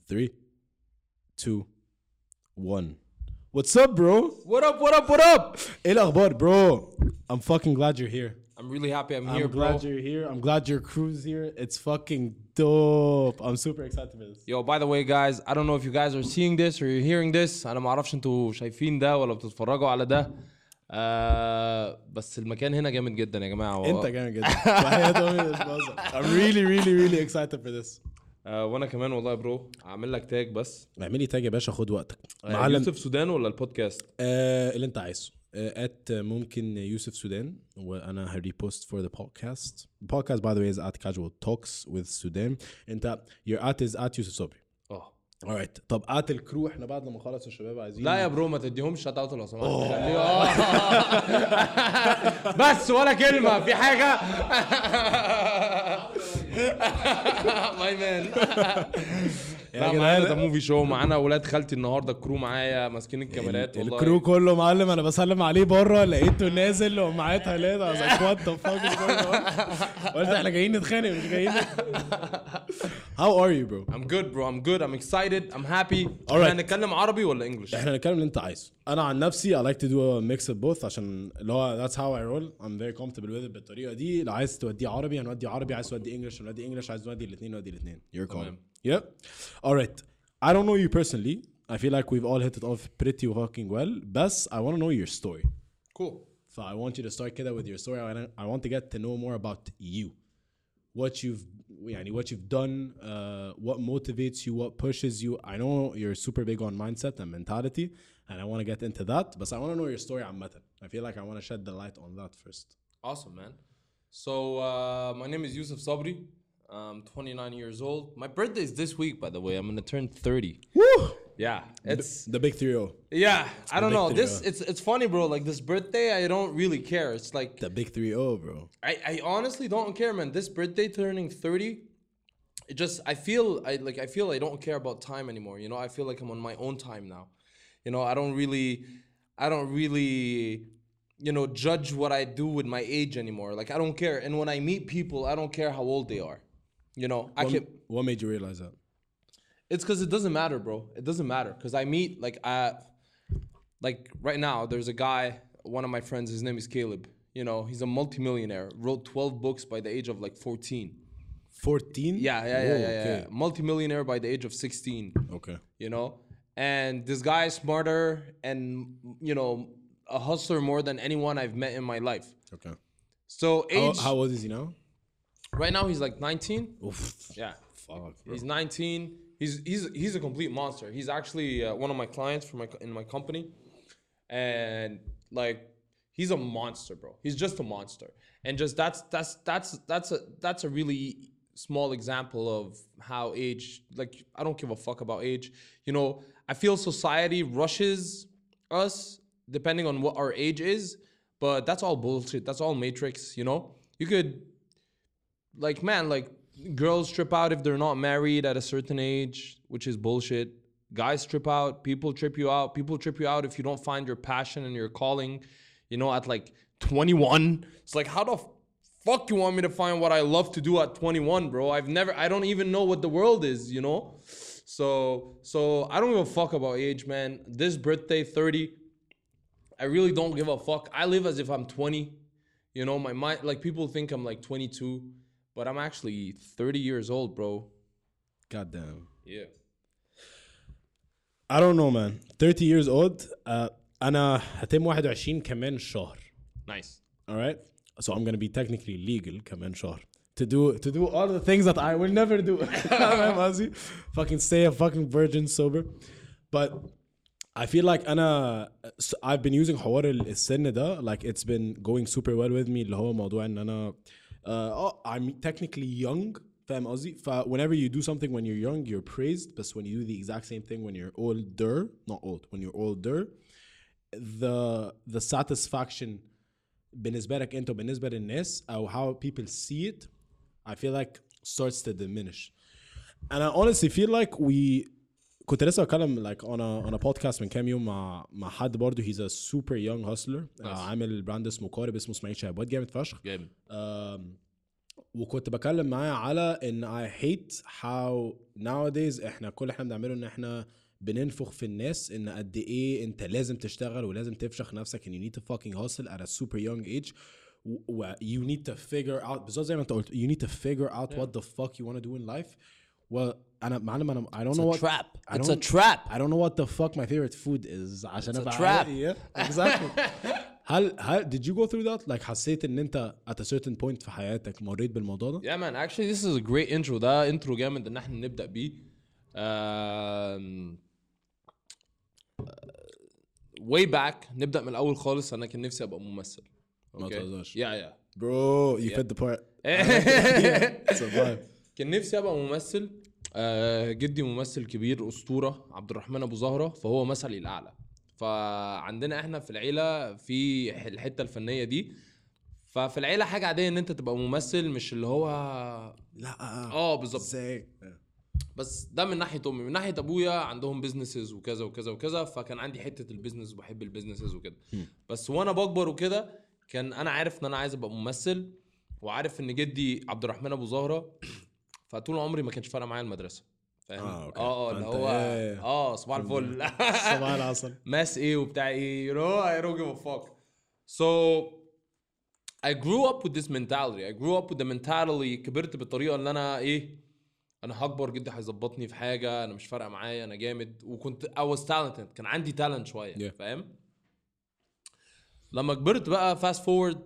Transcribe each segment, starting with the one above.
3 2 1 What's up bro? What up? What up? What up? ايه الاخبار bro? I'm fucking glad you're here. I'm really happy I'm here, I'm bro. glad you're here. I'm glad your crew's here. It's fucking dope. I'm super excited for this. Yo, by the way, guys, I don't know if you guys are seeing this or you're hearing this. أنا ما أعرفش أنتوا شايفين ده ولا بتتفرجوا على ده. بس المكان هنا جامد جدا يا جماعة. انت جامد جدا. I'm really excited for this. وانا كمان والله يا برو. اعمل لك تاج بس. اعملي تاج يا باشا خد وقتك. معلم يوسف سودان ولا البودكاست؟ اللي انت عايزه. ممكن يوسف سودان وانا هريبوست for the podcast. The podcast by the way is at Casual Talks with Sudan. انت your at is at يوسف صبري. alright. طب at الكرو احنا بعد لما نخلص الشباب عايزين. لا يا برو ما تديهمش شات اوت لو سمحت. بس ولا كلمة في حاجة. ماي مان. لا معانا ده موفي شو معانا اولاد خالتي النهارده الكرو معايا ماسكين الكاميرات والله الكرو كله معلم. انا بسلم عليه بره لقيته نازل ومعاه ثلاثه I was like what the fuck is going on. قلت احنا جايين نتخانق مش جايين. How are you bro? I'm good bro. I'm good. I'm excited. I'm happy. احنا هنتكلم عربي ولا انجلش؟ احنا هنتكلم اللي انت عايزه. انا عن نفسي I like to do a mix of both عشان اللي هو that's how I roll. I'm very comfortable with it بالطريقه دي. لو عايز تودي عربي هنودي عربي, عايز تودي انجلش هنودي انجلش, عايز نودي الاثنين You're calm. Yep. All right. I don't know you personally. I feel like we've all hit it off pretty fucking well. But I want to know your story. Cool. So I want you to start كده with your story. I want to get to know more about you. What you've done, what motivates you, what pushes you. I know you're super big on mindset and mentality, and I want to get into that. But I want to know your story عامة. I feel like I want to shed the light on that first. Awesome, man. So my name is Yusuf Sabri. I'm 29 years old. My birthday is this week, by the way. I'm gonna turn 30. Woo! Yeah, it's the big 3-0. Yeah, I don't know. It's funny, bro. Like this birthday, I don't really care. It's like the big 3-0, bro. I honestly don't care, man. This birthday turning 30, it just I feel I don't care about time anymore. You know, I feel like I'm on my own time now. You know, I don't really you know judge what I do with my age anymore. Like I don't care. And when I meet people, I don't care how old they are. You know, what made you realize that? It's because it doesn't matter, bro. It doesn't matter because I meet like right now. There's a guy, one of my friends. His name is Caleb. You know, he's a multimillionaire. Wrote 12 books by the age of like 14. 14? Yeah. Multimillionaire by the age of 16. Okay. You know, and this guy is smarter and you know a hustler more than anyone I've met in my life. Okay. So age. How old is he now? Right now he's like 19. Oof. Yeah. Fuck, bro. He's 19. He's a complete monster. He's actually one of my clients in my company, and like he's a monster, bro. He's just a monster, and just that's a really small example of how age. Like I don't give a fuck about age. You know, I feel society rushes us depending on what our age is, but that's all bullshit. That's all matrix. You know, you could like man like. Girls trip out if they're not married at a certain age, which is bullshit. Guys trip out. People trip you out. People trip you out if you don't find your passion and your calling, you know, at like 21. It's like, how the fuck you want me to find what I love to do at 21, bro? I don't even know what the world is, you know? So I don't give a fuck about age, man. This birthday, 30, I really don't give a fuck. I live as if I'm 20. You know, my mind, like people think I'm like 22. But I'm actually 30 years old, bro. Goddamn. Yeah. I don't know, man. 30 years old. أنا هتم 21 كمان شهر. Nice. All right. So I'm gonna be technically legal كمان شهر. To do all the things that I will never do. Fucking stay a fucking virgin sober. But I feel like I've been using حوار السن ده. Like it's been going super well with me. اللي هو موضوع إن أنا I'm technically young. فاهم قصدي؟ whenever you do something when you're young you're praised, but when you do the exact same thing when you're older, not old, when you're older, the satisfaction بالنسبة لك انت وبالنسبة للناس أو how people see it, I feel like starts to diminish. And I honestly feel like كنت لسه بتكلم like on a podcast من كام يوم مع حد برضه. he's a super young hustler. عامل براند اسمه قارب اسمه اسماعيل شهبات. جامد فشخ. جامد. وكنت بكلم معاه على ان I hate how nowadays احنا كل احنا بنعمله ان احنا بننفخ في الناس ان قد ايه انت لازم تشتغل ولازم تفشخ نفسك and you need to fucking hustle at a super young age you need to figure out بالظبط زي ما انت قلت you need to figure out what the fuck you want to do in life. وانا معلم انا I don't know what It's a trap. I don't know what the fuck my favorite food is عشان It's a ابقى trap. yeah exactly. هل did you go through that like حسيت ان انت at a certain point في حياتك مريت بالموضوع ده؟ Yeah man, actually this is a great intro. ده intro جامد ان احنا نبدأ بيه. way back نبدأ من الأول خالص. أنا كان نفسي أبقى ممثل. ما تهزرش. Yeah. Bro, you fit the part. Survive. كان نفسي أبقى ممثل. جدي ممثل كبير أسطورة عبد الرحمن أبو زهرة فهو مثلي الأعلى. فعندنا احنا في العيلة في الحتة الفنية دي. ففي العيلة حاجة عادية ان انت تبقى ممثل مش اللي هو لا بالظبط. ازاي؟ بس ده من ناحية امي. من ناحية ابويا عندهم بيزنسز وكذا وكذا وكذا فكان عندي حتة البيزنس وبحب البيزنسز وكده. بس وانا بكبر وكده كان انا عارف ان انا عايز ابقى ممثل وعارف ان جدي عبد الرحمن ابو زهرة فطول عمري ما كانش فارق معايا المدرسة. فاهم؟ اللي هو صباح الفل صباح العسل ماس ايه وبتاع ايه I don't give a fuck. So I grew up with this mentality. I grew up with the mentality. كبرت بالطريقة اللي انا انا هكبر جدي هيظبطني في حاجة انا مش فارقة معايا انا جامد. وكنت I was talented. كان عندي talent شوية فاهم. لما كبرت بقى fast forward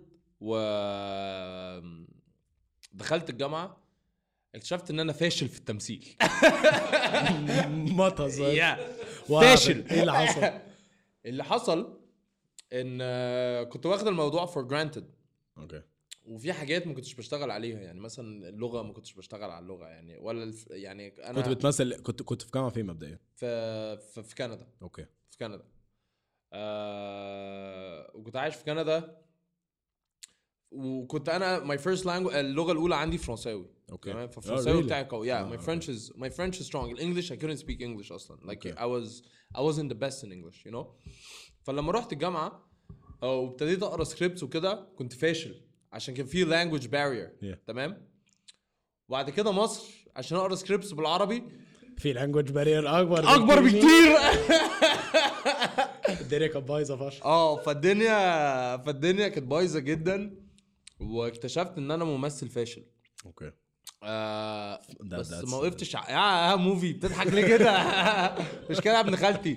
دخلت الجامعة اكتشفت ان انا فاشل في التمثيل. ما تهزر. فاشل. ايه اللي حصل؟ اللي حصل ان كنت واخد الموضوع for granted. اوكي. وفي حاجات ما كنتش بشتغل عليها يعني مثلا اللغة ما كنتش بشتغل على اللغة يعني ولا يعني انا كنت بتمثل كنت في جامعة فين مبدئيا؟ في كندا. اوكي. في كندا. وكنت عايش في كندا وكنت انا my first language اللغة الأولى عندي فرنساوي. اوكي. تمام. فالفرنساوي بتاعي قوي. my French is strong. English I couldn't speak English اصلا. Like I wasn't the best in English you know. فلما رحت الجامعة وابتديت اقرا سكريبتس وكده كنت فاشل عشان كان في language barrier. تمام. وبعد كده مصر عشان اقرا سكريبتس بالعربي في language barrier اكبر بكتير. الدنيا كانت بايظه فشخ. فالدنيا كانت بايظه جدا واكتشفت ان انا ممثل فاشل. اوكي. بس ما وقفتش يا موفي بتضحك ليه كده؟ مش كده يا ابن خالتي.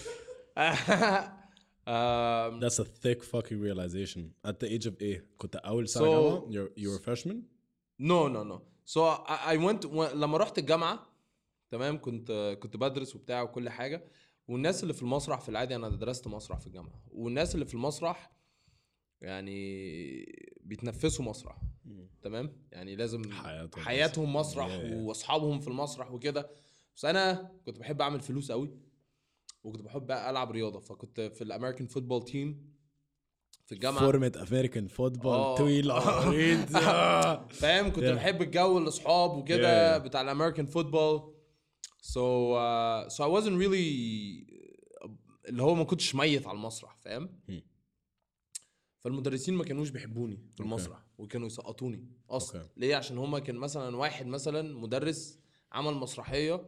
That's a thick fucking realization. At the age of كنت أول سنة جامعة. You were a freshman? No. So I went لما رحت الجامعة تمام كنت بدرس وبتاع وكل حاجة. والناس اللي في المسرح في العادي أنا درست مسرح في الجامعة. والناس اللي في المسرح يعني بيتنفسوا مسرح. تمام. يعني لازم حياتهم مسرح وأصحابهم في المسرح وكده. بس أنا كنت بحب أعمل فلوس قوي وكنت بحب بقى ألعب رياضة. فكنت في الأمريكان فوتبول تيم في الجامعة. فورمة أمريكان فوتبول طويل عريض. فاهم. كنت بحب الجو الأصحاب وكده بتاع الأمريكان فوتبول. So I wasn't really اللي هو ما كنتش ميت على المسرح فاهم. فالمدرسين ما كانوش بيحبوني في المسرح وكانوا يسقطوني اصلا. ليه؟ عشان هما كان مثلا واحد مثلا مدرس عمل مسرحيه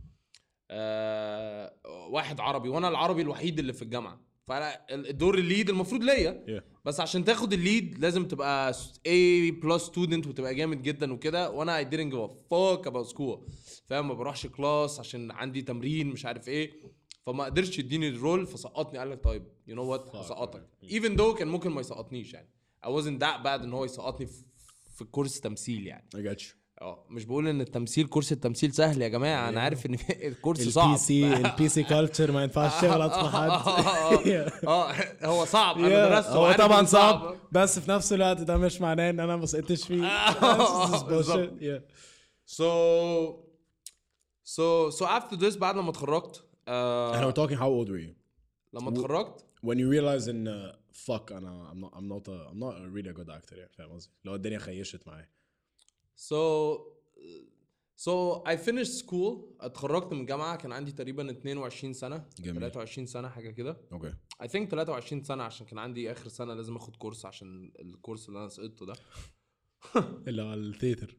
واحد عربي وانا العربي الوحيد اللي في الجامعه. فالدور الليد المفروض ليا بس عشان تاخد الليد لازم تبقى A+ student وتبقى جامد جدا وكده. وانا I didn't give a fuck about school فاهم. ما بروحش كلاس عشان عندي تمرين مش عارف ايه. فما قدرش يديني الرول فسقطني. قال لك طيب you know what هسقطك. even though كان ممكن ما يسقطنيش يعني. I wasn't that bad ان هو يسقطني في كورس تمثيل يعني. I got you. مش بقول ان كورس التمثيل سهل يا جماعه. انا عارف ان الكورس صعب. البي سي كلتشر ما ينفعش تغلط في حد. هو صعب. انا درسته هو طبعا صعب بس في نفس الوقت ده مش معناه ان انا ما سقطتش فيه. So after this بعد لما اتخرجت احنا we're talking how old were you لما اتخرجت when you realize ان fuck I'm not a really good actor يعني فاهم قصدي. لو الدنيا خيشت معايا. So I finished school. اتخرجت من الجامعة كان عندي تقريبا 22 سنة. 23 سنة حاجة كده. اوكي. I think 23 سنة عشان كان عندي آخر سنة لازم اخد كورس عشان الكورس اللي انا سقطته ده. اللي على الثيتر.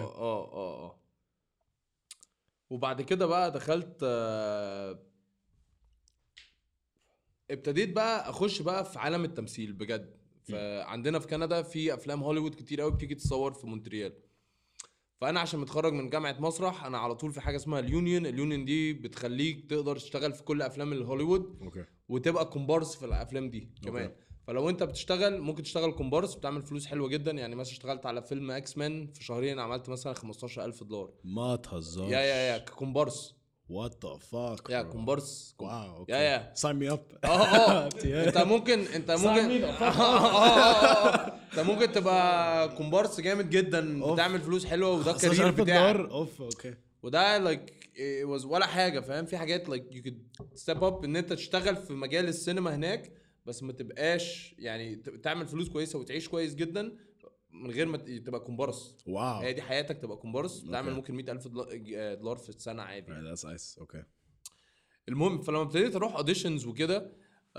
وبعد كده بقى دخلت ابتديت بقى اخش بقى في عالم التمثيل بجد. فعندنا في كندا في افلام هوليوود كتير قوي بتيجي تصور في مونتريال. فانا عشان متخرج من جامعه مسرح انا على طول في حاجه اسمها اليونيون دي بتخليك تقدر تشتغل في كل افلام الهوليوود. اوكي. وتبقى كومبارس في الافلام دي كمان. فلو انت بتشتغل ممكن تشتغل كومبارس بتعمل فلوس حلوه جدا. يعني مثلا اشتغلت على فيلم اكس مان في شهرين عملت مثلا $15,000. ما تهزرش. يا كومبارس. What the fuck. يا كومبارس. واو اوكي. يا sign me up. انت ممكن انت ممكن تبقى كومبارس جامد جدا بتعمل فلوس حلوه وده الكارير بتاعك. اوف اوكي. وده لايك was ولا حاجه فاهم. في حاجات لايك يو كود ستيب اب ان انت تشتغل في مجال السينما هناك بس ما تبقاش يعني تعمل فلوس كويسه وتعيش كويس جدا من غير ما تبقى كومبارس. واو. هي دي حياتك تبقى كومبارس. تعمل ممكن $100,000 في السنه عادي. That's nice. اوكي. المهم فلما ابتديت اروح اوديشنز وكده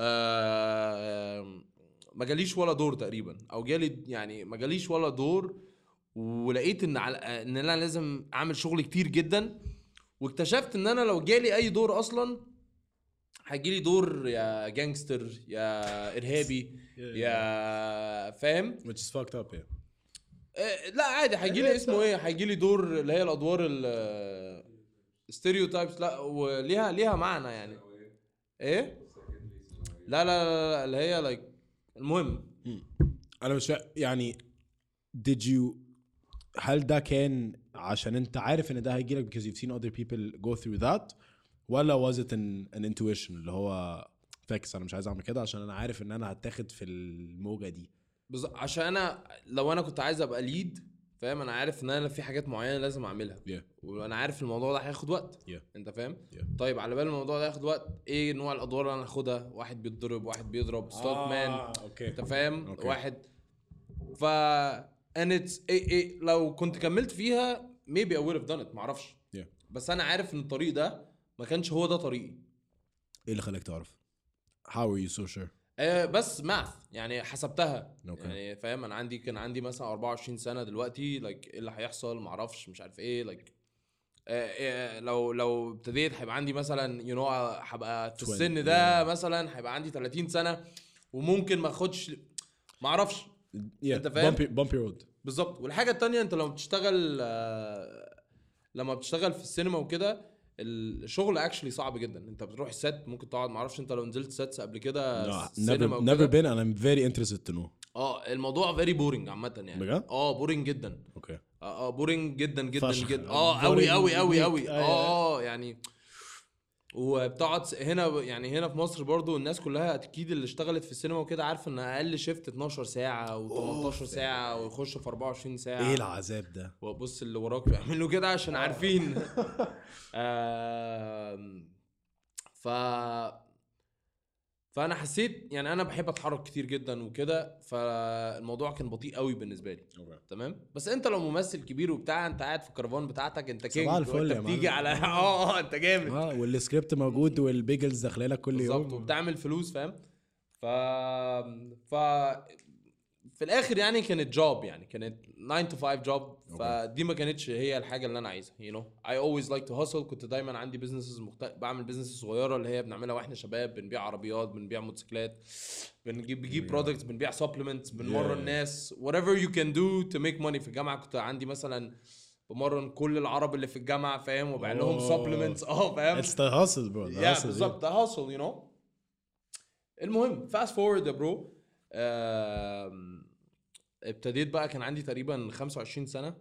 ما جاليش ولا دور تقريبا او جالي يعني ما جاليش ولا دور. ولقيت ان انا لازم اعمل شغل كتير جدا. واكتشفت ان انا لو جالي اي دور اصلا هيجيلي دور يا جانجستر يا ارهابي يا فاهم. which is fucked up. لا عادي هيجيلي اسمه ايه هيجيلي دور اللي هي الادوار الستيريوتايبس. لا وليها معنى يعني ايه. لا اللي هي لايك المهم انا مش يعني did you هل ده كان عشان انت عارف ان ده هيجيلك because you've seen other people go through that ولا was it an intuition اللي هو فاكس انا مش عايز اعمل كده عشان انا عارف ان انا هتاخد في الموجة دي. عشان انا لو انا كنت عايز ابقى ليد فاهم انا عارف ان انا في حاجات معينه لازم اعملها. وانا عارف الموضوع ده هياخد وقت. انت فاهم. طيب على بال الموضوع ده هياخد وقت ايه نوع الادوار اللي انا هاخدها. واحد بيتضرب واحد بيضرب ستوت مان. انت فاهم. واحد ف and it's لو كنت كملت فيها maybe I would have done it معرفش. بس انا عارف ان الطريق ده ما كانش هو ده طريقي. ايه اللي خلاك تعرف؟ how are you so sure؟ بس ماث يعني حسبتها. يعني فاهم انا كان عندي مثلا 24 سنه دلوقتي لايك ايه اللي هيحصل معرفش مش عارف ايه لايك لو ابتديت هيبقى عندي مثلا هبقى في السن ده مثلا هيبقى عندي 30 سنه وممكن ما اخدش معرفش. انت فاهم bumpy road بالظبط. والحاجه التانية انت لما بتشتغل في السينما وكده الشغل اكشلي صعب جدا. انت بتروح السيت ممكن تقعد معرفش انت لو نزلت سيتس قبل كده never been and I'm very interested to know. الموضوع very boring عامه يعني بجد؟ boring جدا. اوكي. boring جدا جدا فشخ. جدا. قوي يعني وبتقعد هنا يعني هنا في مصر برضو الناس كلها اكيد اللي اشتغلت في السينما وكده عارفه ان اقل شيفت 12 ساعه و18 ساعه ويخش في 24 ساعه. ايه العذاب ده؟ وبص اللي وراك بيعملوا كده عشان عارفين. فانا حسيت يعني انا بحب اتحرك كتير جدا وكده فالموضوع كان بطيء قوي بالنسبه لي. تمام. بس انت لو ممثل كبير وبتاع انت قاعد في الكرفان بتاعتك انت كينج انت بتيجي على انت جامد. والسكريبت موجود والبيجلز داخلينك كل يوم بالظبط وبتعمل فلوس فاهم. ف في الاخر يعني كانت جوب يعني كانت 9 to 5 جوب. فدي ما كانتش هي الحاجه اللي انا عايزها I always like to hustle. كنت دايما عندي بيزنسز بعمل بيزنس صغيره اللي هي بنعملها واحنا شباب. بنبيع عربيات بنبيع موتوسيكلات بنجيب برودكتس بنبيع سبلمنتس بنمرن الناس whatever you can do to make money. في الجامعه كنت عندي مثلا بمرن كل العرب اللي في الجامعه فاهم وبيع لهم سبلمنتس فاهم. it's the hustle bro. بالظبط the hustle المهم fast forward يا برو. ابتديت بقى كان عندي تقريبا 25 سنة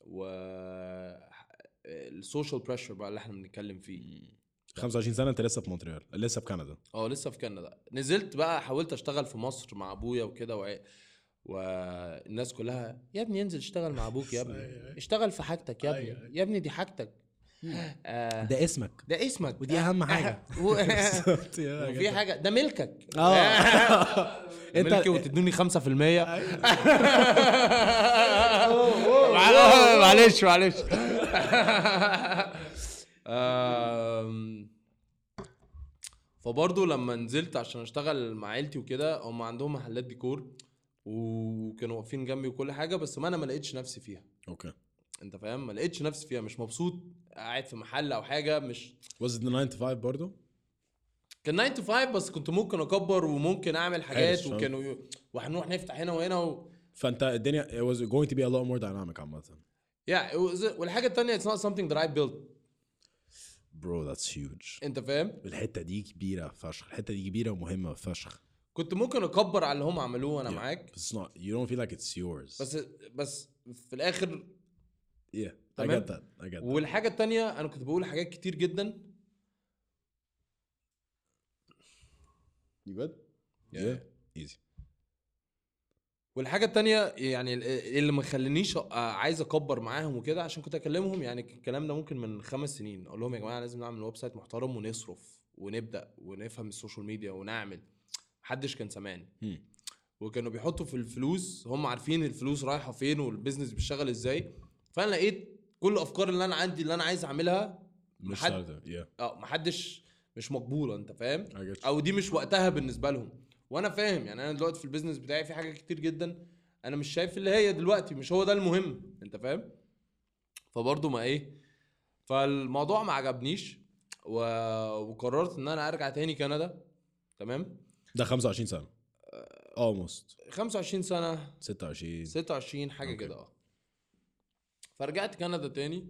السوشيال بريشر بقى اللي احنا بنتكلم فيه. 25 سنة انت لسه في مونتريال لسه في كندا؟ لسه في كندا. نزلت بقى حاولت اشتغل في مصر مع ابويا وكده والناس كلها يا ابني انزل اشتغل مع ابوك يا ابني اشتغل في حاجتك يا ابني يا ابني دي حاجتك ده اسمك ودي اهم حاجه. وفي حاجه ده ملكك. انت ملكي وتدوني 5%. معلش فبرضه لما نزلت عشان اشتغل مع عيلتي وكده هم عندهم محلات ديكور وكانوا واقفين جنبي وكل حاجه، بس ما انا ما لقيتش نفسي فيها. اوكي. انت فاهم؟ ما لقيتش نفسي فيها، مش مبسوط قاعد في محل او حاجه. مش was it the 9 to 5 برضو؟ كان 9 to 5 بس كنت ممكن اكبر وممكن اعمل حاجات، فاهم. وكانوا وهنروح نفتح هنا وهنا فانت الدنيا it was going to be a lot more dynamic عامة. والحاجه التانية it's not something that I built. bro that's huge. انت فاهم؟ الحتة دي كبيرة فشخ، الحتة دي كبيرة ومهمة فشخ. كنت ممكن اكبر على اللي هم عملوه، انا معاك. But it's not, you don't feel like it's yours. بس في الاخر yeah I تمام؟ get that. والحاجه التانية انا كنت بقول حاجات كتير جدا. you good yeah easy. والحاجه التانية يعني اللي ما خلانيش عايز اكبر معاهم وكده، عشان كنت اكلمهم يعني الكلام ده ممكن من 5 سنين اقول لهم يا جماعه لازم نعمل ويب سايت محترم ونصرف ونبدا ونفهم السوشيال ميديا ونعمل. محدش كان سامعني. وكانوا بيحطوا في الفلوس، هم عارفين الفلوس رايحه فين والبيزنس بيشتغل ازاي. فانا لقيت كل الافكار اللي انا عندي اللي انا عايز اعملها مش محدش مش مقبوله. انت فاهم؟ I get you. او دي مش وقتها بالنسبه لهم. وانا فاهم يعني انا دلوقتي في البيزنس بتاعي في حاجات كتير جدا انا مش شايف اللي هي دلوقتي مش هو ده المهم. انت فاهم؟ فبرضه ما ايه، فالموضوع ما عجبنيش وقررت ان انا ارجع تاني كندا. تمام. ده 25 سنة almost 25 سنه 26 حاجه Okay. كده. فرجعت كندا تاني.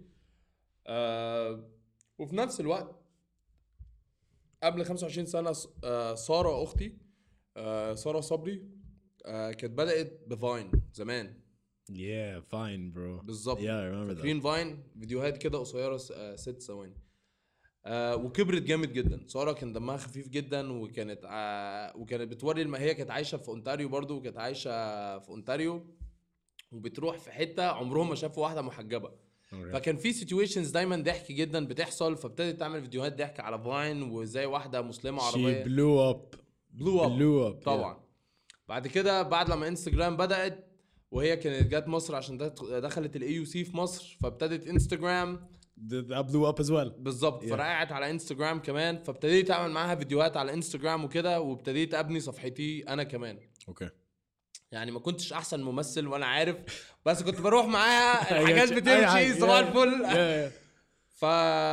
وفي نفس الوقت قبل 25 سنه ساره اختي، ساره صبري، كانت بدات بفاين زمان. yeah fine bro بالظبط. yeah I remember that. فاكرين فاين؟ فيديوهات كده قصيره 6 ثواني. وكبرت جامد جدا. ساره كان دمها خفيف جدا، وكانت بتوري ما هي كانت عايشه في اونتاريو برضو، وكانت عايشه في اونتاريو وبتروح في حته عمرهم ما شافوا واحده محجبه. فكان في سيتويشنز دايما ضحك جدا بتحصل، فابتدت تعمل فيديوهات ضحك على فاين وزي واحده مسلمه عربيه she blew up طبعا. بعد كده بعد لما انستجرام بدات، وهي كانت جات مصر عشان دخلت الاي يو سي في مصر، فابتدت انستجرام that blew up as well. بالظبط. فرقعت على انستجرام كمان، فابتديت اعمل معاها فيديوهات على انستجرام وكده، وابتديت ابني صفحتي انا كمان. اوكي. يعني ما كنتش احسن ممثل وانا عارف، بس كنت بروح معاها الحاجات بتمشي صباح الفل. ف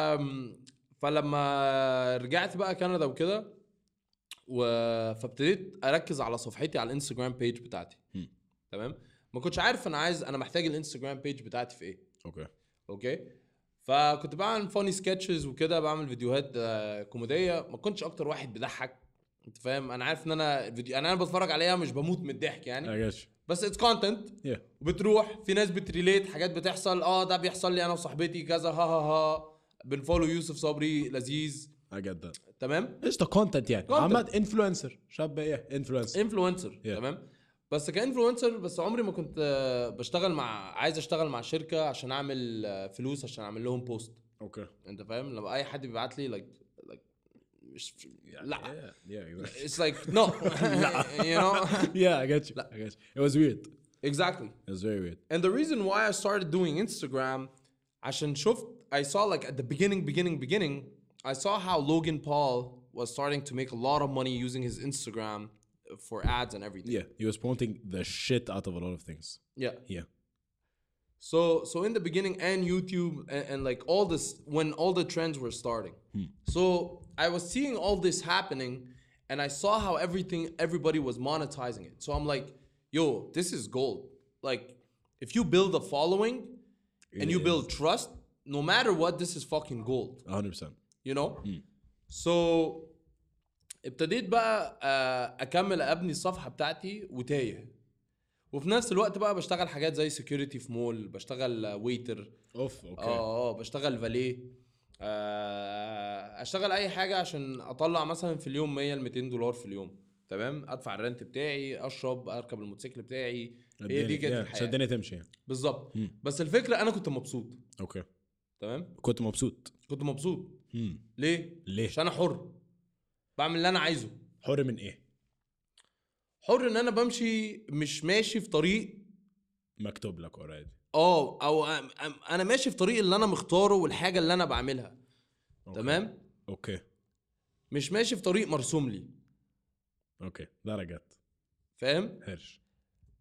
فلما رجعت بقى كندا وكده فابتديت اركز على صفحتي على الانستجرام بيج بتاعتي. تمام. ما كنتش عارف انا محتاج الانستجرام بيج بتاعتي في ايه. اوكي. فكنت بعمل فاني سكتشز وكده، بعمل فيديوهات كوميديه. ما كنتش اكتر واحد بيضحك. انت فاهم؟ انا عارف ان انا بتفرج عليها مش بموت من الضحك يعني، بس اتس كونتنت. وبتروح في ناس بتريليت حاجات بتحصل. ده بيحصل لي انا وصاحبتي كذا، ها ها ها بنفولو يوسف صبري لذيذ. I get that. تمام. ايش ده كونتنت يعني؟ عمد انفلونسر شاب ايه انفلونسر. تمام. بس كانفلونسر، بس عمري ما كنت عايز اشتغل مع شركه عشان اعمل فلوس عشان اعمل لهم بوست. اوكي. انت فاهم؟ لما اي حد بيبعت لي مش لا exactly. it's like no you know. I get you. It was weird. Exactly. It was very weird. And the reason why I started doing Instagram عشان شفت I saw like at the beginning I saw how Logan Paul was starting to make a lot of money using his Instagram for ads and everything. Yeah, he was promoting the shit out of a lot of things. Yeah. So in the beginning, and YouTube and like all this, when all the trends were starting. So I was seeing all this happening, and I saw how everybody was monetizing it. So I'm like, yo, this is gold. Like, if you build a following and you build trust, no matter what, this is fucking gold. 100%. You know? So ابتديت بقى اكمل ابني الصفحه بتاعتي وتايه. وفي نفس الوقت بقى بشتغل حاجات زي سيكوريتي في مول، بشتغل ويتر. اوكي. بشتغل فاليه. اشتغل اي حاجه عشان اطلع مثلا في اليوم 100 ل $200 في اليوم. تمام. ادفع الرنت بتاعي، اشرب، اركب الموتوسيكل بتاعي. هي دي كانت الحياه. الدنيا تمشي بالظبط. بس الفكره انا كنت مبسوط. اوكي. تمام. كنت مبسوط. ليه عشان انا حر بعمل اللي انا عايزه. حر من ايه؟ حر ان انا بمشي، مش ماشي في طريق مكتوب لك اوريدي. او انا ماشي في طريق اللي انا مختاره والحاجه اللي انا بعملها. تمام. اوكي. مش ماشي في طريق مرسوم لي. اوكي. ده رجعت. فاهم؟ هرش.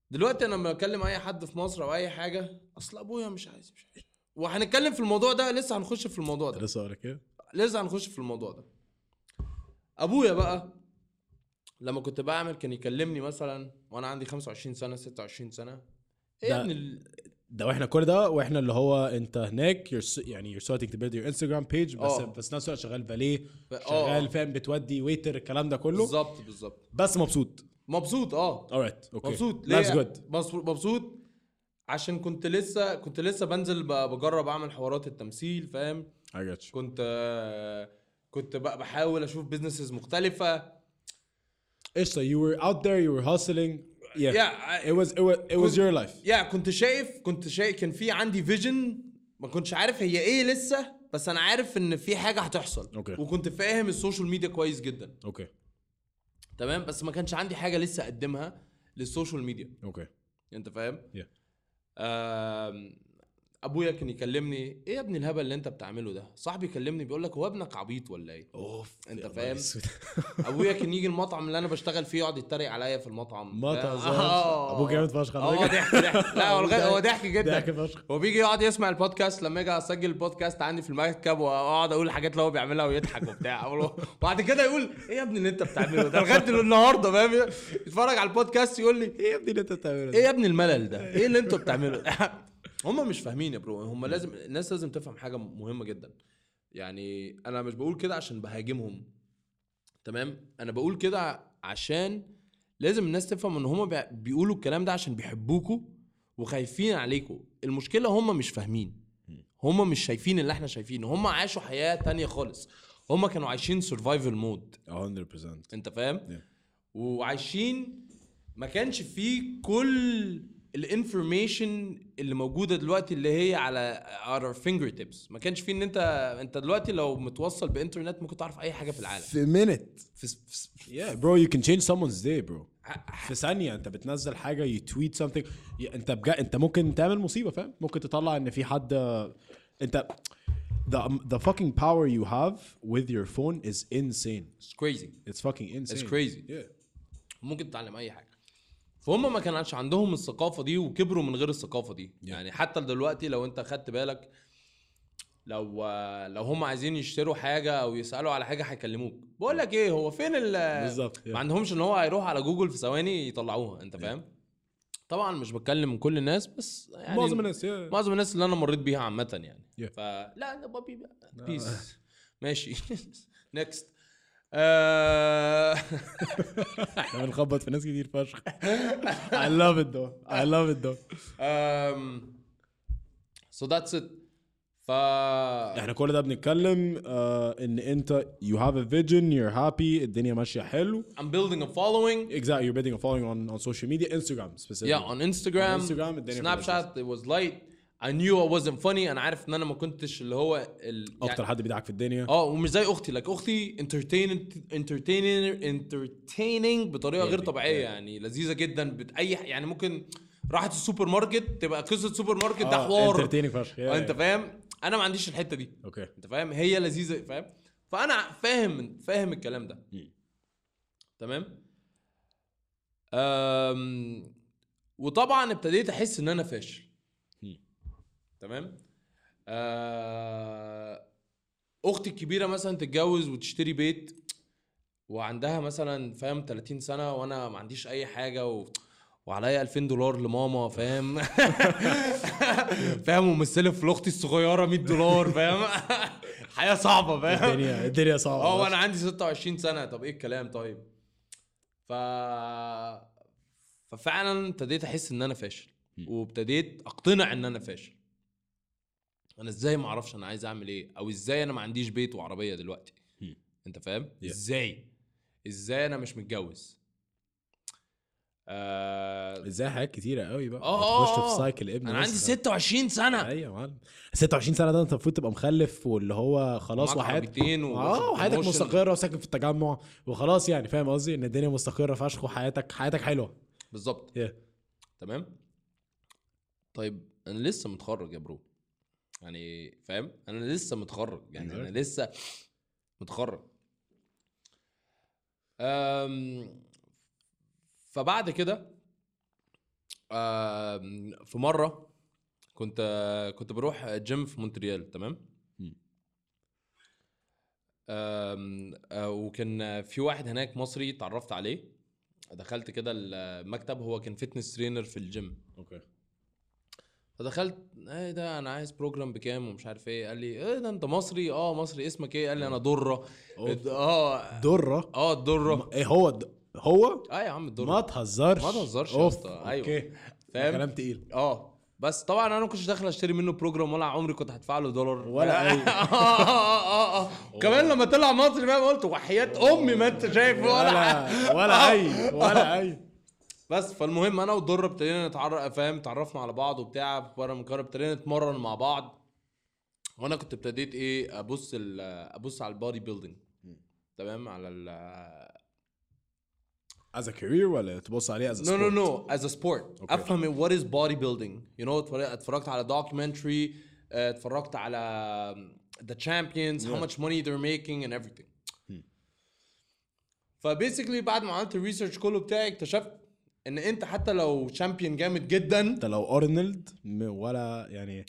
دلوقتي انا لما بكلم اي حد في مصر او اي حاجه اصل ابويا مش عايز وهنتكلم في الموضوع ده. لسه هنخش في الموضوع ده. لسه اقولك ايه. لسه هنخش في الموضوع ده. ابويا بقى لما كنت بعمل كان يكلمني مثلا وانا عندي 25 سنه 26 سنه. ايه يا ابن ده واحنا كل ده واحنا اللي هو انت هناك يعني you're starting to build your Instagram page بس نفس الوقت شغال باليه شغال فاهم بتودي ويتر الكلام ده كله بالظبط بس مبسوط alright okay مبسوط that's good مبسوط عشان كنت لسه بنزل بجرب اعمل حوارات التمثيل فاهم. I got you. كنت بقى بحاول اشوف بيزنسز مختلفه. ايش you were out there you were hustling it was your life. كنت شايف كان في عندي فيجن ما كنتش عارف هي ايه لسه بس انا عارف ان في حاجه هتحصل. وكنت فاهم السوشيال ميديا كويس جدا. تمام بس ما كانش عندي حاجه لسه اقدمها للسوشيال ميديا. انت فاهم. ابويا كان يكلمني ايه يا ابني الهبل اللي انت بتعمله ده. صاحبي كلمني بيقول لك هو ابنك عبيط ولا ايه. انت فاهم. ابويا كان يجي المطعم اللي انا بشتغل فيه يقعد يتريق عليا في المطعم. ابوك جامد فشخ. ضحك لا هو ضحك جدا. هو بيجي يقعد يسمع البودكاست لما اجي اسجل البودكاست عندي في المكتب واقعد اقول الحاجات اللي هو بيعملها ويضحك وبتاع. وبعد كده يقول ايه يا ابني اللي انت بتعمله ده لغايه النهارده فاهم. يتفرج على البودكاست يقول لي ايه يا ابني اللي انت بتعمله ده ايه يا ابني الملل ده ايه اللي انتوا بتعمله. هم مش فاهمين يا برو. هم الناس لازم تفهم حاجه مهمه جدا. يعني انا مش بقول كده عشان بهاجمهم تمام. انا بقول كده عشان لازم الناس تفهم ان هم بيقولوا الكلام ده عشان بيحبوكوا وخايفين عليكوا. المشكله هم مش فاهمين. هم مش شايفين اللي احنا شايفينه. هم عاشوا حياه تانية خالص. هم كانوا عايشين سرفايفل مود 100%. انت فاهم. وعايشين ما كانش فيه كل الانفورميشن اللي موجوده دلوقتي اللي هي على our fingertips. ما كانش فيه ان انت دلوقتي لو متوصل بانترنت ممكن تعرف اي حاجه في العالم في minute. Yeah bro you can change someone's day bro. في ثانيه انت بتنزل حاجه you tweet something انت ممكن تعمل مصيبه فاهم. ممكن تطلع ان في حد انت the fucking power you have with your phone is insane. It's crazy. It's fucking insane. It's crazy. ممكن تتعلم اي حاجه. فهم ما كانش عندهم الثقافه دي وكبروا من غير الثقافه دي. يعني حتى دلوقتي لو انت خدت بالك لو هم عايزين يشتروا حاجه او يسالوا على حاجه هيكلموك. بقول لك ايه هو فين بالظبط. ما عندهمش ان هو هيروح على جوجل في ثواني يطلعوها. انت فاهم. طبعا مش بتكلم كل الناس بس يعني معظم الناس اللي انا مريت بيها عامه يعني. فلا بابي بيس ماشي. نيكست. احنا بنخبط في ناس كتير فشخ. I love it though. So that's it. احنا كل ده بنتكلم ان انت you have a vision you're happy الدنيا ماشيه حلو. I'm building a following. Exactly you're building a following on social media Instagram specifically. Yeah on Instagram Snapchat it was light. I knew I wasn't funny. انا عارف ان انا ما كنتش اللي هو اكتر حد بيضحك في الدنيا. ومش زي اختي. اختي entertaining بطريقه غير طبيعيه. يعني لذيذه جدا اي يعني ممكن راحت السوبر ماركت تبقى قصه سوبر ماركت ده حوار entertaining فشخ. انت فاهم. انا ما عنديش الحته دي. انت فاهم. هي لذيذه فاهم. فانا فاهم الكلام ده. تمام. وطبعا ابتديت احس ان انا فاشل. تمام. اختي الكبيره مثلا تتجوز وتشتري بيت وعندها مثلا فاهم 30 سنه وانا ما عنديش اي حاجه وعليا $2000 لماما فاهم. فاهم. ومستلف لاختي الصغيره $100 فاهم. حياه صعبه فاهم. الدنيا صعبه. وانا عندي 26 سنه. طب ايه الكلام طيب. ففعلا ابتديت احس ان انا فاشل وابتديت اقتنع ان انا فاشل. انا ازاي ما اعرفش انا عايز اعمل ايه او ازاي انا ما عنديش بيت وعربيه دلوقتي. انت فاهم. ازاي انا مش متجوز. ازاي حاجات كتيره قوي بقى. تخش في سايكل ابن. انا عندي 26 سنه. ايوه يا معلم 26 سنه ده انت المفروض تبقى مخلف واللي هو خلاص وحياتك مستقره وساكن في التجمع وخلاص يعني فاهم قصدي ان الدنيا مستقره فشخ وحياتك حلوه بالظبط. تمام. طيب انا لسه متخرج يا برو. يعني فاهم. انا لسه متخرج يعني انا لسه متخرج. فبعد كده في مره كنت بروح جيم في مونتريال تمام. وكان في واحد هناك مصري اتعرفت عليه، دخلت كده المكتب، هو كان فيتنس ترينر في الجيم. اوكي. فدخلت ايه ده انا عايز بروجرام بكام ومش عارف ايه. قال لي ايه ده انت مصري؟ مصري. اسمك ايه؟ قال لي انا درة. درة. الدرة. ايه هو يا عم الدرة. ما تهزرش يا اسطى. ايوه اوكي فاهم. كلام تقيل. بس طبعا انا ما كنتش داخل اشتري منه بروجرام ولا عمري كنت هدفع له دولار ولا اي. كمان لما طلع مصري فاهم قلت وحياة امي ما انت شايف ولا اي. بس فالمهم انا والدره ابتدينا نتعرف فاهم، تعرفنا على بعض وبتاع بره من كار، ابتدينا نتمرن مع بعض. وانا كنت ابتديت ايه ابص على البودي بيلدينج تمام، على as a career ولا تبص عليه as a sport؟ no as a sport. Okay. افهم what is body building you know. اتفرجت على documentary، اتفرجت على the champions how much money they're making and everything. فبيسيكلي بعد ما عملت الريسيرش كله بتاعي اكتشفت ان انت حتى لو شامبيون جامد جدا، انت لو ارنولد ولا يعني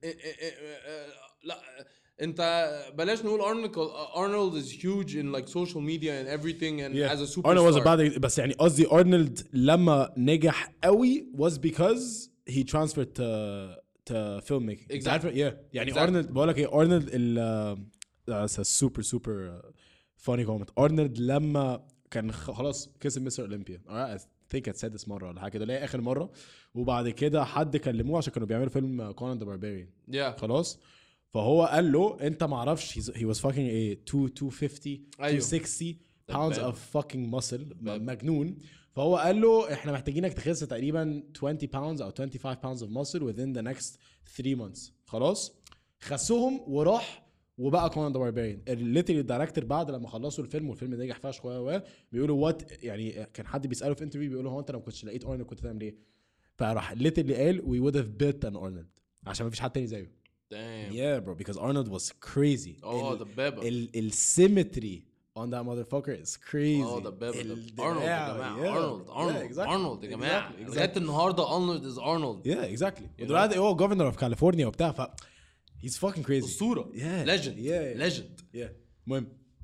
لا انت بلاش نقول ارنولد is huge in like social media and everything and as a superstar. Arnold was about بس يعني قصدي ارنولد لما نجح قوي was because he transferred to filmmaking. Exactly. يعني ارنولد بقول لك ايه، ارنولد that's a super funny comment. ارنولد لما كان خلاص كسب مستر اولمبيا I think I said this مرة ولا حاجة كده، اللي هي آخر مرة، وبعد كده حد كلموه عشان كانوا بيعملوا فيلم كونان ذا باربيريان. خلاص فهو قال له انت معرفش he was fucking a 250 260 pounds of fucking muscle مجنون. فهو قال له احنا محتاجينك تخس تقريبا 20 pounds او 25 pounds of muscle within the next 3 months. خلاص خسهم وراح وبقى كونان ذا باربيريان. الليتري الدايركتور بعد لما خلصوا الفيلم والفيلم نجح فشخ بيقولوا وات، يعني كان حد بيساله في انترفيو بيقولوا هو انت لو كنتش لقيت ارنولد كنت تعمل ايه؟ فراح الليتري قال we would have bet on Arnold عشان ما فيش حد تاني زيه. Damn. Yeah bro, because Arnold was crazy. The beba. Symmetry on that motherfucker is crazy. The beba. Arnold يا جماعة. Arnold يا جماعة. لغاية النهاردة Arnold is Arnold. Yeah exactly. ودلوقتي هو governor of California وبتاع ف he's fucking crazy. أسطورة. legend. مهم.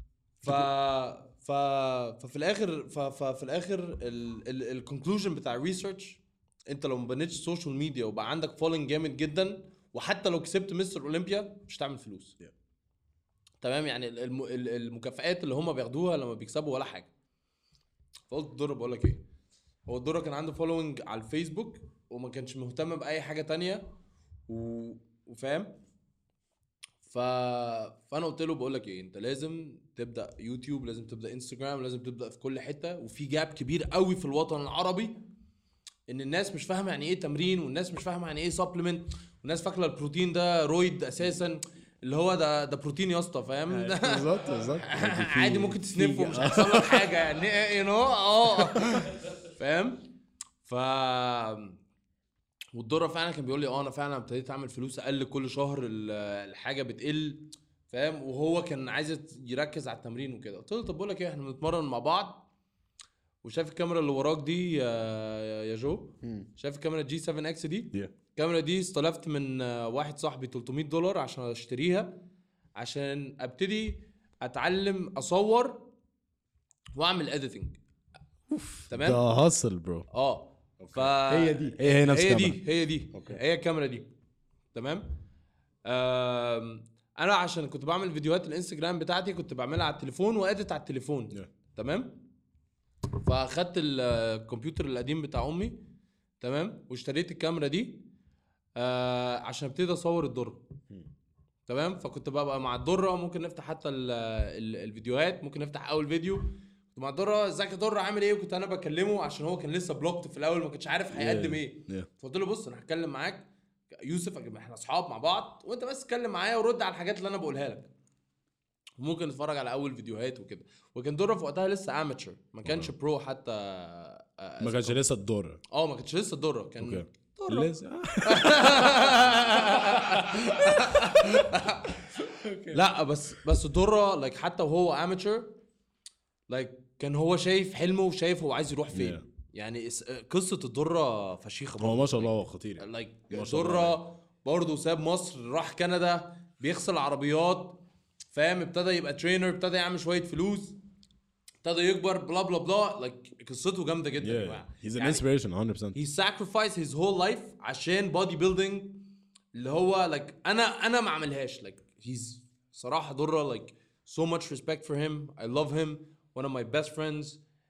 ففي الآخر الكونكلوجن بتاع الريسيرش، انت لو ما بنيتش سوشيال ميديا وبقى عندك فولينج جامد جدا وحتى لو كسبت مستر اولمبيا مش هتعمل فلوس. تمام. يعني المكافآت اللي هم بياخدوها لما بيكسبوا ولا حاجه. فقلت الدرة بقول لك ايه، هو الدرة كان عنده فولوينج على الفيسبوك وما كانش مهتم باي حاجه تانية وفاهم. فانا قلت له بقول لك ايه، انت لازم تبدا يوتيوب، لازم تبدا انستجرام، لازم تبدا في كل حته. وفي جاب كبير قوي في الوطن العربي ان الناس مش فاهمه يعني ايه تمرين، والناس مش فاهمه يعني ايه سبلمنت، والناس فاكره البروتين ده رويد اساسا، اللي هو ده بروتين يا اسطى فاهم. بالظبط عادي ممكن تسنفه ومش هيحصل لك حاجه يعني فاهم. والدرة فعلا كان بيقول لي انا فعلا ابتديت اعمل فلوس اقل كل شهر، الحاجه بتقل فاهم. وهو كان عايز يركز على التمرين وكده. قلت له طب بقول لك ايه، احنا بنتمرن مع بعض، وشايف الكاميرا اللي وراك دي يا جو، شايف الكاميرا جي 7 اكس دي؟ الكاميرا دي استلفت من واحد صاحبي $300 عشان اشتريها، عشان ابتدي اتعلم اصور واعمل اديتنج. تمام. ده هاسل برو. هي دي هي الكاميرا دي. تمام. انا عشان كنت بعمل فيديوهات الانستجرام بتاعتي كنت بعملها على التليفون واديت على التليفون. تمام. فاخدت الكمبيوتر القديم بتاع امي تمام، واشتريت الكاميرا دي عشان ابتدي اصور الدرة. تمام. فكنت بقى مع الدرة ممكن نفتح حتى الفيديوهات، ممكن نفتح اول فيديو كنت مع الدرة، ازيك يا درة عامل ايه، وكنت انا بكلمه عشان هو كان لسه بلوكت في الاول ما كنتش عارف هيقدم ايه. فقلت له بص انا هتكلم معاك يوسف، احنا اصحاب مع بعض، وانت بس اتكلم معايا ورد على الحاجات اللي انا بقولها لك، وممكن نتفرج على اول فيديوهات وكده. وكان درة في وقتها لسه اماتشر، ما كانش برو حتى، ما كانش لسه الدرة. ما كانش لسه الدرة، كان لسه لا بس درة like حتى وهو اماتشر like كان هو شايف حلمه وشايف هو عايز يروح فين. يعني قصه الدره فشيخه هو ما شاء الله هو خطير يعني. لايك ما شاء الله دره برضه ساب مصر راح كندا بيغسل عربيات فاهم ابتدى يبقى ترينر ابتدى يعمل شويه فلوس ابتدى يكبر بلا بلا بلا لايك قصته جامده جدا يا yeah جماعه he's an يعني inspiration 100% he sacrificed his whole life عشان body building اللي هو like انا ما عملهاش like he's صراحه دره like so much respect for him I love him one of my best friends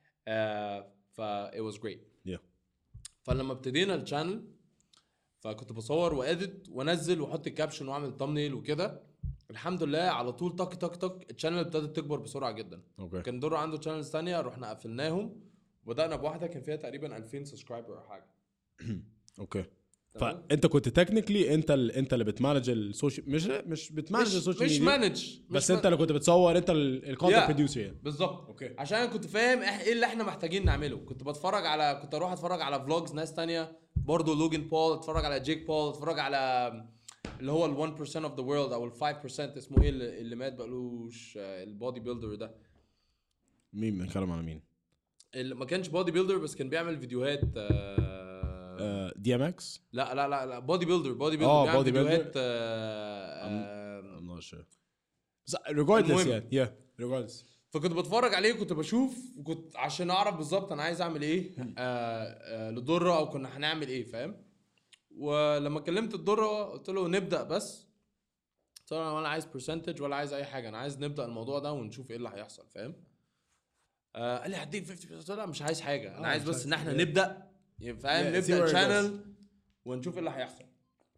it was great yeah فلما ابتدينا الشانل فكنت بصور واديت وانزل واحط الكابشن واعمل thumbnail وكده الحمد لله على طول تك تك تك الشانل ابتدت تكبر بسرعه جدا اوكي كان دور عنده شانلز ثانيه رحنا قفلناهم وبدانا بواحده كان فيها تقريبا 2000 سبسكرايبر او حاجه اوكي فانت كنت تكنيكلي انت اللي بتمانج السوشيال مش بتمانج السوشيال مش ميديا مانج بس انت اللي كنت بتصور انت الكونتنت Yeah. بروديوسر يعني بالظبط اوكي عشان انا كنت فاهم ايه اللي احنا محتاجين نعمله كنت اروح اتفرج على فلوجز ناس تانية برضو لوجن بول اتفرج على جيك بول اتفرج على اللي هو ال 1% of the world او ال 5% اسمه ايه اللي مات بقالوش البودي بيلدر ده مين بنتكلم على مين اللي ما كانش بودي بيلدر بس كان بيعمل فيديوهات دي ام اكس لا بودي بيلدر بيعمل body فيديوهات I'm not sure regardless المهم. yeah regardless فكنت بتفرج عليه وكنت بشوف وكنت عشان اعرف بالظبط انا عايز اعمل ايه للدره او كنا هنعمل ايه فاهم ولما كلمت الدره قلت له نبدا بس قلت له انا ولا عايز برسنتج ولا عايز اي حاجه انا عايز نبدا الموضوع ده ونشوف ايه اللي هيحصل فاهم قال لي هديك 50 قلت له لا مش عايز حاجه انا عايز بس ان احنا نبدا فاهم Yeah, see نبدا where it الشانل ونشوف ايه اللي هيحصل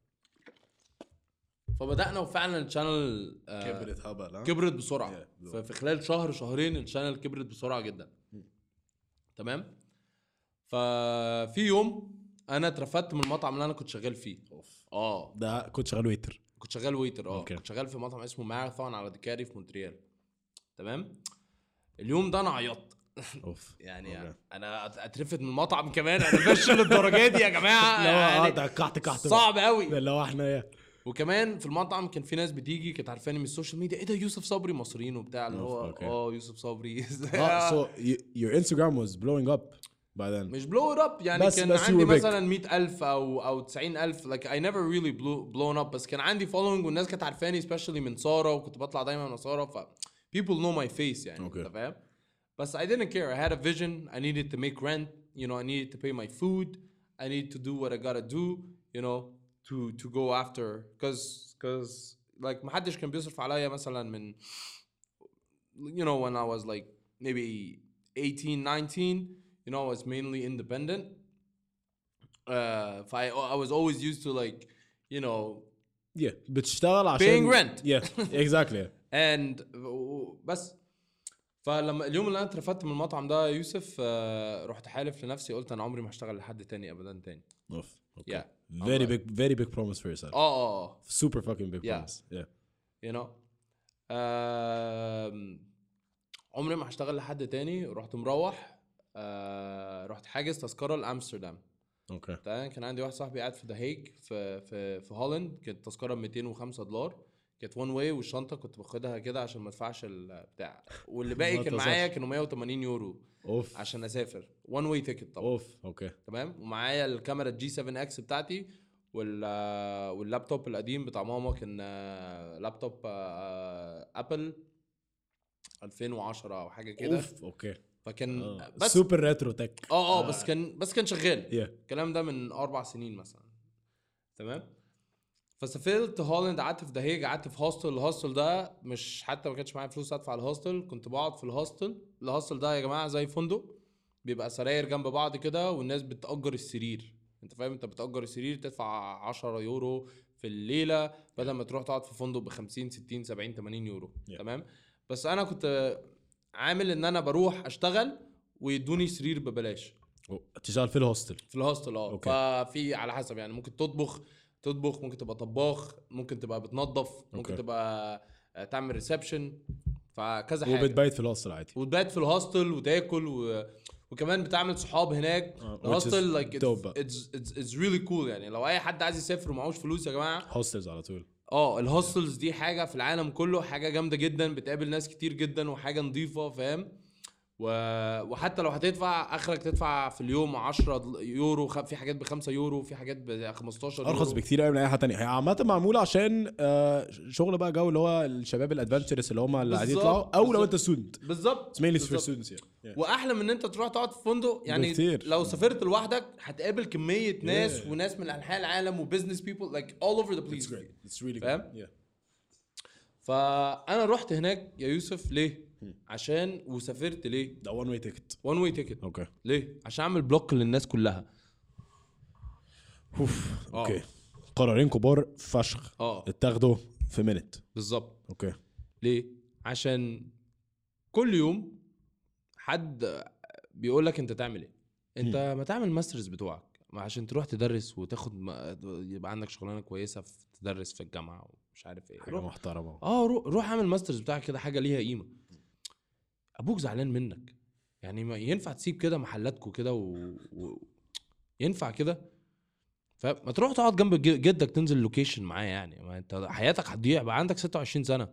فبدانا وفعلا الشانل كبرت هبل كبرت بسرعه Yeah. ففي خلال شهر شهرين الشانل كبرت بسرعه جدا تمام ففي يوم انا اترفدت من المطعم اللي انا كنت شغال فيه ده كنت شغال ويتر كنت شغال ويتر Okay. كنت شغال في مطعم اسمه ماراثون على ديكاري في مونتريال تمام اليوم ده انا عيطت اوف يعني Okay. انا اترفد من المطعم كمان انا فاشل للدرجه دي يا جماعه يعني ده كحت صعب قوي اللي هو احنا وكمان في المطعم كان في ناس بتيجي كانت عارفاني من السوشيال ميديا ايه ده يوسف صبري مصريين وبتاع اللي هو Okay. يوسف صبري so your Instagram was blowing up by then مش blow it up يعني بس كان you عندي were big. مثلا 100,000 او 90,000 like I never really blown up بس كان عندي following والناس كانت عارفاني especially من سارة وكنت بطلع دايما من سارة ف people know my face يعني Okay. انت فاهم بس I didn't care I had a vision I needed to make rent you know I needed to pay my food I needed to do what I gotta do you know to go after cause like محدش كان بيصرف عليا مثلا من you know when I was like maybe 18 19 you know I was mainly independent I was always used to like you know yeah بتشتغل عشان paying rent yeah exactly and بس فلما اليوم اللي انا اترفدت من المطعم ده يوسف رحت حالف لنفسي قلت انا عمري ما هشتغل لحد تاني ابدا تاني اوف okay. yeah very big promise for yourself super fucking big Yeah. promise yeah you know عمري ما هشتغل لحد تاني رحت مروح رحت حاجز تذكره لامستردام اوكي كان عندي واحد صاحبي قاعد في دهيج في هولند كانت تذكره $205 كانت وان واي والشنطه كنت باخدها كده عشان ما ادفعش البتاع واللي باقي كان معايا كانوا 180 يورو اوف عشان اسافر وان واي تيكت طبعا اوف اوكي تمام ومعايا الكاميرا الجي 7 اكس بتاعتي واللابتوب القديم بتاع ماما كان لابتوب ابل 2010 او حاجه كده اوف اوكي فكان بس سوبر ريترو تك بس كان شغال yeah الكلام ده من 4 سنين مثلا تمام فسافرت هولند قعدت في دهيج قعدت في هوستل الهوستل ده مش حتى ما كانش معايا فلوس ادفع الهوستل كنت بقعد في الهوستل ده يا جماعه زي فندق بيبقى سراير جنب بعض كده والناس بتأجر السرير انت فاهم انت بتأجر السرير تدفع 10 يورو في الليله بدل ما تروح تقعد في فندق ب 50 60 70 80 يورو Yeah. تمام بس انا كنت عامل ان انا بروح اشتغل ويدوني سرير ببلاش تشتغل في الهوستل الهوستل ففي على حسب يعني ممكن تطبخ ممكن تبقى طباخ ممكن تبقى بتنظف ممكن تبقى تعمل ريسبشن فكذا حاجه وبتبيت في الهوستل عادي وتبات في الهوستل وتاكل وكمان بتعمل صحاب هناك الهوستل like it's really cool يعني لو اي حد عايز يسافر ومعهوش فلوس يا جماعه هوستلز على طول الهوستلز دي حاجه في العالم كله حاجه جامده جدا بتقابل ناس كتير جدا وحاجه نظيفه فاهم وحتى لو هتدفع اخرك تدفع في اليوم 10 يورو، في حاجات ب5 يورو، في حاجات ب15 يورو. ارخص بكتير قوي من اي حاجه تانية. هي عامه معموله عشان شغل بقى جو اللي هو الشباب الادفنتشرس اللي هم اللي قاعدين يطلعوا، او لو انت ستودنت بالظبط mainly for students يعني. واحلى من ان انت تروح تقعد في فندق يعني بكتير. لو سافرت لوحدك هتقابل كميه ناس وناس من انحاء العالم وبزنس بيبل like all over the place. It's great. It's really فاهم؟ good. Yeah. فانا رحت هناك يا يوسف ليه؟ عشان وسافرت ليه؟ ده one way ticket. one way ticket. اوكي. ليه؟ عشان اعمل بلوك للناس كلها. اوكي. قرارين كبار فشخ اتاخدوا في منت. بالظبط. اوكي. ليه؟ عشان كل يوم حد بيقول لك انت تعمل ايه؟ انت ما تعمل ماسترز بتوعك عشان تروح تدرس وتاخد يبقى عندك شغلانه كويسه في تدرس في الجامعه ومش عارف ايه. حاجه محترمه. روح اعمل ماسترز بتاعك كده، حاجه ليها قيمه. ابوك زعلان منك يعني، ما ينفع تسيب كده محلاتكم كده ينفع كده؟ فما تروح تقعد جنب جدك تنزل لوكيشن معاه يعني، ما انت حياتك هتضيع بقى عندك 26 سنه.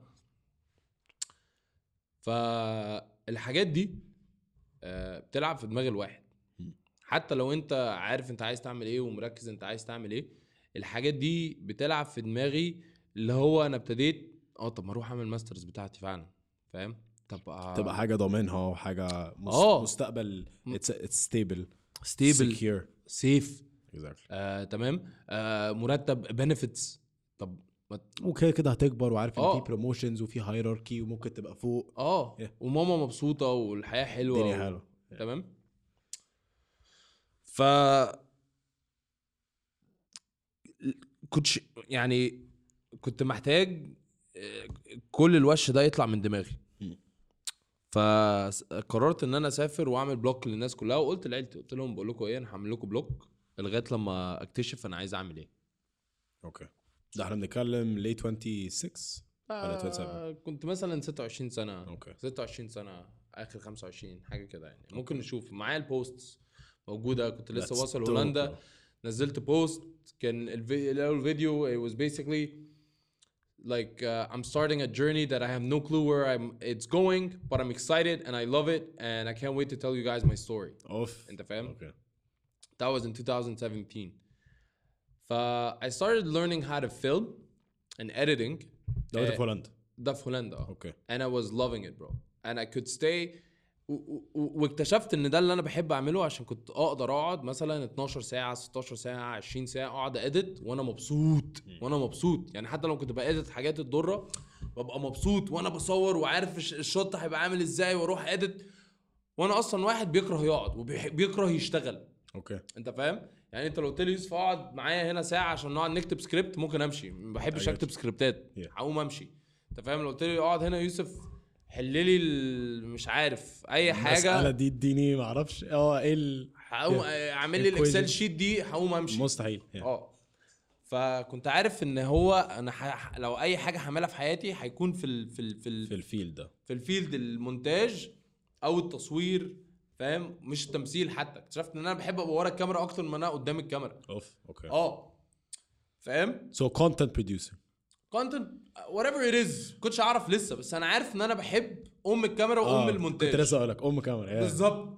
فالحاجات دي بتلعب في دماغ الواحد، حتى لو انت عارف انت عايز تعمل ايه ومركز انت عايز تعمل ايه. الحاجات دي بتلعب في دماغي اللي هو انا ابتديت طب ما اروح اعمل ماسترز بتاعتي فعلا. فاهم؟ تبقى حاجه ضامنها وحاجه مستقبل it's stable secure safe exactly. تمام. مرتب benefits. طب وكده كده هتكبر وعارف ان في بروموشنز وفي هيراركي وممكن تبقى فوق وماما مبسوطه والحياه حلوه الدنيا حلوه تمام. كنت محتاج كل الوش ده يطلع من دماغي. فقررت ان انا اسافر واعمل بلوك للناس كلها، وقلت لعيلتي قلت لهم بقول لكم ايه، انا هعمل لكم بلوك لغايه لما اكتشف انا عايز اعمل ايه. اوكي. ده احنا بنتكلم ليه 26 ولا 27؟ كنت مثلا 26 سنه. اوكي. 26 سنه اخر 25 حاجه كده يعني. ممكن نشوف معايا البوستس موجوده. كنت لسه واصل هولندا، نزلت بوست كان الاول فيديو it was basically like I'm starting a journey that I have no clue where it's going, but I'm excited and I love it and I can't wait to tell you guys my story. انت فاهم؟ Okay. That was in 2017. I started learning how to film and editing. ده في هولندا. ده في هولندا. Okay. And I was loving it bro. And I could stay واكتشفت ان ده اللي انا بحب اعمله، عشان كنت اقدر اقعد مثلا 12 ساعه 16 ساعه 20 ساعه اقعد اديت وانا مبسوط يعني. حتى لو كنت باديت حاجات الضره ببقى مبسوط وانا بصور وعارف الشوت هيبقى عامل ازاي واروح اديت. وانا اصلا واحد بيكره يقعد وبيكره يشتغل. اوكي. انت فاهم يعني؟ انت لو قلت لي يوسف اقعد معايا هنا ساعه عشان نقعد نكتب سكريبت ممكن امشي، ما بحبش اكتب سكريبتات هقوم امشي. انت فاهم؟ لو قلت لي اقعد هنا يوسف حللي مش عارف اي حاجه المساله دي اديني ما اعرفش ايه هقوم اعمل لي الاكسل شيت دي هقوم امشي مستحيل. فكنت عارف ان هو انا لو اي حاجه هعملها في حياتي هيكون في الفيلد ده، في الفيلد المونتاج او التصوير. فاهم؟ مش التمثيل. حتى اكتشفت ان انا بحب ابقى ورا الكاميرا اكتر من انا قدام الكاميرا. اوكي. فاهم؟ so content producer content whatever it is. كنتش اعرف لسه، بس انا عارف ان انا بحب الكاميرا المونتاج. كنت لسه اقولك كاميرا بالظبط.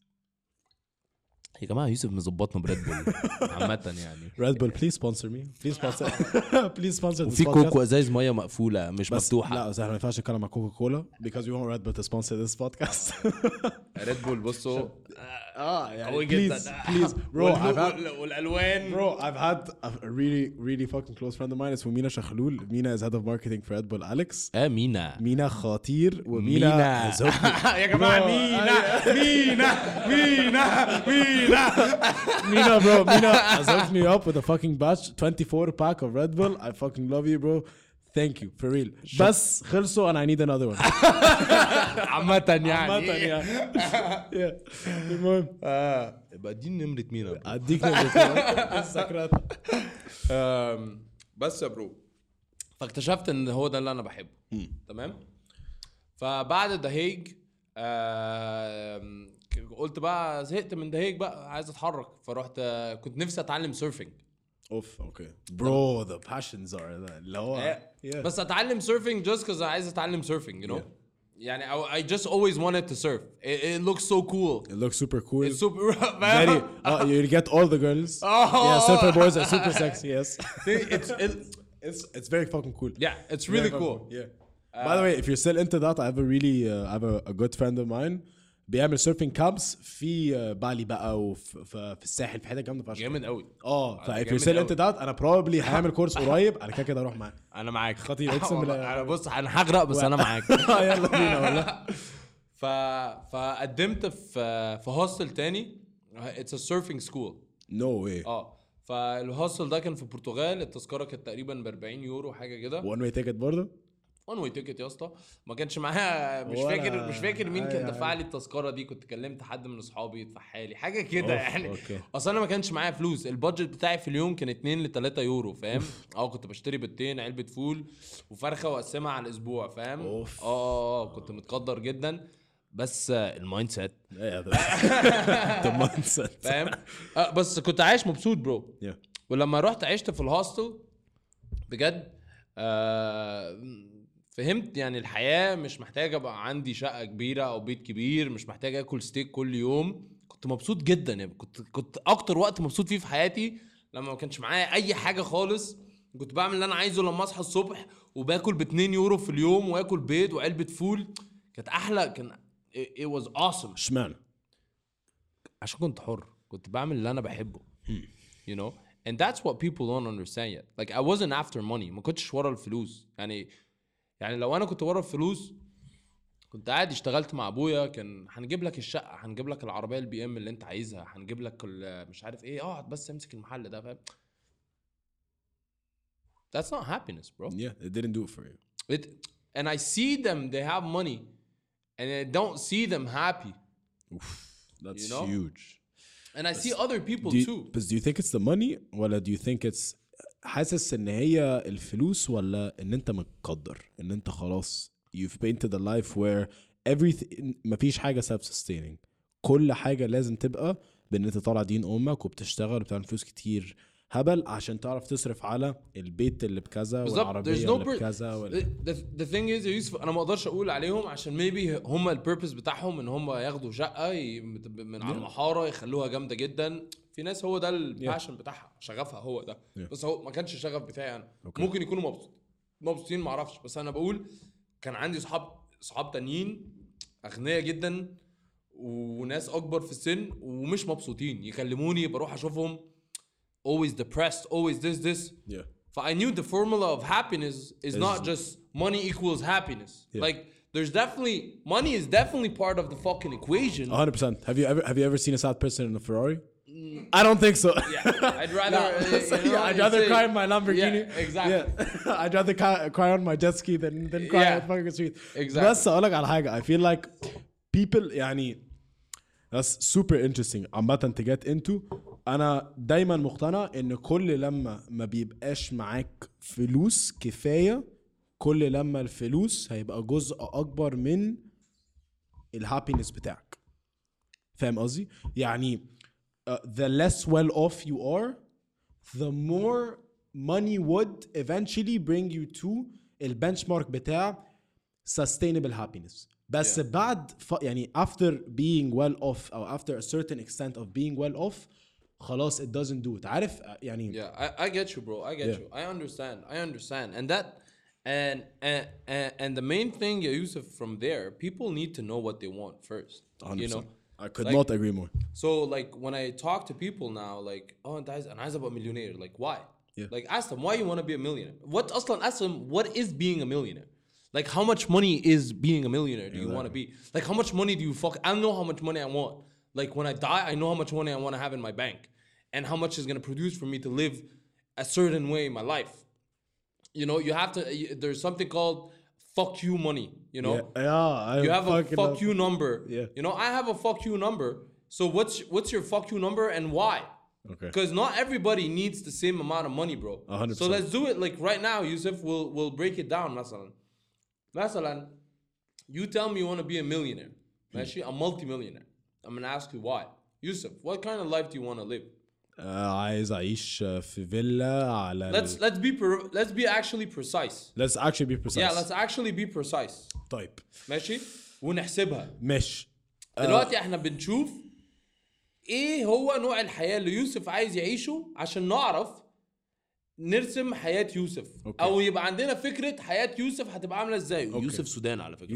يا جماعه يوسف مظبطنا بريد بول عامه يعني. ريد بول بليز سبونسر مي، بليز سبونسر. وفي كوكو ازايز ميه مقفوله مش مفتوحه. لا بس احنا ما ينفعش نتكلم مع كوكا كولا because we want Red Bull to sponsor this podcast. ريد بول بصوا يعني قوي جدا please bro. والالوان bro I've had a really fucking close friend of mine اسمه مينا شخلول. مينا is head of marketing for Red Bull. Alex مينا خطير. ومينا يا جماعه مينا bro. مينا has hooked me up with a fucking batch 24 pack of Red Bull. I fucking love you bro. Thank you for real. بس خلصوا and I need another one. عامة يعني. المهم يبقى دي نمرة مينا. اديك نمرة السكرات. بس يا برو فاكتشفت ان هو ده اللي انا بحبه. تمام. فبعد دهيج قلت بقى زهقت من دهيج بقى عايز اتحرك. فرحت كنت نفسي اتعلم سيرفينج. اوكي برو the passions are اللي هو بس اتعلم سيرفينج just cause عايز اتعلم سيرفينج you know. يعني I just always wanted to surf. It looks so cool. It looks super cool. It's super. Very. You get all the girls. Yeah, surfer boys are super sexy. Yes. It's very fucking cool. Yeah, it's really Very cool. fucking Yeah. By the way, if you're still into that, I have a really I have a good friend of mine بيعمل surfing camps في بالي بقى وفي الساحل في حته جامده فشخ. جامد قوي. if you're still into that انا probably هعمل كورس قريب انا كده اروح معاك. انا معاك خطير اقسم بالله. انا بص انا هغرق بس انا معاك. يلا بينا والله. فقدمت في هوستل تاني. It's a surfing school. No way. فالهوستل ده كان في البرتغال. التذكره كانت تقريبا ب 40 يورو حاجه كده. one way ticket برضه. وان واي تيكت يا اسطى. ما كانش معايا مش فاكر مين كان دفع لي التذكره دي. كنت كلمت حد من اصحابي يدفعها لي حاجه كده يعني. اصلا انا ما كانش معايا فلوس. البادجت بتاعي في اليوم كان 2 ل 3 يورو فاهم. كنت بشتري بيضتين علبه فول وفرخه واقسمها على الاسبوع فاهم. كنت متقدر جدا بس المايند سيت فاهم. بس كنت عايش مبسوط برو. ولما رحت عشت في الهوستل بجد فهمت يعني الحياة مش محتاج ابقى عندي شقة كبيرة او بيت كبير. مش محتاج اكل ستيك كل يوم. كنت مبسوط جدا يعني. كنت اكتر وقت مبسوط فيه في حياتي لما ما كانش معايا اي حاجة خالص. كنت بعمل اللي انا عايزه لما اصحى الصبح وباكل ب2 يورو في اليوم واكل بيض وعلبة فول. كانت احلى. كان it was awesome. اشمعنى؟ عشان كنت حر. كنت بعمل اللي انا بحبه. you know and that's what people don't understand yet. Like I wasn't after money. ما كنتش ورا الفلوس يعني لو انا كنت ورا الفلوس كنت قاعد اشتغلت مع ابويا. كان هنجيب لك الشقه هنجيب لك العربيه البي ام اللي انت عايزها هنجيب لك مش عارف ايه. اقعد بس امسك المحل ده فاهم. That's not happiness bro. Yeah, it didn't do it for you. And I see them they have money and I don't see them happy. Oof, that's you know? huge. And I see other people too. But do you think it's the money ولا do you think it's حاسس ان هي الفلوس ولا ان انت متقدر ان انت خلاص you've painted a life where everything مفيش حاجة self-sustaining. كل حاجة لازم تبقى بان انت طالع دين امك وبتشتغل وبتعمل فلوس كتير هبل عشان تعرف تصرف على البيت اللي بكذا والعربية اللي بكذا the thing is يوسف انا ما اقدرش اقول عليهم عشان maybe هم البيربس بتاعهم ان هم ياخدوا شقة من على المحارة يخلوها جامدة جدا. في ناس هو ده الباشن بتاعها شغفها هو ده. بس هو ما كانش الشغف بتاعي انا. ممكن يكونوا مبسوطين ما اعرفش. بس انا بقول كان عندي صحاب تانيين اغنياء جدا وناس اكبر في السن ومش مبسوطين يكلموني بروح اشوفهم always depressed always this. So I knew the formula of happiness is not just money equals happiness. Like there's definitely money is definitely part of the fucking equation. 100%. Have you ever seen a sad person in a Ferrari? I don't think so. Yeah, I'd rather I'd rather cry in my Lamborghini. Yeah, exactly. Yeah. I'd rather cry on my jet ski than cry on fucking street. Exactly. بس أقولك على حاجة. I feel like people يعني that's super interesting. عامة to get into. أنا دايما مقتنع إن كل لما ما بيبقاش معاك فلوس كفاية كل لما الفلوس هيبقى جزء أكبر من الهابينس بتاعك. فاهم قصدي؟ يعني the less well off you are, the more money would eventually bring you to the benchmark بتاع sustainable happiness. بس بعد يعني after being well off or after a certain extent of being well off خلاص it doesn't do it. عارف يعني I get you bro. I get you. I understand. And that and the main thing Yusuf from there people need to know what they want first. 100%. You know? I could not agree more. So like when I talk to people now like انت عايز ابقى millionaire like why? Like ask them why you want to be a millionaire. Ask them what is being a millionaire? Like how much money is being a millionaire do you want to be? Like how much money do you I know how much money I want. Like when I die I know how much money I want to have in my bank and how much is going to produce for me to live a certain way in my life. You know, you have to there's something called fuck you money, you know? Yeah, you have a fuck you number. Yeah. You know, I have a fuck you number. So what's your fuck you number and why? Okay. Because not everybody needs the same amount of money, bro. 100%. So let's do it like right now, Yusuf. We'll break it down. Masalan, you tell me you want to be a millionaire. Actually, a multi-millionaire. I'm gonna ask you why. Yusuf, what kind of life do you want to live? عايز اعيش في فيلا على let's be actually precise. let's actually be precise. Yeah, let's actually be precise. طيب ماشي ونحسبها. مش دلوقتي احنا بنشوف ايه هو نوع الحياة اللي يوسف عايز يعيشه عشان نعرف نرسم حياة يوسف. أوكي. او يبقى عندنا فكرة حياة يوسف هتبقى عاملة ازاي. يوسف سودان على فكرة.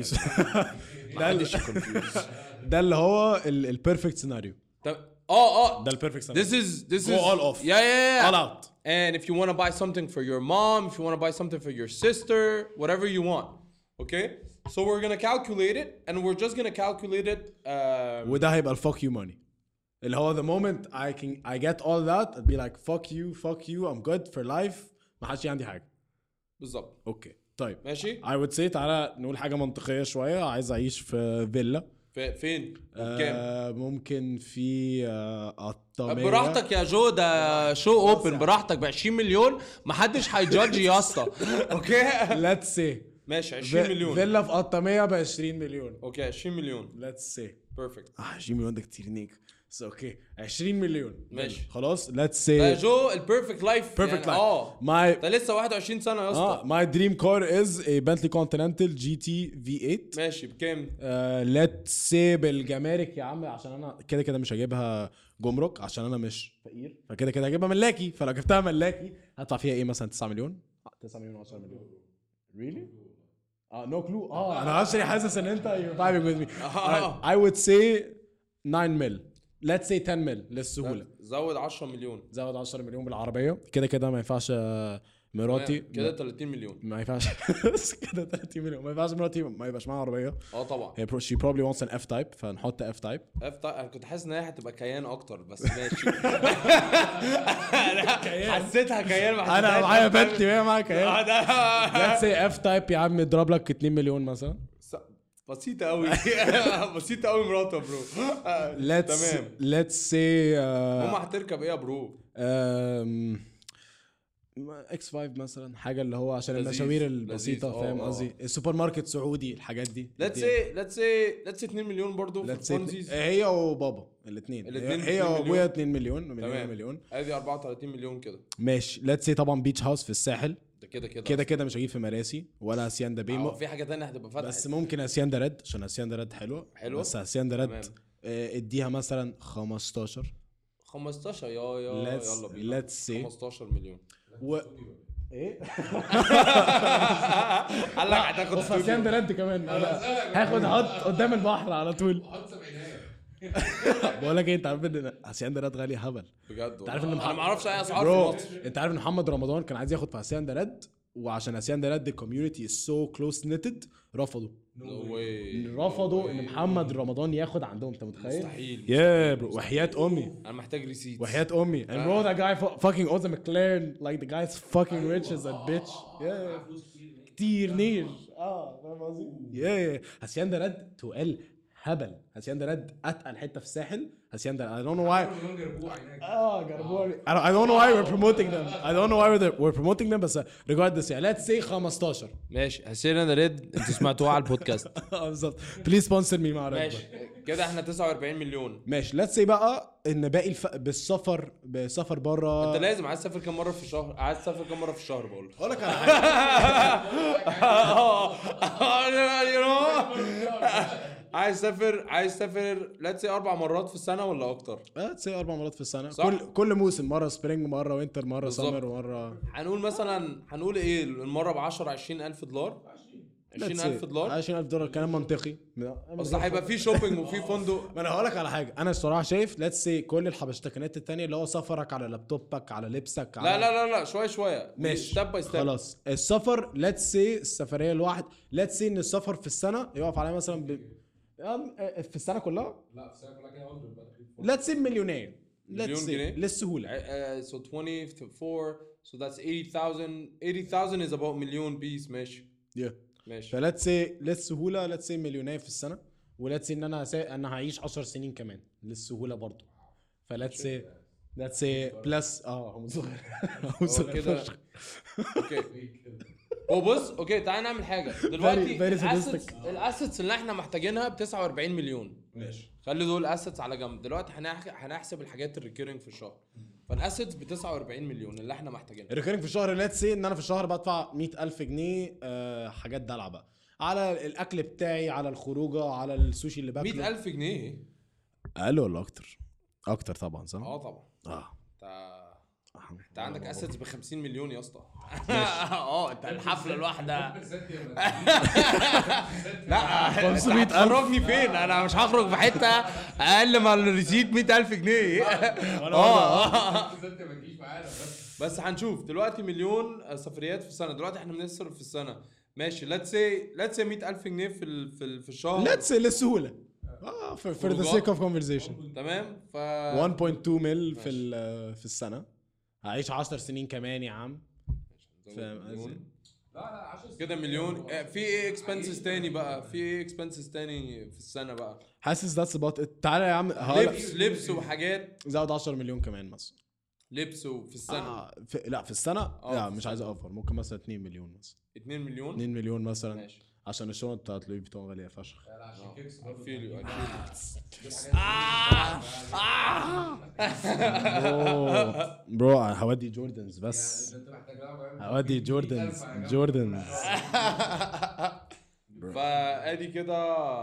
ده اللي هو البيرفكت سيناريو. ده البيرفكت سيناريو. This is go all off. Yeah. all out. And if you want to buy something for your mom, if you want to buy something for your sister, whatever you want. Okay? So we're going to calculate it and we're just going to calculate it وده هيبقى الفاك يو ماني اللي هو the moment I get all that I'd be like fuck you I'm good for life ما حدش عندي حاجة. بالظبط. اوكي طيب ماشي. I would say تعالى نقول حاجة منطقية شوية. عايز أعيش في فيلا. فين؟ كام؟ ممكن في الطامية. براحتك يا جو ده شو اوبن براحتك ب 20 مليون محدش هيجادج يا اسطى. اوكي let's say ماشي 20 مليون فيلا في الطامية ب 20 مليون. اوكي 20 مليون let's say بيرفكت. 20 مليون ده كتير نيك. اوكي 20 مليون ماشي خلاص let's say ده جو البيرفكت لايف. perfect life. ده لسه 21 سنه يا اسطى. my dream car is a Bentley Continental GT V8. ماشي بكام؟ let's say بالجمارك يا عم عشان انا كده مش هجيبها جمرك عشان انا مش فقير فكده هجيبها ملاكي. فلو جبتها ملاكي هدفع فيها ايه مثلا 9 مليون 9 مليون 10 مليون really no clue. انا actually حاسس ان انت you're vibing with me. I would say 9 مل. let's say 10 مل للسهوله. زود 10 مليون. زود 10 مليون بالعربيه كده ما ينفعش مراتي كده 30 مليون. ما ينفعش كده 30 مليون ما ينفعش مراتي ما يبقاش معاها عربيه. طبعا هي she probably wants an F type فنحط F type. انا كنت حاسس ان هي هتبقى كيان اكتر بس ماشي. حسيتها كيان. انا معايا بنتي وهي معاها كيان. let's say F type يا عم يضرب لك 2 مليون مثلا. بسيطة قوي. بسيطة قوي مراته برو. تمام let's say ماما هتركب ايه يا برو؟ X5 مثلا حاجة اللي هو عشان المشاوير البسيطة فاهم قصدي. السوبر ماركت سعودي الحاجات دي. let's say 2 مليون برضو في فونزيز. هي وبابا الاثنين هي وابويا 2 مليون ادي 34 مليون كده. ماشي let's say طبعا بيتش هاوس في الساحل. كده مش هجيب في مراسي ولا هاسياندا بيمو. في حاجه ثانيه هتبقى فتحت بس ممكن هاسياندا ريد عشان هاسياندا ريد حلوه بس هاسياندا ريد اديها مثلا 15 يلا بينا. let's say 15 مليون ايه قال لك هتاخد هاسياندا ريد كمان. هاخد هات قدام البحر على طول. بقول لك ايه انت عارف ان هاسياندا ريد غالي هبل بجد. انت عارف ان انا ما اعرفش اي اسعار في مصر. انت عارف ان محمد رمضان كان عايز ياخد في هاسياندا ريد وعشان هاسياندا ريد الكوميونتي از سو كلوز نيتد رفضوا ان محمد رمضان ياخد عندهم. انت متخيل؟ مستحيل يا برو وحياة امي انا محتاج ريسيت. وحياة امي and bro that guy fucking owns a McLaren like the guy's fucking rich as a bitch. كتير نير فاهم قصدي. هاسياندا ريد تقل هبل. هاسياندا ريد اتقل حته في الساحل. هاسياندا I don't know why جربوني. I don't know why we're promoting them. I don't know why we're promoting them بس regardless يعني let's say 15 ماشي. هاسياندا ريد انتوا سمعتوها على البودكاست. بالظبط please sponsor me مع ريد. ماشي كده احنا 49 مليون. ماشي let's say بقى ان باقي بسفر بره. انت لازم عايز تسافر كام مره في الشهر؟ عايز تسافر كام مره في الشهر؟ بقول اقول لك على حاجه. عايز تسافر let's say 4 مرات في السنه ولا اكتر؟ let's say 4 مرات في السنه. كل موسم مره سبرينج مره وينتر مره سمر ومره. هنقول ايه المره ب 10 20000 دولار. 20000 دولار 20000 دولار كلام منطقي. بس هيبقى في شوبينج وفي فندق. ما انا هقول لك على حاجه. انا الصراحه شايف let's say كل الحبشتكنات التانية اللي هو سفرك على لابتوبك على لبسك على لا شويه ماشي ستيب باي ستيب. خلاص السفر let's say السفريه الواحد let's say ان السفر في السنه يقف عليها مثلا في السنه كلها. لا في السنه كلها كده let's say مليون جنيه للسهوله. so 24 so that's 80,000 is about مليون بيس. ماشي ماشي. فلتس سي للسهوله let's say مليونير في السنه ولتس ان انا هعيش 10 سنين كمان للسهوله برضو. فلتس سي بلس هم صغير كده. اوكي بص اوكي تعال نعمل حاجه دلوقتي. الاسيتس اللي احنا محتاجينها ب 49 مليون. ماشي خلي دول اسيتس على جنب. دلوقتي هنحسب الحاجات الريكيرنج في الشهر. فالاسيتس ب 49 مليون اللي احنا محتاجينها. الريكيرنج في الشهر ليتس سي ان انا في الشهر بدفع 100,000 جنيه حاجات دلع بقى على الاكل بتاعي، على الخروجه، على السوشي اللي باكله. 100,000 جنيه اقل ولا اكتر؟ اكتر طبعا صح. طبعا. اه انت عندك اسيتس ب 50 مليون يا اسطى. انت الحفله الواحده لا 500,000 هتخرجني فين؟ انا مش هخرج في حته اقل ما الريسيت 100,000 جنيه. بس هنشوف دلوقتي مليون سفريات في السنه. دلوقتي احنا بنصرف في السنه ماشي let's say 100,000 جنيه في الشهر. ليتس للسهوله for the sake of conversation. تمام. 1.2 مل في السنه. هعيش 10 سنين كمان يا عم. فاهم قصدي؟ لا 10 كده مليون. في ايه اكسبنسز تاني بقى؟ في ايه اكسبنسز تاني في السنه بقى؟ حاسس ذاتس اباوت. تعالى يا عم لبس وحاجات. زود 10 مليون كمان مثلا لبس في السنه. لا في السنه لا مش عايز اوفر. ممكن مثلا 2 مليون مثلا. 2 مليون 2 مليون مثلا ماشي. عشان الشنط بتاعت لوي فيتون غاليه فشخ. برو هودي جوردنز بس. هودي جوردنز فادي كده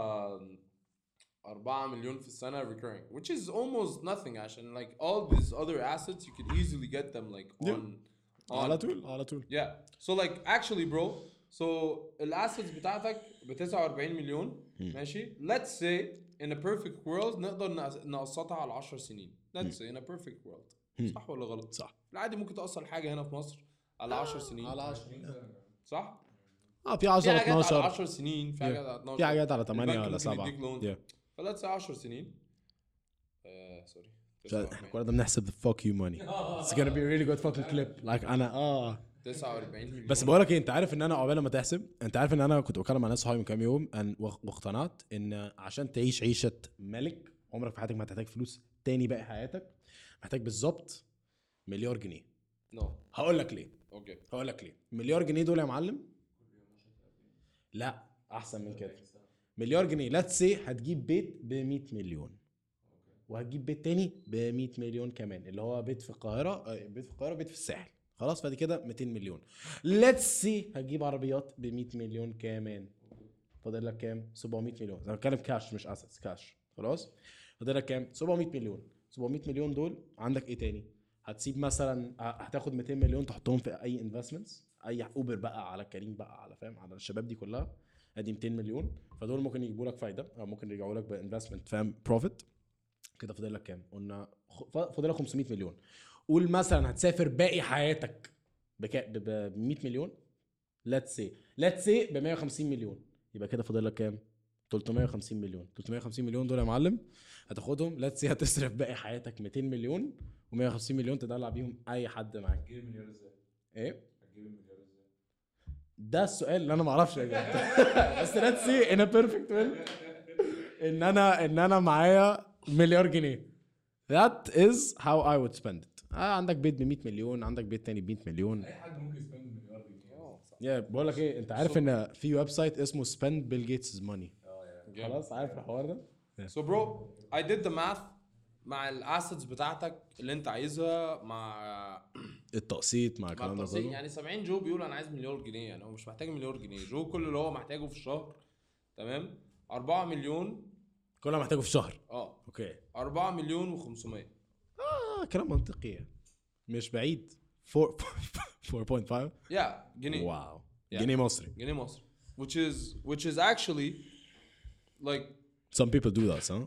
4 مليون في السنه recurring, which is almost nothing عشان like all these other assets you could easily get them like on على طول. yeah. So like actually bro, so الاسيتس بتاعتك ب 49 مليون ماشي. let's say in a perfect world نقدر نقسطها على 10 سنين. let's say in a perfect world. صح ولا غلط؟ صح. العادي ممكن تأصل حاجه هنا في مصر على 10 سنين. على 10 صح. في 10 في حاجات 12 على 10 سنين، في حاجات على 12، في حاجات على 8 ولا 7. فلاتس say 10 سنين. سوري احنا كنا بنحسب the fuck you money. It's gonna be a really good fucking clip. like انا 49 مليون. بس بقولك ايه، انت عارف ان انا عقبال ما تحسب، انت عارف ان انا كنت بكلم مع ناس صحابي من كام يوم واقتنعت ان عشان تعيش عيشه ملك عمرك في حياتك ما هتحتاج فلوس تاني باقي حياتك. محتاج بالظبط مليار جنيه. هقول لك ليه. هقول لك ليه. مليار جنيه دول يا معلم، لا احسن من كده. مليار جنيه ليتس سي هتجيب بيت ب 100 مليون وهتجيب بيت تاني ب 100 مليون كمان، اللي هو بيت في القاهره، بيت في الساحل. خلاص فدي كده 200 مليون. ليتس سي هتجيب عربيات ب 100 مليون كمان. فاضل لك كام؟ 700 مليون. انا بتكلم كاش مش اسيتس، كاش. خلاص فاضل لك كام؟ 700 مليون. 700 مليون دول عندك ايه تاني؟ هتسيب مثلا، هتاخد 200 مليون تحطهم في اي انفستمنتس، اي اوبر بقى، على كريم بقى، على فاهم، على الشباب دي كلها. ادي 200 مليون، فدول ممكن يجيبوا لك فايده او ممكن يرجعوا لك بانفستمنت، فاهم، بروفيت. كده فاضل لك كام؟ قلنا فاضل لك 500 مليون. قول مثلا هتسافر باقي حياتك ب 100 مليون. ليتس سي ب 150 مليون. يبقى كده فاضل لك كام؟ 350 مليون. 350 مليون دول يا معلم هتاخدهم. ليتس سي هتصرف باقي حياتك 200 مليون و150 مليون تدلع بيهم اي حد معاك. هتجيب المليار ازاي؟ ايه؟ هتجيب المليار ازاي؟ ده السؤال اللي انا ما اعرفش اجابته. بس ليتس سي ان ا بيرفكت ويل ان انا معايا مليار جنيه. That is how I would spend it. عندك بيت ب 100 مليون، عندك بيت تاني ب 100 مليون. اي حد ممكن يسبند مليار جنيه. يا بقول لك ايه، انت عارف ان في ويب سايت اسمه spend Bill Gates' money. خلاص عارف الحوار ده. So bro, I did the math مع الاسيتس بتاعتك اللي انت عايزها، مع التقسيط، مع الكلام ده كله. يعني 70 جو بيقول انا عايز مليار جنيه. يعني هو مش محتاج مليار جنيه. جو كل اللي هو محتاجه في الشهر، تمام، 4 مليون. كل ما محتاجه في شهر. اوكي 4 مليون و500. كلام منطقي مش بعيد. 4.5 جنيه. واو. جنيه مصري. جنيه مصري. which is actually like some people do that, huh?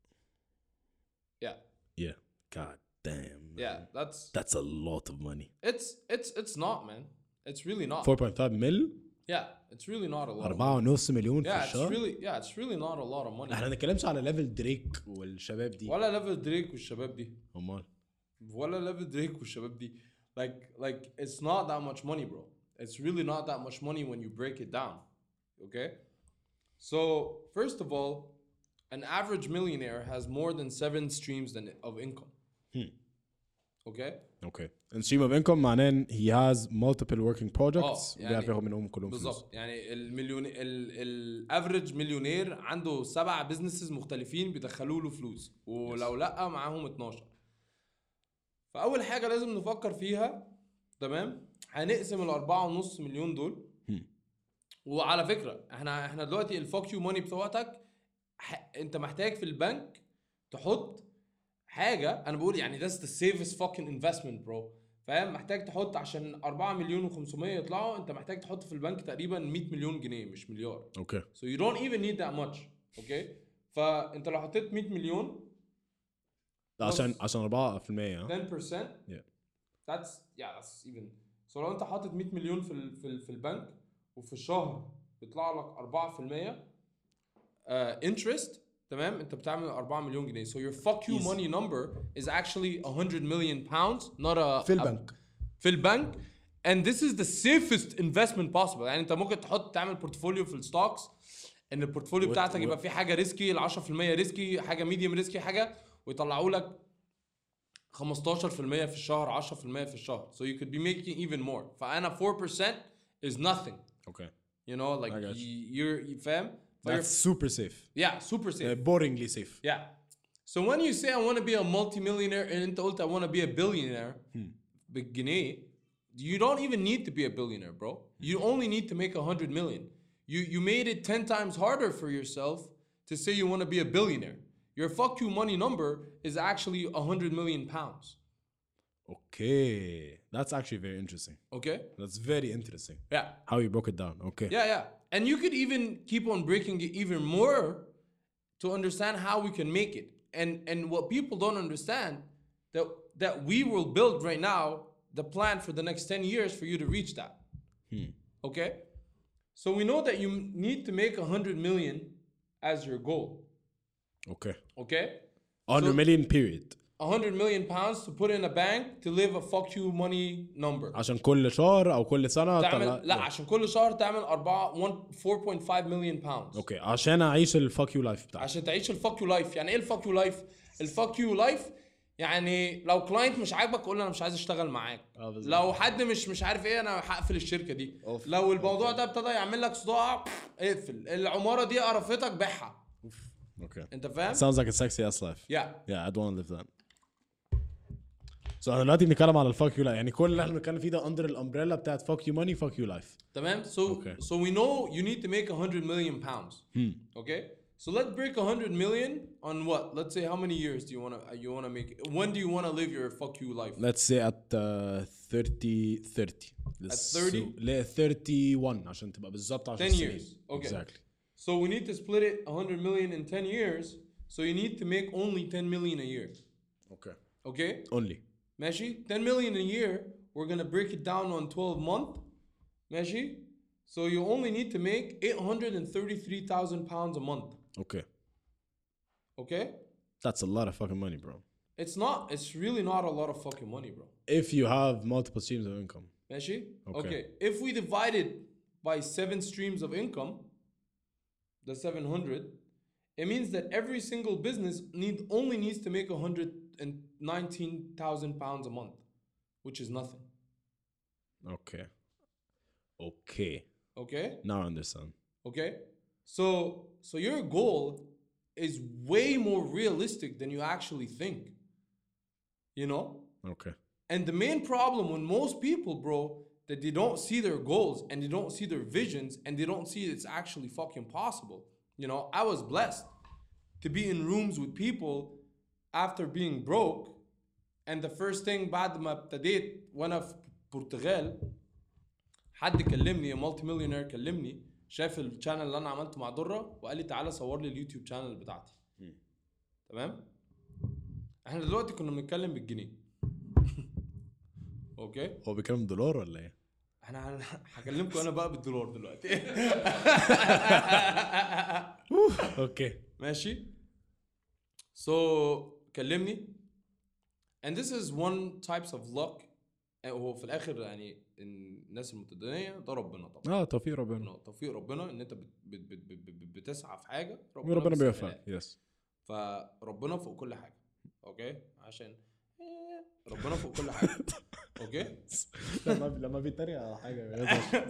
Yeah. God damn. Yeah, that's a lot of money. It's not, man. It's really not. 4.5 mil. Yeah, it's really not a lot. 4.5 مليون في الشهر. It's really not a lot of money. احنا ما بنتكلمش على ليفل دريك والشباب دي. ولا ليفل دريك والشباب دي. امال. ولا ليفل دريك والشباب دي. Like it's not that much money, bro. It's really not that much money when you break it down. Okay? So, first of all, an average millionaire has more than 7 streams of income. Okay? And stream of income معناه ان he has multiple working projects بيعرف ياخد منهم كلهم فلوس. بالظبط. يعني الافريج مليونير عنده 7 بزنسز مختلفين بيدخلوا له فلوس، ولو لا معاهم 12. فاول حاجه لازم نفكر فيها، تمام، هنقسم ال4.5 مليون دول. وعلى فكره احنا دلوقتي الفوك يو ماني بتوعتك انت محتاج في البنك تحط حاجه، انا بقول يعني that's the safest fucking investment bro، فاهم؟ محتاج تحط عشان 4 مليون و500 يطلعوا، انت محتاج تحط في البنك تقريبا 100 مليون جنيه مش مليار. اوكي so you don't even need that much. اوكي، فانت لو حطيت 100 مليون عشان 4% 10%، Yeah. that's even. so لو انت حاطط 100 مليون في البنك وفي الشهر بيطلع لك 4% interest، تمام، انت بتعمل 4 مليون جنيه. so your fuck you money number is actually 100 million pounds not a في البنك. في البنك. and this is the safest investment possible. يعني انت ممكن تعمل بورتفوليو في الستوكس، ان البورتفوليو بتاعتك يبقى فيه حاجه ريسكي، ال 10% ريسكي، حاجه ميديوم ريسكي، حاجه ويطلعوا لك 15% في الشهر، 10% في الشهر. so you could be making even more. فانا 4% is nothing. Okay. You know, like I got you فاهم؟ That's super safe. Yeah, super safe. Boringly safe. Yeah. So when you say I want to be a multi-millionaire and انت قلت I want to be a billionaire بالجنيه, you don't even need to be a billionaire, bro. You only need to make 100 million. You made it 10 times harder for yourself to say you want to be a billionaire. Your fuck you money number is actually 100 million pounds. Okay. That's actually very interesting. Okay? That's very interesting. Yeah. How you broke it down. Okay. Yeah. And you could even keep on breaking it even more to understand how we can make it. And what people don't understand, that we will build right now the plan for the next 10 years for you to reach that. Okay? So we know that you need to make 100 million as your goal. Okay. Okay? 100 million period. 100 million pounds to put in a bank to live a fuck you money number. عشان كل شهر او كل سنه تعمل لا عشان كل شهر تعمل 4.5 million pounds. اوكي عشان اعيش الفاك يو لايف بتاعي. عشان تعيش الفاك يو لايف. يعني ايه الفاك يو لايف؟ الفاك يو لايف يعني لو كلاينت مش عاجبك قول له انا مش عايز اشتغل معاك. لو حد مش عارف ايه انا هقفل الشركه دي. لو الموضوع ده ابتدى يعمل لك صداع اقفل. العماره دي قرفتك بيعها. اوكي. انت فاهم؟ Sounds like a sexy ass life. Yeah. I don't want to live that. So احنا دلوقتي بنتكلم على الفاك يو لايف، يعني كل اللي احنا بنتكلم فيه ده اندر الامبريلا بتاعت فاك يو ماني فاك يو لايف. تمام. So we know you need to make 100 million pounds. Okay? So let's break 100 million on what? Let's say how many years do you want to make it? When do you want to live your fuck you life? Let's say at 30. At 30? لا 31 عشان تبقى بالظبط 10 10 years. Okay. Exactly. So we need to split it 100 million in 10 years. So you need to make only 10 million a year. Okay. Okay? Only. ماشي؟ 10 million a year. We're going to break it down on 12 months. ماشي? So you only need to make 833,000 pounds a month. Okay. Okay? That's a lot of fucking money, bro. It's not. It's really not a lot of fucking money, bro. If you have multiple streams of income. ماشي؟ Okay. If we divide it by 7 streams of income, the 700, it means that every single business only needs to make 119,000 pounds a month, which is nothing. Okay. Okay? Now I understand. Okay? So your goal is way more realistic than you actually think. You know? Okay. And the main problem with most people, bro, that they don't see their goals and they don't see their visions and they don't see it's actually fucking possible. You know, I was blessed to be in rooms with people after being broke, and the first thing بعد ما ابتديت وانا في البرتغال حد كلمني مالتي مليونير كلمني شاف الشانل اللي انا عملته مع دره وقال لي تعالى صور لي اليوتيوب شانل بتاعتي. تمام؟ احنا دلوقتي كنا بنتكلم بالجنيه. اوكي؟ هو بيتكلم دولار ولا ايه؟ احنا هكلمكم انا بقى بالدولار دلوقتي. اوكي. ماشي؟ So كلمني and this is one types of luck. هو في الاخر يعني الناس المتدينيه ده ربنا طبعا. توفيق ربنا. توفيق ربنا ان انت بتسعى في حاجه ربنا بيوفقك. يس. فربنا فوق كل حاجه. اوكي؟ عشان ربنا فوق كل حاجه. اوكي لما بيتريق على حاجه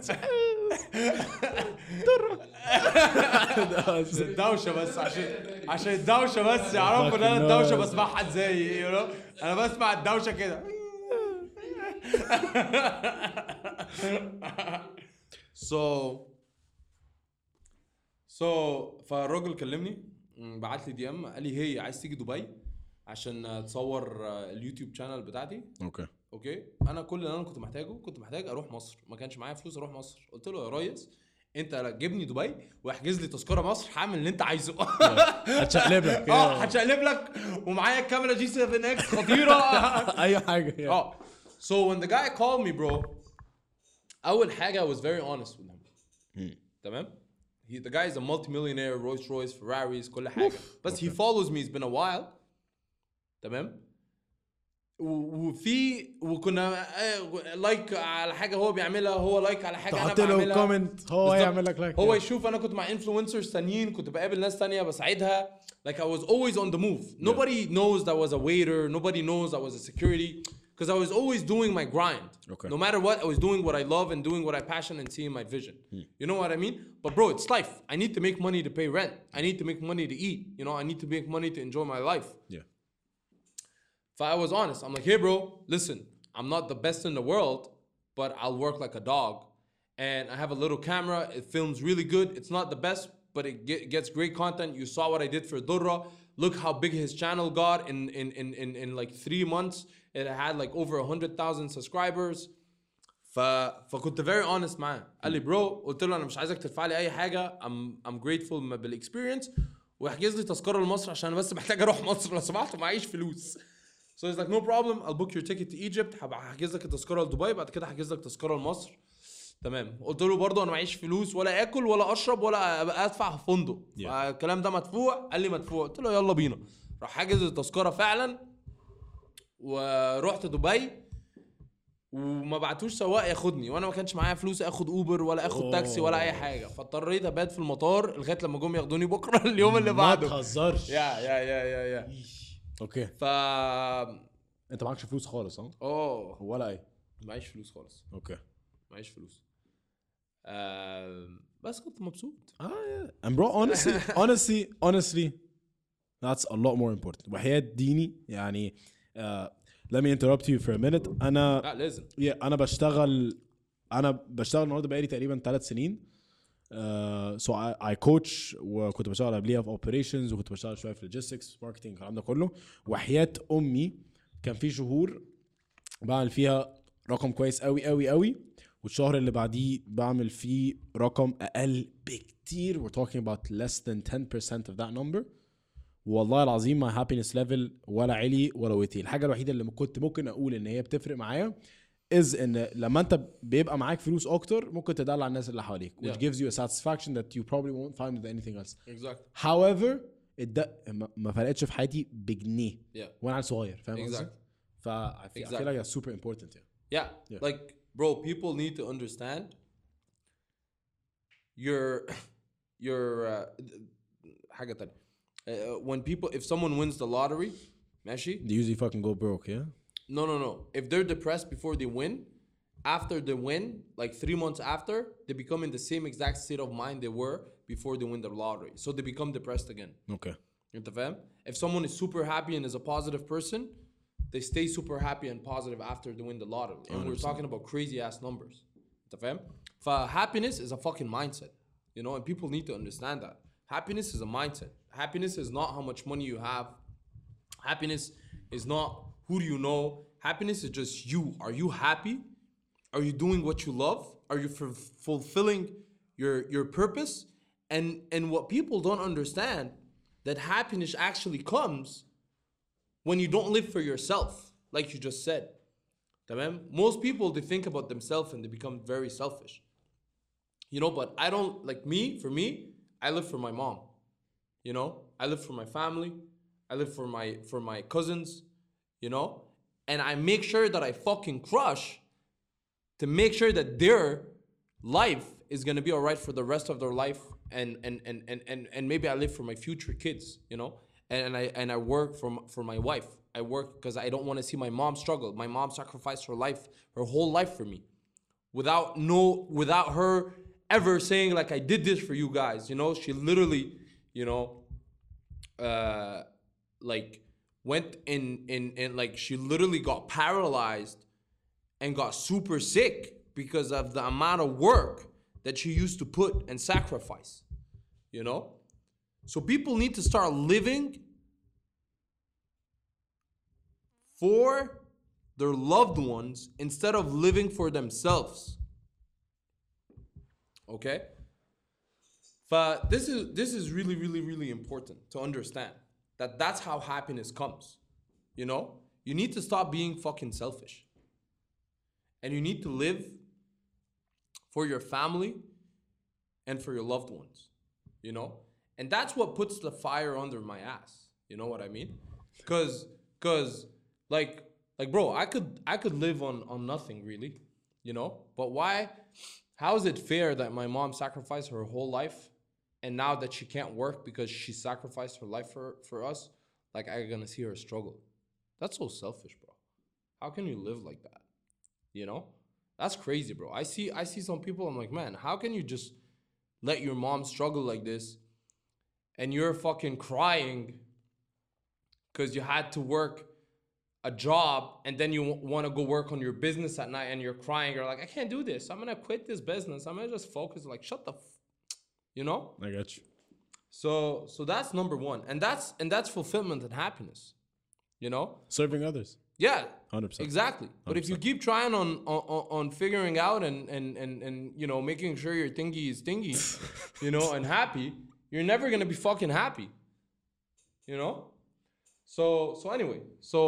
الدوشه بس عشان الدوشه بس يعرفوا ان انا الدوشه بسمعها ازاي انا بسمع الدوشه كده. فالراجل كلمني بعت لي DM قال لي هي عايز تيجي دبي عشان تصور اليوتيوب شانل بتاعتي. اوكي انا كل اللي انا كنت محتاج اروح مصر، ما كانش معايا فلوس اروح مصر. قلت له يا ريس انت جيبني دبي واحجز لي تذكره مصر، هعمل اللي انت عايزه. هتشقلب لك هتشقلب لك ومعايا الكاميرا G7X خطيره. اي حاجه. So when the guy called me bro, اول حاجه I was very honest with him. تمام. The guy is a multi-millionaire, Rolls Royce, Ferraris, كل حاجه. بس he follows me, it's been a while. تمام. وكنا لايك على حاجه هو بيعملها، هو لايك على حاجه انا بعملها، تحط له كومنت هو يعمل لك لايك. هو يشوف انا كنت مع انفلونسرز تانيين، كنت بقابل ناس تانية بساعدها. Like I was always on the move. Nobody knows that I was a waiter. Nobody knows I was a security. Because I was always doing my grind. No matter what, I was doing what I love and doing what I passion and seeing my vision. You know what I mean? But bro, it's life. I need to make money to pay rent. I need to make money to eat. You know, I need to make money to enjoy my life. Yeah. So I was honest. I'm like, hey bro, listen, I'm not the best in the world, but I'll work like a dog. And I have a little camera. It films really good. It's not the best, but it gets great content. You saw what I did for Durra. Look how big his channel got in like 3 months. It had like over 100,000 subscribers. فكنت very honest معاه. قال لي bro، قلت له انا مش عايزك تدفع لي اي حاجه. I'm grateful بالاكسبيرينس، واحجز لي تذكره لمصر عشان بس محتاج اروح مصر لو سمحت معيش فلوس. So he's like no problem, I'll book your ticket to Egypt. هحجز لك التذكره لدبي، بعد كده هحجز لك تذكره لمصر. تمام. قلت له برضه انا معيش فلوس ولا اكل ولا اشرب ولا ادفع في فندق. الكلام ده مدفوع. قال لي مدفوع. قلت له يلا بينا. راح حاجز التذكره فعلا ورحت دبي، وما بعتوش سواق ياخدني، وانا ما كانش معايا فلوس اخد اوبر ولا اخد تاكسي ولا اي حاجه. فاضطريت ابات في المطار لغايه لما جم ياخدوني بكره اليوم اللي بعده. ما تهزرش. يا اوكي. انت معكش فلوس خالص ولا اي؟ معيش فلوس خالص. اوكي. معيش فلوس. بس كنت مبسوط. And bro, honestly that's a lot more important. وحياة ديني يعني let me interrupt you for a minute. لا لازم. انا بشتغل النهارده بقالي تقريبا 3 سنين. So I coach، وكنت بشتغل قبليها في operations، وكنت بشتغل شويه في logistics marketing الكلام ده كله. وحياة امي كان في شهور بعمل فيها رقم كويس قوي قوي قوي، والشهر اللي بعديه بعمل فيه رقم اقل بكتير. We're talking about less than 10% of that number. والله العظيم my happiness level ولا علي ولا وطي. الحاجه الوحيده اللي كنت ممكن اقول ان هي بتفرق معايا is ان لما انت بيبقى معاك فلوس اكتر ممكن تدلع الناس اللي حواليك، which gives you a satisfaction that you probably won't find with anything else. Exactly. However ما فرقتش في حياتي بجنيه وانا عيل صغير، فاهم قصدي؟ I feel like that's super important. Yeah. Like bro, people need to understand your حاجه تانية. When if someone wins the lottery, ماشي, they usually fucking go broke. No. If they're depressed before they win, after they win, like 3 months after, they become in the same exact state of mind they were before they win the lottery. So they become depressed again. Okay. انت فاهم؟ If someone is super happy and is a positive person, they stay super happy and positive after they win the lottery. And we're talking about crazy ass numbers. انت فاهم؟ Happiness is a fucking mindset, you know, and people need to understand that. Happiness is a mindset. Happiness is not how much money you have. Happiness is not who do you know. Happiness is just you. Are you happy? Are you doing what you love? Are you fulfilling your purpose? And what people don't understand, that happiness actually comes when you don't live for yourself, like you just said. Tamam? Most people, they think about themselves and they become very selfish. You know, but I don't, like for me, I live for my mom. You know, I live for my family. I live for my cousins, you know, and I make sure that I fucking crush to make sure that their life is gonna be all right for the rest of their life, and maybe I live for my future kids, you know, and I work for my wife, I work because I don't want to see my mom struggle. My mom sacrificed her life, her whole life for me, without her ever saying like I did this for you guys. You know, she literally, you know, like went in like she literally got paralyzed and got super sick because of the amount of work that she used to put and sacrifice. You know, so people need to start living for their loved ones instead of living for themselves. Okay? But this is really, really, really important to understand that that's how happiness comes. You know? You need to stop being fucking selfish. And you need to live for your family and for your loved ones. You know? And that's what puts the fire under my ass. You know what I mean? Cause like bro, I could live on nothing really, you know? But why? How is it fair that my mom sacrificed her whole life and now that she can't work because she sacrificed her life for us, like I'm gonna see her struggle? That's so selfish, bro. How can you live like that? You know? That's crazy, bro. I see some people, I'm like, man, how can you just let your mom struggle like this and you're fucking crying because you had to work a job and then you want to go work on your business at night and you're crying, you're like, I can't do this, I'm gonna quit this business, I'm gonna just focus. Like, shut the you know? I got you. So that's number one, and that's fulfillment and happiness, you know? Serving others. Yeah, 100%. exactly. But if you keep trying on figuring out and you know, making sure your thingy is thingy, you know, and happy, you're never gonna be fucking happy, you know? So anyway, so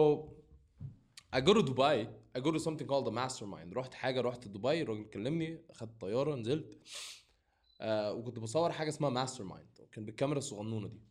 I go to Dubai. I go to something called the Mastermind. رحت دبي، الراجل كلمني، اخدت طياره، نزلت وكنت بصور حاجه اسمها ماستر مايند، كان بالكاميرا الصغنونه دي.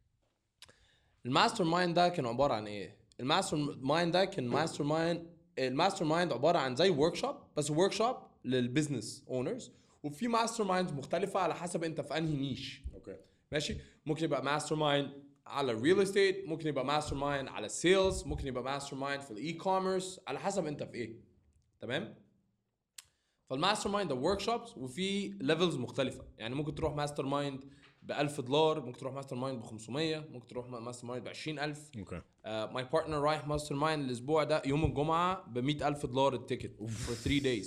الماستر مايند ده كان عباره عن ايه؟ الماستر مايند ده كان الماستر مايند عباره عن زي ورك شوب، بس ورك شوب للبزنس اونرز، وفي ماستر مايندز مختلفه على حسب انت في انهي نيش. اوكي ماشي. ممكن يبقى ماستر مايند على الريل استيت، ممكن يبقى ماستر مايند على السيلز، ممكن يبقى ماستر مايند في الاي كوميرس، على حسب انت في ايه. تمام. فالماستر مايند ده ورك شوبس وفي ليفلز مختلفه، يعني ممكن تروح ماستر مايند $1000، ممكن تروح ماستر مايند ب500، ممكن تروح ماستر مايند ب20000. اوكي. ماي بارتنر رايح ماستر مايند الاسبوع ده يوم الجمعه ب$100,000 التيكت for 3 days.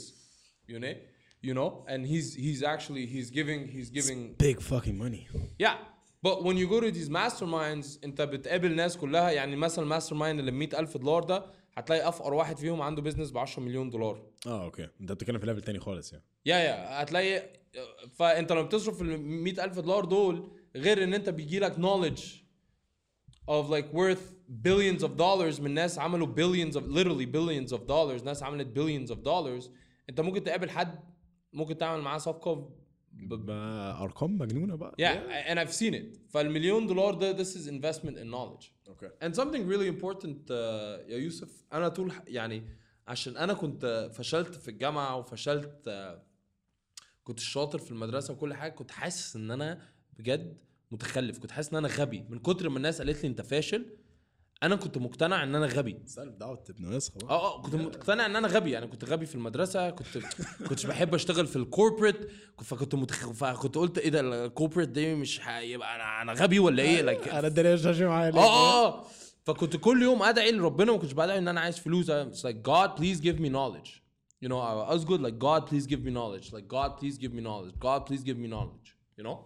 You know, and he's giving big fucking money. Yeah. But when you go to these masterminds انت بتقابل ناس كلها، يعني مثلا الماستر مايند اللي $100,000 ده هتلاقي افقر واحد فيهم عنده بيزنس ب$10 مليون. اوكي، انت بتتكلم في ليفل تاني خالص يعني. يا هتلاقي. فانت لما بتصرف $100,000 دول، غير ان انت بيجي لك knowledge of like worth billions of dollars من ناس عملوا literally billions of dollars، ناس عملت billions of dollars. انت ممكن تقابل حد ممكن تعمل معاه صفقه بأرقام مجنونة بقى. Yeah, and I've seen it. فالمليون دولار ده this is investment in knowledge. Okay. And something really important يا يوسف، أنا طول يعني عشان أنا كنت فشلت في الجامعة وفشلت كنت شاطر في المدرسة وكل حاجة، كنت حاسس إن أنا بجد متخلف، كنت حاسس إن أنا غبي من كتر ما الناس قالت لي أنت فاشل. انا كنت مقتنع ان انا غبي. سالب دعوه ابن نسخه. كنت مقتنع ان انا غبي. انا كنت غبي في المدرسه، كنتش بحب اشتغل في الكوربريت، فكنت قلت ايه ده الكوربريت دي مش يبقى انا غبي ولا ايه؟ انا الدنيا مش ماشيه معايا. فكنت كل يوم ادعي لربنا، ما كنتش بدعي ان انا عايز فلوس. It's like God please give me knowledge. You know, I was good like God please give me knowledge. Like God please give me knowledge. God please give me knowledge. You know.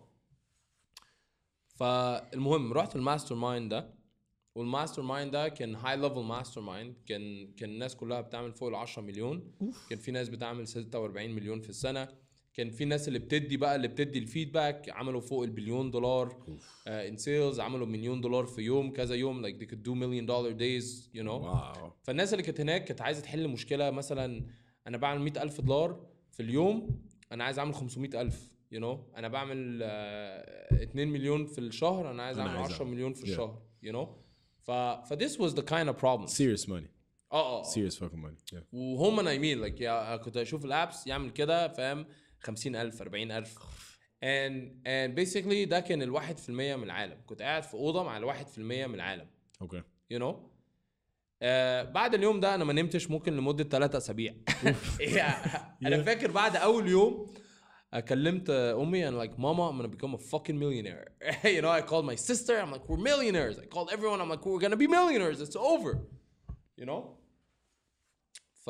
فالمهم رحت الماستر مايند ده، والماستر مايند ده كان هاي ليفل ماستر مايند، كان الناس كلها بتعمل فوق ال10 مليون. كان في ناس بتعمل 46 مليون في السنه. كان في ناس اللي بتدي الفيدباك عملوا فوق $1 بليون in sales، عملوا $1 مليون في يوم، كذا يوم like they could do $1 million days, you know. wow. فالناس اللي كانت هناك كانت عايزه تحل مشكله، مثلا انا بعمل $100,000 في اليوم، انا عايز اعمل 500,000. you know، انا بعمل 2 مليون في الشهر، انا عايز اعمل 10 مليون في الشهر. you know. this was the kind of problem. Serious money. Serious fucking money. Yeah. وهم نايمين like كنت اشوف الابس يعمل كده، فاهم، 50,000 40,000. and basically ده كان 1% من العالم. كنت قاعد في اوضه مع 1% من العالم. Okay. you know. بعد اليوم ده انا ما نمتش ممكن لمده 3 اسابيع. انا فاكر بعد اول يوم كلمت امي and like mama I'm gonna become a fucking millionaire. You know, I called my sister, I'm like we're millionaires. I called everyone, I'm like we're gonna be millionaires, it's over. You know. ف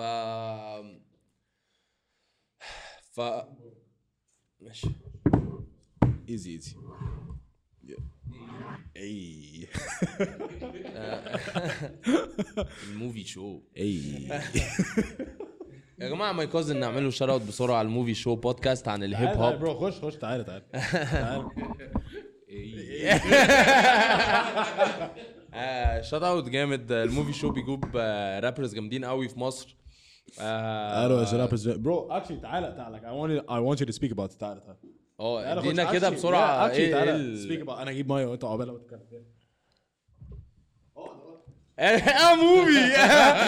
ماشي ايزي اي الموفي شو. اي يا جماعه ماي كوزن نعمله شات اوت بسرعه على الموفي شو بودكاست عن الهيب هوب. برو خش تعال شات اوت جامد. الموفي شو بيجوب رابرز جامدين قوي في مصر. برو اكشلي تعال I want you to speak about it. تعال ادينا كده بسرعه ايه speak about. انا اجيب ميه وانت عقبال ما تتكلم فيها. موفي.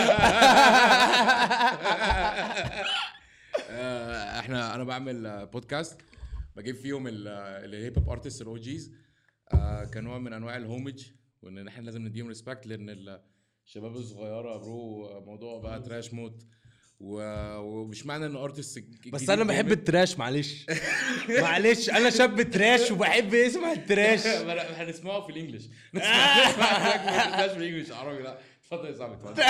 انا بعمل بودكاست بجيب فيهم الهيب هوب ارتست الاو جيز كنوع من انواع الهومج، وان احنا لازم نديهم ريسبكت لان الشباب الصغيره برو موضوع بقى تراش موت، ومش معنى ان ارتست بس انا بحب التراش. معلش انا شاب تراش وبحب اسمع التراش. هنسمعه في الانجليش. نسمعه في الانجليش عربي. لا اتفضل يا صاحبي.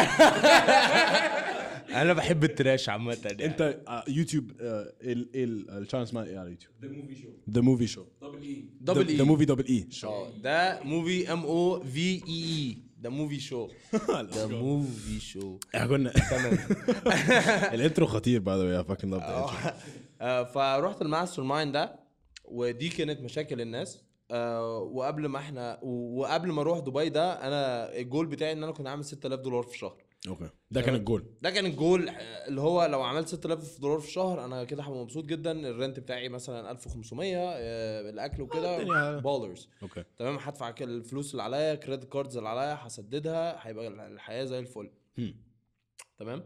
انا بحب التراش عامه. انت يوتيوب الشانل اسمها ايه على يوتيوب؟ ذا موفي شو دبل ذا موفي دبل اي ده موفي MOVE ده موفي شو. ده موفي شو. كنا الانترو خطير بعد يا فاكين لاف. فروحت الماستر مايند ده، ودي كانت مشاكل الناس. وقبل ما اروح دبي ده، انا الجول بتاعي ان انا كنت عامل $6000 في الشهر. اوكي ده كان الجول اللي هو لو عملت $6000 في الشهر انا كده هبقى مبسوط جدا. الرنت بتاعي مثلا 1500، الاكل وكده بالرز. اوكي تمام. هدفع الفلوس اللي عليا، كريدت كاردز اللي عليا هسددها، هيبقى الحياه زي الفل. تمام.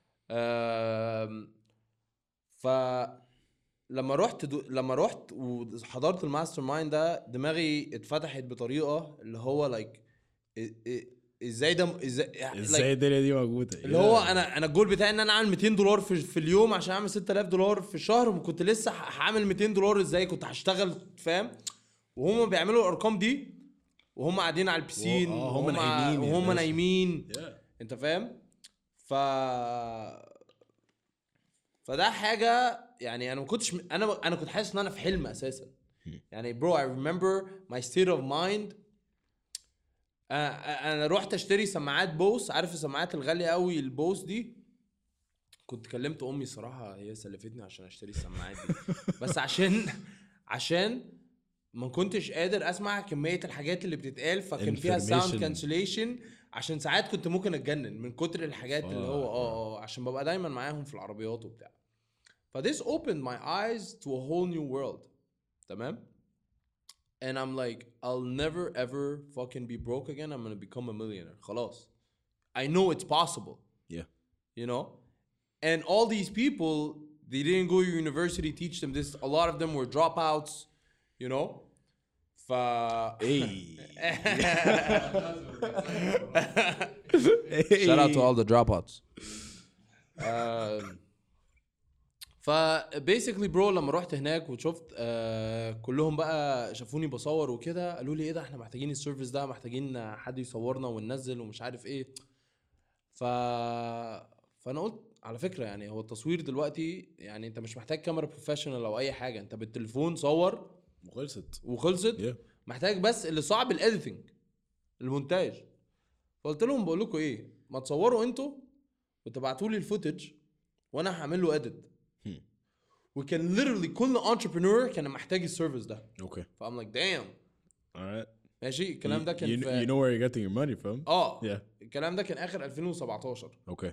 ف لما رحت وحضرت الماستر مايند ده، دماغي اتفتحت بطريقه اللي هو لايك ازاي الدنيا دي موجوده. اللي هو انا الجول بتاعي ان انا اعمل $200 في اليوم عشان اعمل $6000 في الشهر، وكنت لسه هعمل $200 ازاي كنت هشتغل، فاهم؟ وهم بيعملوا الارقام دي وهم قاعدين على البسين وهم نايمين. انت فاهم؟ فده حاجه يعني انا ما كنتش انا كنت حاسس ان انا في حلم اساسا. يعني برو I remember my state of mind. انا رحت اشتري سماعات بوس، عارف السماعات الغاليه قوي البوس دي. كنت كلمت امي صراحه، هي سلفتني عشان اشتري السماعات دي. بس عشان ما كنتش قادر اسمع كميه الحاجات اللي بتتقال، فكان فيها ساوند كانسليشن. عشان ساعات كنت ممكن اتجنن من كتر الحاجات اللي هو عشان ببقى دايما معاهم في العربيات وبتاع. this opened my eyes to a whole new world. تمام. And I'm like, I'll never ever fucking be broke again. I'm gonna become a millionaire. خلاص. I know it's possible. Yeah. You know? And all these people, they didn't go to university, teach them this. A lot of them were dropouts, you know? Shout out to all the dropouts. فبيسكلي برو لما رحت هناك وشفت كلهم بقى شافوني بصور وكده، قالوا لي ايه ده، احنا محتاجين السيرفيس ده، محتاجين حد يصورنا وننزل ومش عارف ايه. فانا قلت على فكره يعني هو التصوير دلوقتي يعني انت مش محتاج كاميرا بروفيشنال او اي حاجه، انت بالتليفون صور وخلصت. yeah. محتاج بس اللي صعب الاديتنج، المونتاج. فقلت لهم بقول لكم ايه، ما تصوروا انتوا وتبعتوا لي الفوتج وانا هعمل له اديت. وكان literally كل entrepreneur كان محتاج السيرفيس ده. اوكي. فام لايك دام. alright. ماشي. الكلام ده كان you know where you're getting your money from. yeah. الكلام ده كان اخر 2017. اوكي.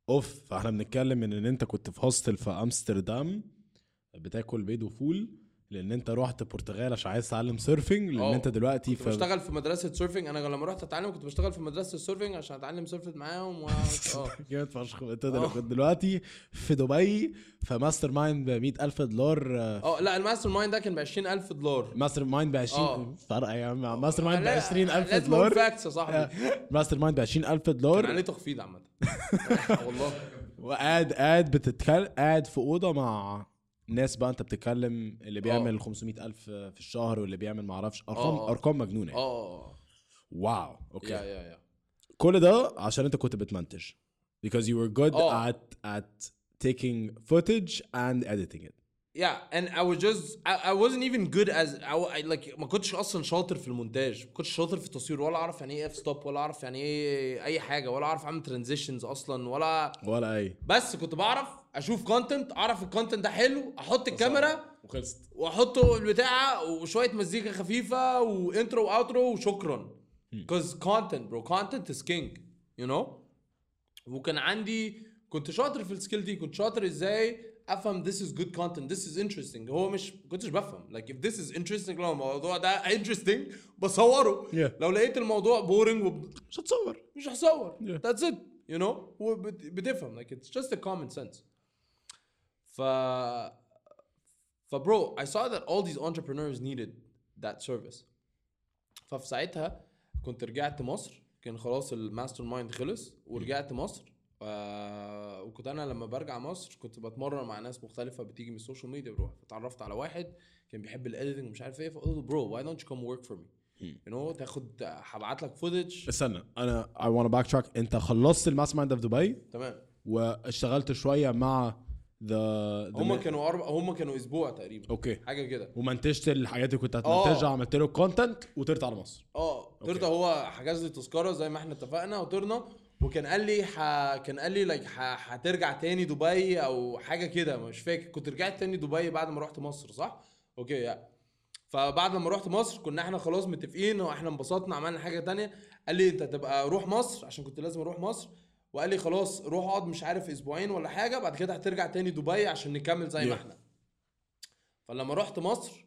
فاحنا بنتكلم ان انت كنت في هوستل في امستردام بتاكل بيض وفول لان انت رحت البرتغال عشان عايز تتعلم سيرفنج لان انت دلوقتي كنت بشتغل في مدرسه سيرفنج. انا لما رحت اتعلم كنت بشتغل في مدرسه السيرفنج عشان اتعلم سيرفنج معاهم جامد فشخ. انت دلوقتي في دبي فماستر مايند ب $100,000. لا الماستر مايند ده كان $20,000. ماستر مايند ب 20 فرق يا عم. ماستر مايند ب $20,000. فاكس يا صاحبي. ماستر مايند ب $20,000 كان عليه تخفيض عامه والله. وقاعد بتتكلم قاعد في اوضه مع ناس بقى انت بتتكلم اللي بيعمل 500,000 في الشهر واللي بيعمل معرفش ارقام مجنونه يعني. واو اوكي. يا كل ده عشان انت كنت بتمنتج because you were good at taking footage and editing it. Yeah, and I wasn't even good as I like ما كنتش اصلا شاطر في المونتاج. ما كنتش شاطر في التصوير ولا اعرف يعني ايه اف ستوب ولا اعرف يعني ايه اي حاجه ولا اعرف اعمل ترانزيشنز اصلا ولا اي. بس كنت بعرف اشوف كونتنت، اعرف الكونتنت ده حلو، احط الكاميرا وخلصت واحطه البتاع وشويه مزيكا خفيفه وانترو واوترو وشكرا. because content bro, content is king you know. وكان عندي كنت شاطر في السكيل دي. كنت شاطر ازاي افهم this is good content, this is interesting. هو مش كنتش بفهم like if this is interesting لو الموضوع ده interesting بصوره. لو لقيت الموضوع boring مش هصور. that's it you know. هو بتفهم like it's just a common sense. bro I saw that all these entrepreneurs needed that service. ففي ساعتها كنت رجعت مصر. كان خلاص الماستر مايند خلص ورجعت مصر. وكنت انا لما برجع مصر كنت بتمرن مع ناس مختلفه بتيجي من السوشيال ميديا. بروح اتعرفت على واحد كان بيحب الايديتنج ومش عارف ايه. فقلت له برو why don't you come work for me you know. تاخد هبعت لك فوتج. استنى انا I want to backtrack. انت خلصت الماستر مايند في دبي تمام واشتغلت شويه مع هم كانوا اسبوع تقريبا اوكي حاجه كده. ومنتجت الحاجات اللي كنت هتمنتجها عملت له كونتنت وطرت على مصر. طرت. هو حجز لي تذكره زي ما احنا اتفقنا وطرنا. وكان قال لي لايك هترجع تاني دبي او حاجه كده مش فاكر. كنت رجعت تاني دبي بعد ما رحت مصر صح اوكي يعني. فبعد لما رحت مصر كنا احنا خلاص متفقين واحنا انبسطنا عملنا حاجه تانية. قال لي انت تبقى روح مصر عشان كنت لازم اروح مصر. وقال لي خلاص روح اقعد مش عارف اسبوعين ولا حاجه بعد كده هترجع تاني دبي عشان نكمل زي ما احنا. فلما رحت مصر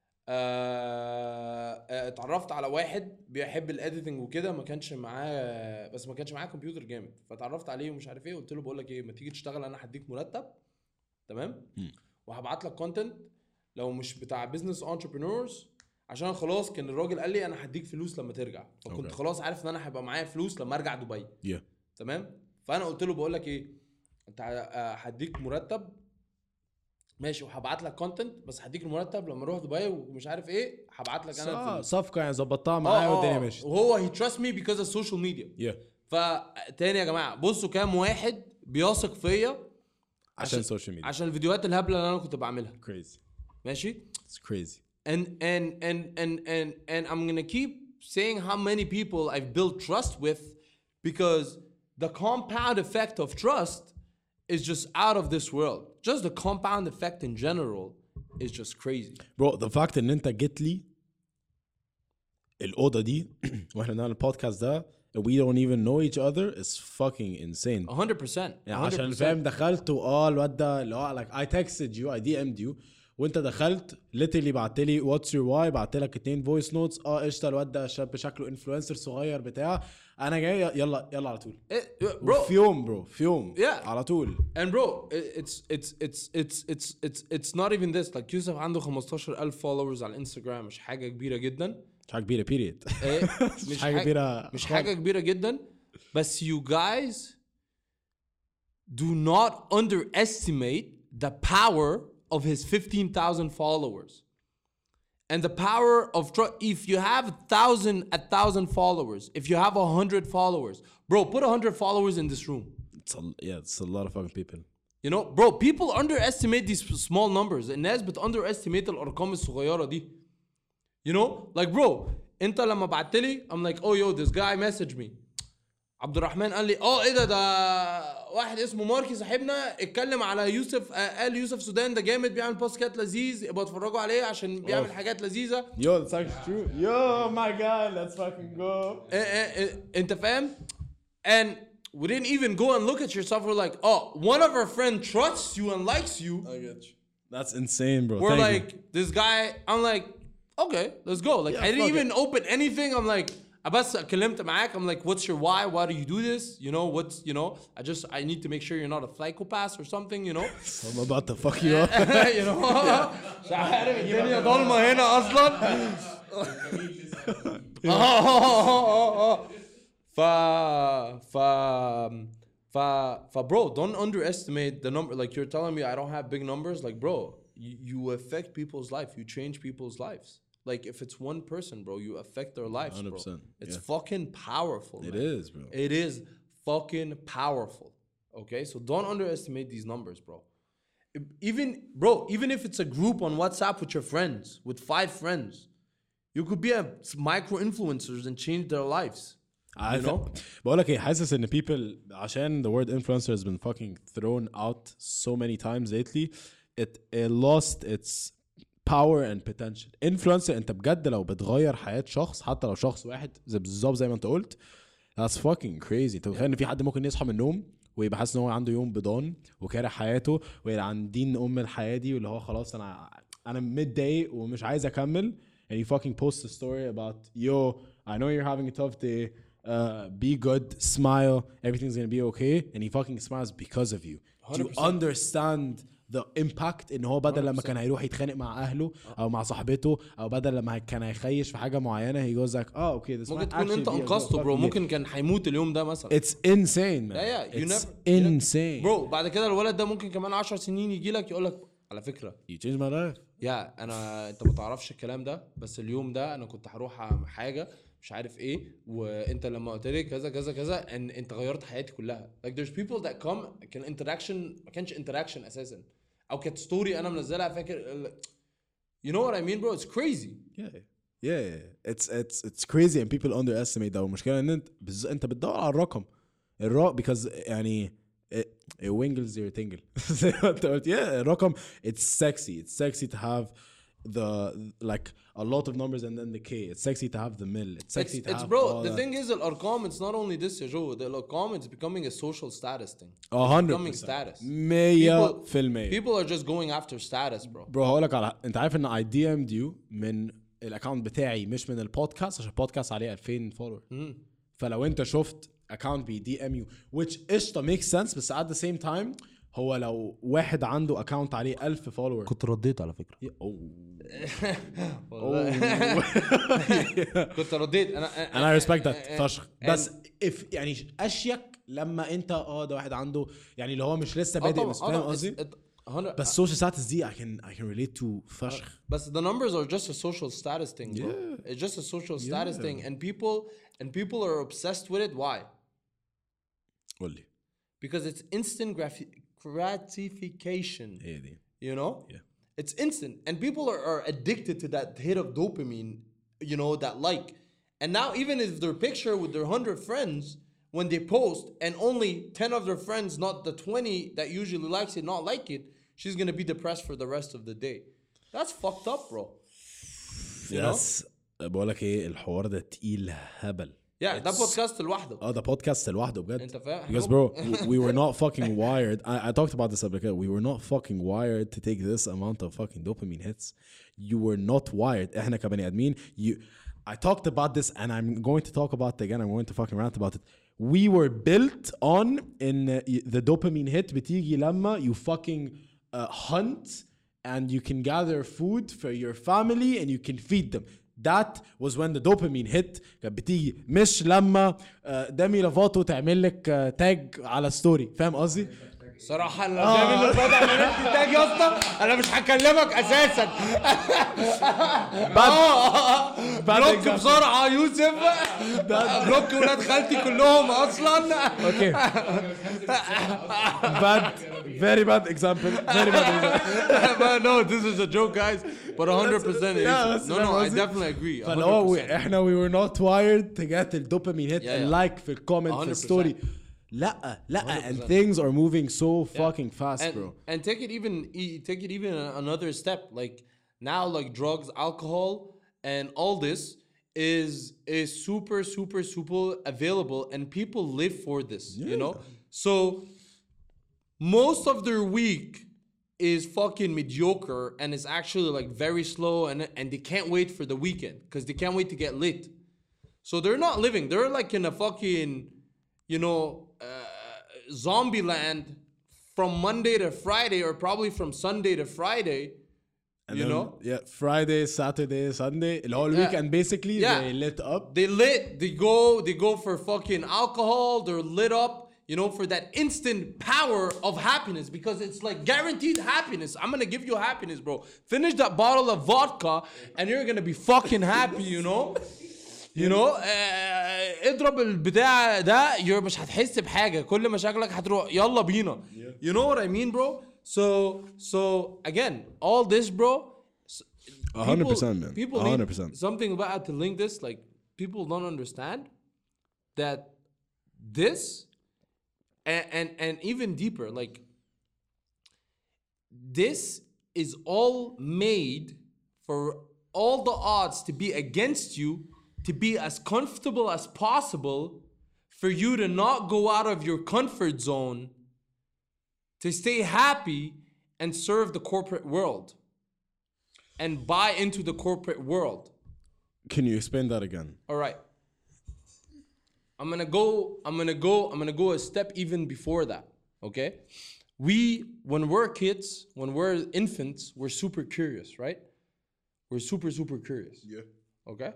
اتعرفت على واحد بيحب الاديتنج وكده. ما كانش معاه كمبيوتر جامد. فتعرفت عليه ومش عارف ايه. قلت له بقول لك ايه ما تيجي تشتغل انا هديك مرتب تمام وهبعت لك كونتنت لو مش بتاع بيزنس انتربرينورز عشان خلاص كان الراجل قال لي انا هديك فلوس لما ترجع. فكنت خلاص عارف ان انا هيبقى معايا فلوس لما ارجع دبي تمام. فانا قلت له بقول لك ايه انت هديك مرتب ماشي وهبعت لك كونتنت بس هديك المرتب لما اروح دبي ومش عارف ايه هبعت لك انا صفقه يعني ظبطتها معايا والدنيا ماشيه. وهو he trust me because of social media. فتاني يا جماعه بصوا كام واحد بيثق فيا عشان السوشيال ميديا عشان الفيديوهات الهبله اللي انا كنت بعملها. crazy ماشي it's crazy and I'm gonna keep saying how many people I've built trust with because the compound effect of trust is just out of this world. Just the compound effect in general is just crazy. Bro, the fact ان انت جيت لي الأوضة دي واحنا بنعمل البودكاست ده we don't even know each other is fucking insane. 100%. يعني عشان فاهم دخلت الواد ده اللي هو like I texted you I DM'd you وانت دخلت literally بعت لي what's your why بعت لك 2 voice notes قشطه الواد ده شاب شكله انفلونسر صغير بتاع انا جاي يلا على طول bro في يوم على طول. and bro it's not even this like يوسف عنده 15,000 followers على الانستغرام. مش حاجه كبيره جدا. مش حاجه كبيره period. مش حاجه كبيره جدا بس you guys do not underestimate the power of his 15,000 followers and the power of if you have 1,000 followers, if you have 100 followers, bro, put 100 followers in this room. It's a lot of fucking people. You know, bro, people underestimate these small numbers. الناس underestimate الارقام الصغيره دي. You know, like bro, انت لما بعت لي I'm like oh yo this guy messaged me. عبد الرحمن قال لي ايه ده واحد اسمه ماركي صاحبنا اتكلم على يوسف. قال يوسف سودان ده جامد بيعمل بودكاست لذيذ ابقوا اتفرجوا عليه عشان بيعمل حاجات لذيذه. Yo, that's actually true. Yo, my God, let's fucking go. انت فاهم؟ And we didn't even go and look at yourself. We're like, oh, one of our friends trusts you and likes you. I get you. That's insane, bro. We're Thank you. like, this guy, I'm like, okay, let's go. Like, I didn't fuck even open anything. I'm like, بس كلمت معاك. I'm like, what's your why? Why do you do this? You know, I need to make sure you're not a psychopath or something, you know? I'm about to fuck you up. you know? مش عارف الدنيا ضلمة هنا أصلا. Bro, don't underestimate the number. Like, you're telling me I don't have big numbers. Like, bro, you affect people's life. You change people's lives. Like, if it's one person, bro, you affect their lives, bro. 100%, It's yeah. fucking powerful. It man. is, bro. It is fucking powerful. Okay, so don't underestimate these numbers, bro. Even if it's a group on WhatsApp with your friends, with 5 friends, you could be a micro influencers and change their lives. I You know? بقول لك ايه حاسس ان people عشان the word influencer has been fucking thrown out so many times lately it lost its power and potential. Influencer انت بجد لو بتغير حياة شخص حتى لو شخص واحد بالظبط زي ما انت قلت that's fucking crazy. انت متخيل ان في حد ممكن يصحى من النوم ويبقى حاسس ان هو عنده يوم بضان وكاره حياته ويبقى عن دين الحياة دي واللي هو خلاص انا متضايق ومش عايز اكمل and you fucking post a story about yo I know you're having a tough day be good smile everything's gonna be okay and he fucking smiles because of you. Do you 100%. understand the impact ان هو بدل لما كان هيروح يتخانق مع اهله او مع صاحبته او بدل لما كان هيخيش في حاجه معينه he goes like oh okay this ممكن might تكون انت actually be a انقذته good برو. fucking ممكن كان هيموت اليوم ده مثلا. it's insane man. Yeah, you it's never- insane برو بعد كده الولد ده ممكن كمان 10 سنين يجي لك يقول لك على فكره you changed my life. انت ما تعرفش الكلام ده بس اليوم ده انا كنت هروح اعمل حاجه مش عارف ايه وانت لما قلت لي كذا كذا كذا انت غيرت حياتي كلها. Like there's people that come كان interaction ما كانش interaction اساسا او كانت ستوري انا منزلها فاكر. You know what I mean bro? It's crazy. yeah it's crazy and people underestimate ده. والمشكله ان انت بتدور على الرقم because يعني it wingles your tingle زي ما انت قلت. yeah الرقم it's sexy to have the like a lot of numbers and then the K. It's sexy to have the mill. It's sexy to It's have bro all the that. thing is الارقام it's not only this يا جو. The الارقام it's becoming a social status thing. 100% becoming status. 100%. People are just going after status bro. برو هقولك على انت عارف ان I DM'd you من الاكونت بتاعي مش من البودكاست عشان البودكاست عليه 2000 فولور. فلو انت شفت اكونت بي دي ام يو which قشطه makes sense بس at the same time هو لو واحد عنده اكونت عليه 1000 فولور كنت رديت على فكره. كنت رديت انا respect that فشخ بس if يعني اشيك لما انت ده واحد عنده يعني اللي هو مش لسه بادئ بس فاهم قصدي بس social status دي I can relate to فشخ. But the numbers are just a social status thing, bro. It's just a social status thing, and people are obsessed with it. Why? قول لي Because it's instant gratification. هي دي. You know? Yeah. It's instant, and people are addicted to that hit of dopamine. You know, that like, and now even if their picture with their 100 friends, when they post, and only 10 of their friends, not the 20 that usually likes it, not like it, she's gonna be depressed for the rest of the day. That's fucked up, bro. You know? بقول لك ايه الحوار ده تقيل هبل. Yeah, ده بودكاست لوحده. ده بودكاست لوحده بجد. انت فاهم؟ Because bro, we were not fucking wired. I talked about this قبل. We were not fucking wired to take this amount of fucking dopamine hits. You were not wired. احنا كبني ادمين. I talked about this and I'm going to talk about it again. I'm going to fucking rant about it. We were built on in the dopamine hit بتيجي لما you fucking hunt and you can gather food for your family and you can feed them. That was when the dopamine hit. كانت بتيجي مش لما دامي لافاتو تعمل لك تاج على ستوري. فاهم قصدي؟ صراحة لو دامي لافاتو عملت تاج يا اسطى انا مش هكلمك اساسا. بلوك بسرعة يوسف. بلوك ولاد خالتي كلهم اصلا. Okay. Very bad example. Very bad example. No, this is a joke, guys. But 100% is. No, I definitely agree. فلو احنا we were not wired to get the dopamine hit and like في الكومنت في الستوري. لا and things are moving so fucking fast, bro. And take it even another step. Like now, like drugs, alcohol, and all this is super available, and people live for this. You know, so most of their week is fucking mediocre and is actually like very slow and they can't wait for the weekend because they can't wait to get lit. So they're not living. They're like in a fucking, zombie land from Monday to Friday or probably from Sunday to Friday. And You then, know? Yeah, Friday, Saturday, Sunday, the whole Yeah. weekend basically Yeah. they lit up. They lit. They go for fucking alcohol. They're lit up, for that instant power of happiness because it's like guaranteed happiness. I'm gonna give you happiness, bro. Finish that bottle of vodka and you're gonna be fucking happy, اضرب البتاع ده مش هتحس بحاجة. كل مشاكلك هتروح يلا بينا. You know what I mean, bro? So again, all this, bro. 100%, man. People 100%. need something about to link this. Like people don't understand that this and even deeper. Like this is all made for all the odds to be against you, to be as comfortable as possible, for you to not go out of your comfort zone, to stay happy and serve the corporate world and buy into the corporate world. Can you explain that again? All right. I'm gonna go a step even before that. Okay? When we're kids, when we're infants, we're super curious, right? We're super, super curious. Yeah. Okay?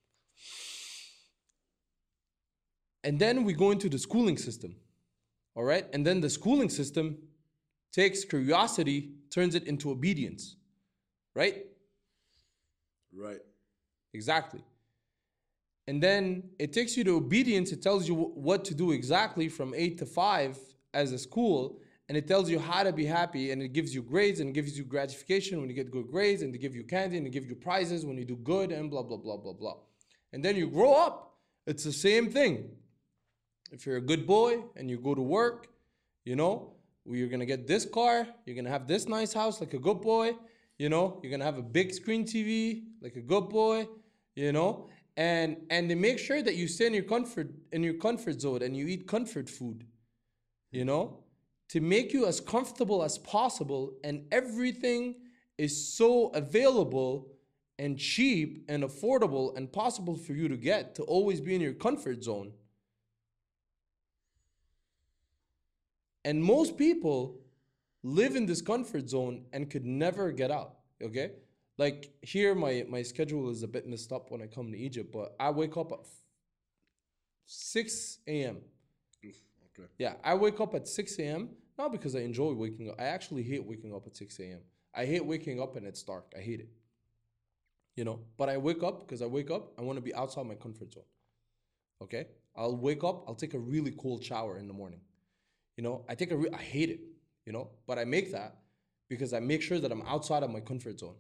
And then we go into the schooling system. All right? And then the schooling system takes curiosity, turns it into obedience. Right? Right. Exactly. And then it takes you to obedience. It tells you what to do exactly from 8 to 5 as a school. And it tells you how to be happy. And it gives you grades and it gives you gratification when you get good grades. And they give you candy and they give you prizes when you do good and blah, blah, blah, blah, blah. And then you grow up. It's the same thing. If you're a good boy and you go to work, you're going to get this car. You're going to have this nice house like a good boy. You're going to have a big screen TV like a good boy, And they make sure that you stay in your comfort zone and you eat comfort food, to make you as comfortable as possible, and everything is so available and cheap and affordable and possible for you to get, to always be in your comfort zone. And most people live in this comfort zone and could never get out, okay? Like here, my schedule is a bit messed up when I come to Egypt, but I wake up at 6 a.m. Okay. Yeah, I wake up at 6 a.m. Not because I enjoy waking up. I actually hate waking up at 6 a.m. I hate waking up and it's dark. I hate it. But I wake up because I want to be outside my comfort zone. Okay? I'll wake up, I'll take a really cold shower in the morning. I hate it, but I make that because I make sure that I'm outside of my comfort zone.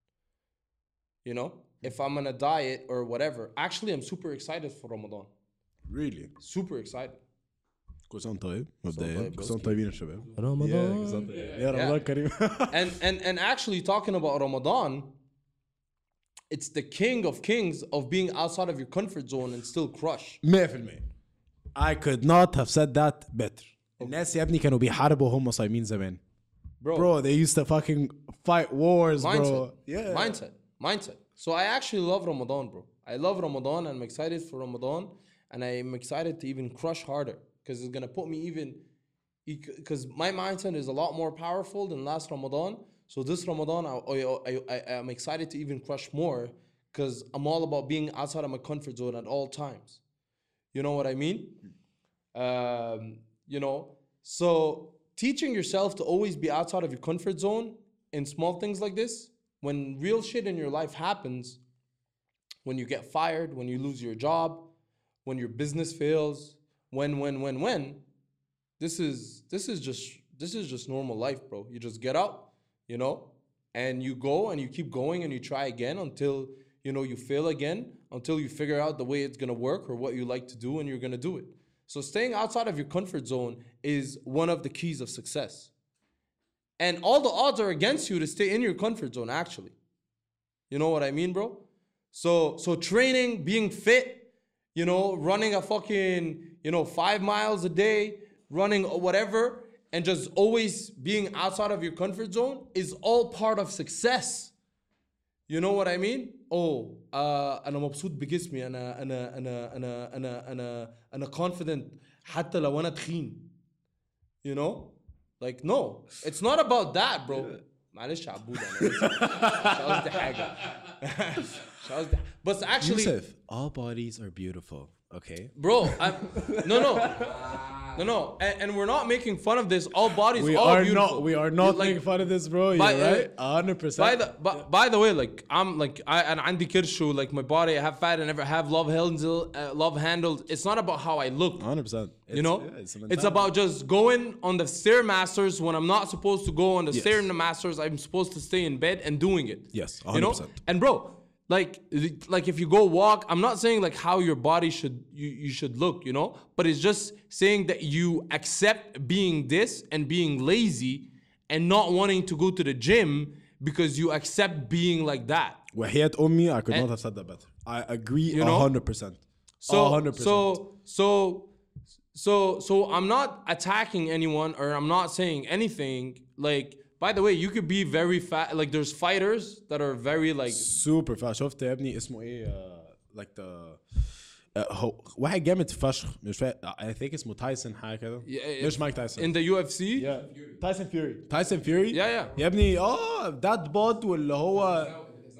If I'm on a diet or whatever, actually I'm super excited for Ramadan. Really? Super excited. كل سنة طيب مبدئيا طيب، كل سنة طيبين الشباب Ramadan. يا رمضان كريم And actually talking about Ramadan, it's the king of kings of being outside of your comfort zone and still crush. 100%. I could not have said that better. الناس يا ابني كانوا بيحاربوا وهم صايمين زمان. Bro, they used to fucking fight wars, bro. Yeah. Mindset. So I actually love Ramadan, bro. I love Ramadan and I'm excited for Ramadan. And I'm excited to even crush harder. Because it's going to put me because my mindset is a lot more powerful than last Ramadan. So this Ramadan, I'm excited to even crush more. Because I'm all about being outside of my comfort zone at all times. You know what I mean? So teaching yourself to always be outside of your comfort zone in small things like this, when real shit in your life happens, when you get fired, when you lose your job, when your business fails, when, this is just normal life, bro. You just get up, and you go and you keep going and you try again until, you fail again, until you figure out the way it's gonna work or what you like to do and you're gonna do it. So staying outside of your comfort zone is one of the keys of success. And all the odds are against you to stay in your comfort zone, actually. You know what I mean, bro? So training, being fit, running a fucking, 5 miles a day, running whatever, and just always being outside of your comfort zone is all part of success. You know what I mean? أنا مبسوط بجسمي أنا confident حتى لو أنا تخين. You know? Like no, it's not about that, bro. معلش عبود أنا مش قصدي حاجة. مش قصدي. But actually, Yusuf, all bodies are beautiful. Okay. bro, no, and we're not making fun of this. All bodies, We all are beautiful. not. We are not Like, making fun of this, bro. You're by- right. 100%. By the way, like I'm like and عندي كرشو, like my body, I have fat, I never have love handled. It's not about how I look. 100%. You know, it's about just going on the stairmasters when I'm not supposed to go on the Yes. stairmasters. I'm supposed to stay in bed and doing it. Yes, You know, 100%. and bro, like if you go walk, I'm not saying like how your body you should look, you know, but it's just saying that you accept being this and being lazy and not wanting to go to the gym because you accept being like that. وحياة أمي, I could not have said that better. I agree You know? 100%. So 100%. so I'm not attacking anyone or I'm not saying anything. Like, by the way, you could be very fat. Like, there's fighters that are very like super fast. شفت يا ابني اسمه ايه like the هو واحد جامد فشخ مش فاهم. I think اسمه تايسون حاجه كده. مش مايك تايسون. in the UFC. تايسون فيوري. تايسون فيوري. Yeah. يا ابني that bod واللي هو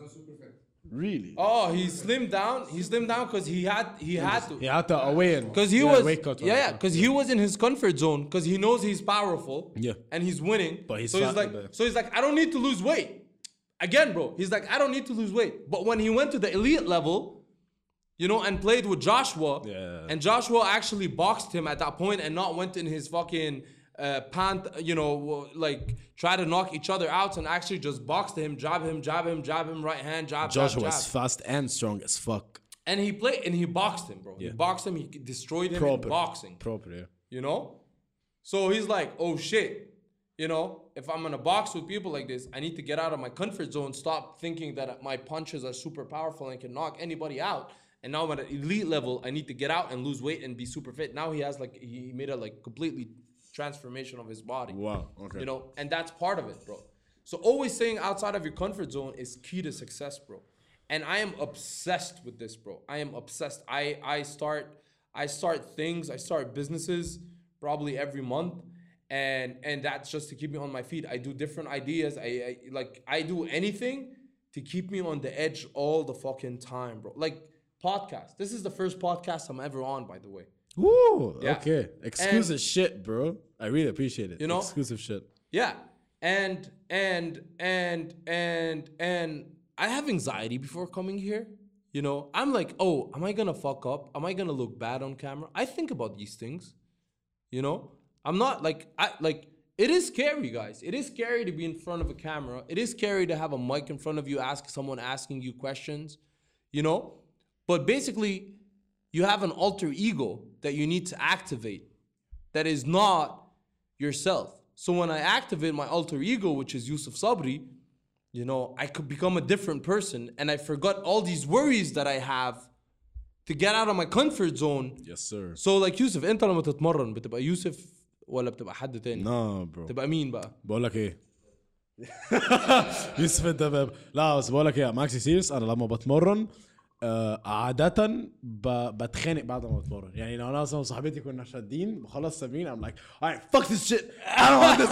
really. Oh, he slimmed down. He slimmed down because he had to. He had to win. Because he was because he was in his comfort zone because he knows he's powerful. Yeah. And he's winning. But he's so he's fat, like but- so he's like I don't need to lose weight. Again, bro. He's like I don't need to lose weight. But when he went to the elite level, you know, and played with Joshua, Yeah. and Joshua actually boxed him at that point and not went in his fucking pant, you know, like try to knock each other out and actually just boxed him, jab him, right hand, jab, Joshua jab, was jab. fast and strong as fuck. And he played and he boxed him, bro. He Yeah. boxed him, he destroyed him Proper. in boxing. Proper, yeah. You know? So he's like, oh shit. You know, if I'm gonna box with people like this, I need to get out of my comfort zone, stop thinking that my punches are super powerful and can knock anybody out. And now I'm at an elite level, I need to get out and lose weight and be super fit. Now he has like he made a like completely transformation of his body. Wow, okay. You know, and that's part of it, bro. So always staying outside of your comfort zone is key to success, bro. And I am obsessed with this, bro. I am obsessed. I start things, I start businesses probably every month. And that's just to keep me on my feet. I do different ideas. I do anything to keep me on the edge all the fucking time, bro. Like podcast. This is the first podcast I'm ever on, by the way. Woo! Yeah. Okay. Exclusive shit, bro. I really appreciate it. You know? Exclusive shit. Yeah. And I have anxiety before coming here. You know, I'm like, oh, am I gonna fuck up? Am I gonna look bad on camera? I think about these things. You know? I'm not like it is scary, guys. It is scary to be in front of a camera. It is scary to have a mic in front of you, someone asking you questions, you know? But basically, you have an alter ego that you need to activate that is not yourself. So when I activate my alter ego, which is Yusuf Sabri, you know, I could become a different person and I forgot all these worries that I have to get out of my comfort zone. Yes, sir. So like Yusuf, انت لما تتمرن بتبقى يوسف ولا بتبقى حد تاني؟ No, bro. تبقى مين بقى؟ بقول لك ايه يوسف انت لا بس بقول لك ايه ماكسي سيريس. انا لما بتمرن عادة بتخانق بعد ما بتمرن. يعني لو انا اصلا وصاحبتي كنا شادين بخلص تمرين I'm like alright fuck this shit I don't want this.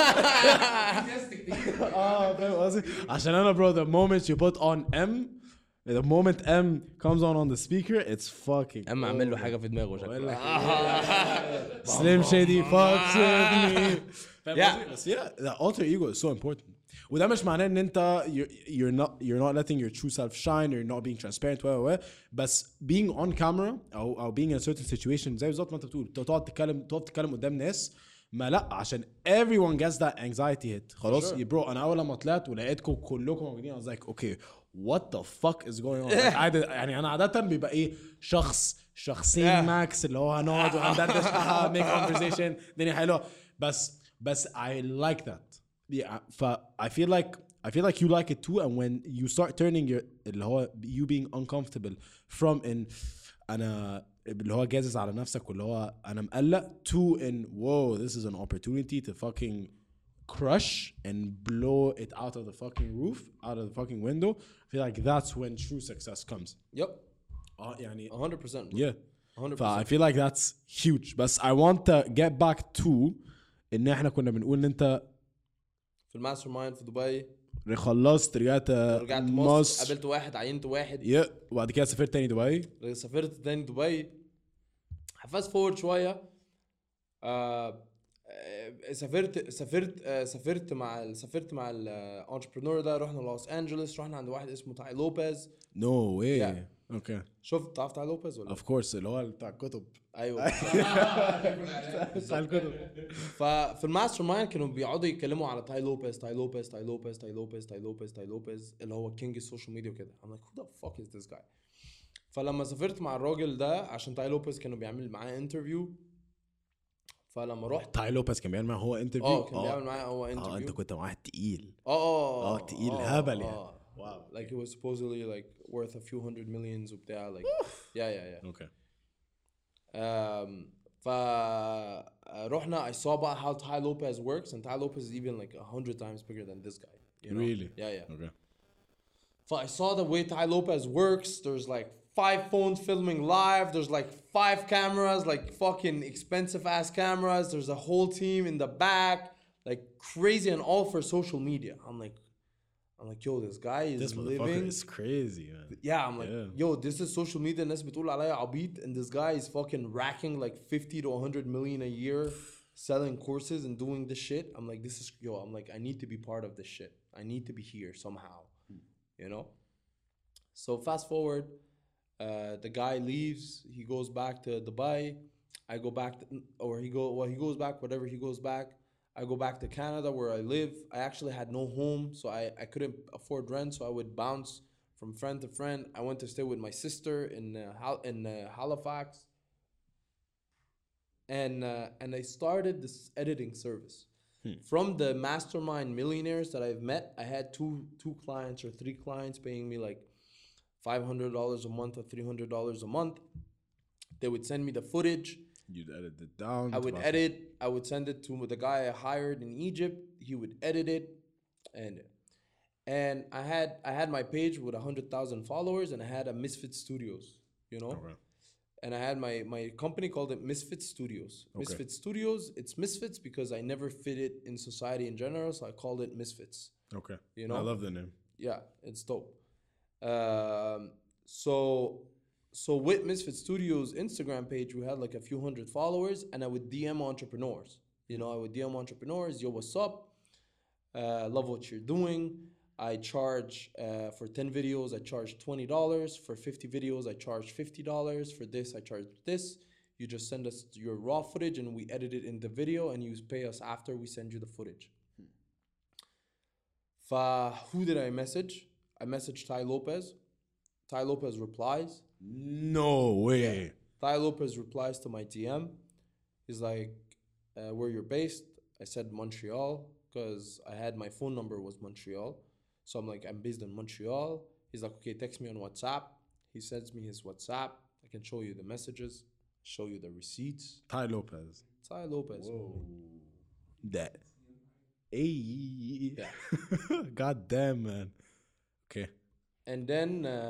فاهم قصدي؟ عشان انا bro the moment you put on the moment M comes on the speaker it's fucking اما اعمل له حاجه في دماغه شكله. Slim Shady fucks with me. Yeah. But yeah, the alter ego is so important. وده مش معناه ان انت you're not letting your true self shine or you're not being transparent بس being on camera او being in a certain situation زي بالظبط ما انت بتقول تقعد تتكلم قدام ناس ما لا عشان everyone gets that anxiety hit خلاص برو. انا اول لما طلعت ولقيتكم كلكم موجودين I was like okay what the fuck is going on. يعني انا عادة بيبقى ايه شخصين ماكس اللي هو هنقعد وهندردش make conversation الدنيا حلوه بس I like that. Yeah, I feel like you like it too, and when you start turning اللي هو you being uncomfortable from in أنا اللي هو جازز على نفسك واللي هو انا مقلق to in whoa this is an opportunity to fucking crush and blow it out of the fucking roof out of the fucking window. I feel like that's when true success comes. Yep. يعني 100%. yeah 100%. I feel like that's huge. بس I want to get back to ان احنا كنا بنقول ان انت في الماستر مايند في دبي خلصت رجعت مصر قابلت واحد عينت واحد وبعد كده سافرت تاني دبي. سافرت تاني دبي. فاست فورد شويه سافرت مع الانتربرنور ده. رحنا لوس انجلوس. رحنا عند واحد اسمه تاي لوبيز. No way. Yeah. Okay. شفت تعرف تاي لوبيز ولا؟ Of course اللي هو بتاع الكتب. ايوه. بتاع الكتب. ففي الماستر مايند كانوا بيقعدوا يتكلموا على تاي لوبيز اللي هو كينج السوشيال ميديا وكده. I'm like who the fuck is this guy. فلما سافرت مع الراجل ده عشان تاي لوبيز كانوا بيعمل معاه انترفيو. فلما رحت تاي لوبيز كان بيعمل معاه هو انترفيو. كان بيعمل معاه هو انترفيو. انت كنت معاه تقيل. تقيل هبل يعني. Wow. Like it was supposedly like worth a few hundred millions وبتاع like yeah. Okay. رحنا I saw about how Tai Lopez works and Tai Lopez is even like 100 times bigger than this guy. You know? Really? Yeah. Okay. So I saw the way Tai Lopez works. There's like 5 phones filming live. There's like 5 cameras, like fucking expensive ass cameras. There's a whole team in the back, like crazy, and all for social media. I'm like, yo, this guy is This motherfucker living. is crazy, man. Yeah, I'm like, yo, this is social media. الناس بتقول عليا عبيط, and this guy is fucking racking like 50 to 100 million a year, selling courses and doing this shit. I'm like, this is I'm like, I need to be part of this shit. I need to be here somehow, you know. So fast forward, the guy leaves. He goes back to Dubai. I go back, he goes back. Whatever, he goes back. I go back to Canada where I live. I actually had no home, so I couldn't afford rent, so I would bounce from friend to friend. I went to stay with my sister in Halifax. And I started this editing service. From the mastermind millionaires that I've met, I had two clients or 3 clients paying me like $500 a month or $300 a month. They would send me the footage. You'd edit it down. I would edit. I would send it to the guy I hired in Egypt. He would edit it, and I had my page with 100,000 followers, and I had a Misfit Studios, you know. Okay. And I had my company called it Misfit Studios. Okay. Misfit Studios. It's Misfits because I never fit it in society in general, so I called it Misfits. Okay. You know. I love the name. Yeah, it's dope. So with Misfit Studios Instagram page, we had like a few hundred followers, and I would DM entrepreneurs. You know, I would DM entrepreneurs, yo, what's up? Love what you're doing. I charge for 10 videos, I charge $20. For 50 videos, I charge $50. For this, I charge this. You just send us your raw footage, and we edit it in the video, and you pay us after we send you the footage. Who did I message? I messaged Tai Lopez. Tai Lopez replies. No way. Yeah. Tai Lopez replies to my DM. He's like, where you're based? I said Montreal because I had my phone number was Montreal. So I'm like, I'm based in Montreal. He's like, okay, text me on WhatsApp. He sends me his WhatsApp. I can show you the messages, show you the receipts. Tai Lopez. Tai Lopez. Whoa. That. Hey. Yeah. God damn, man. Okay. And then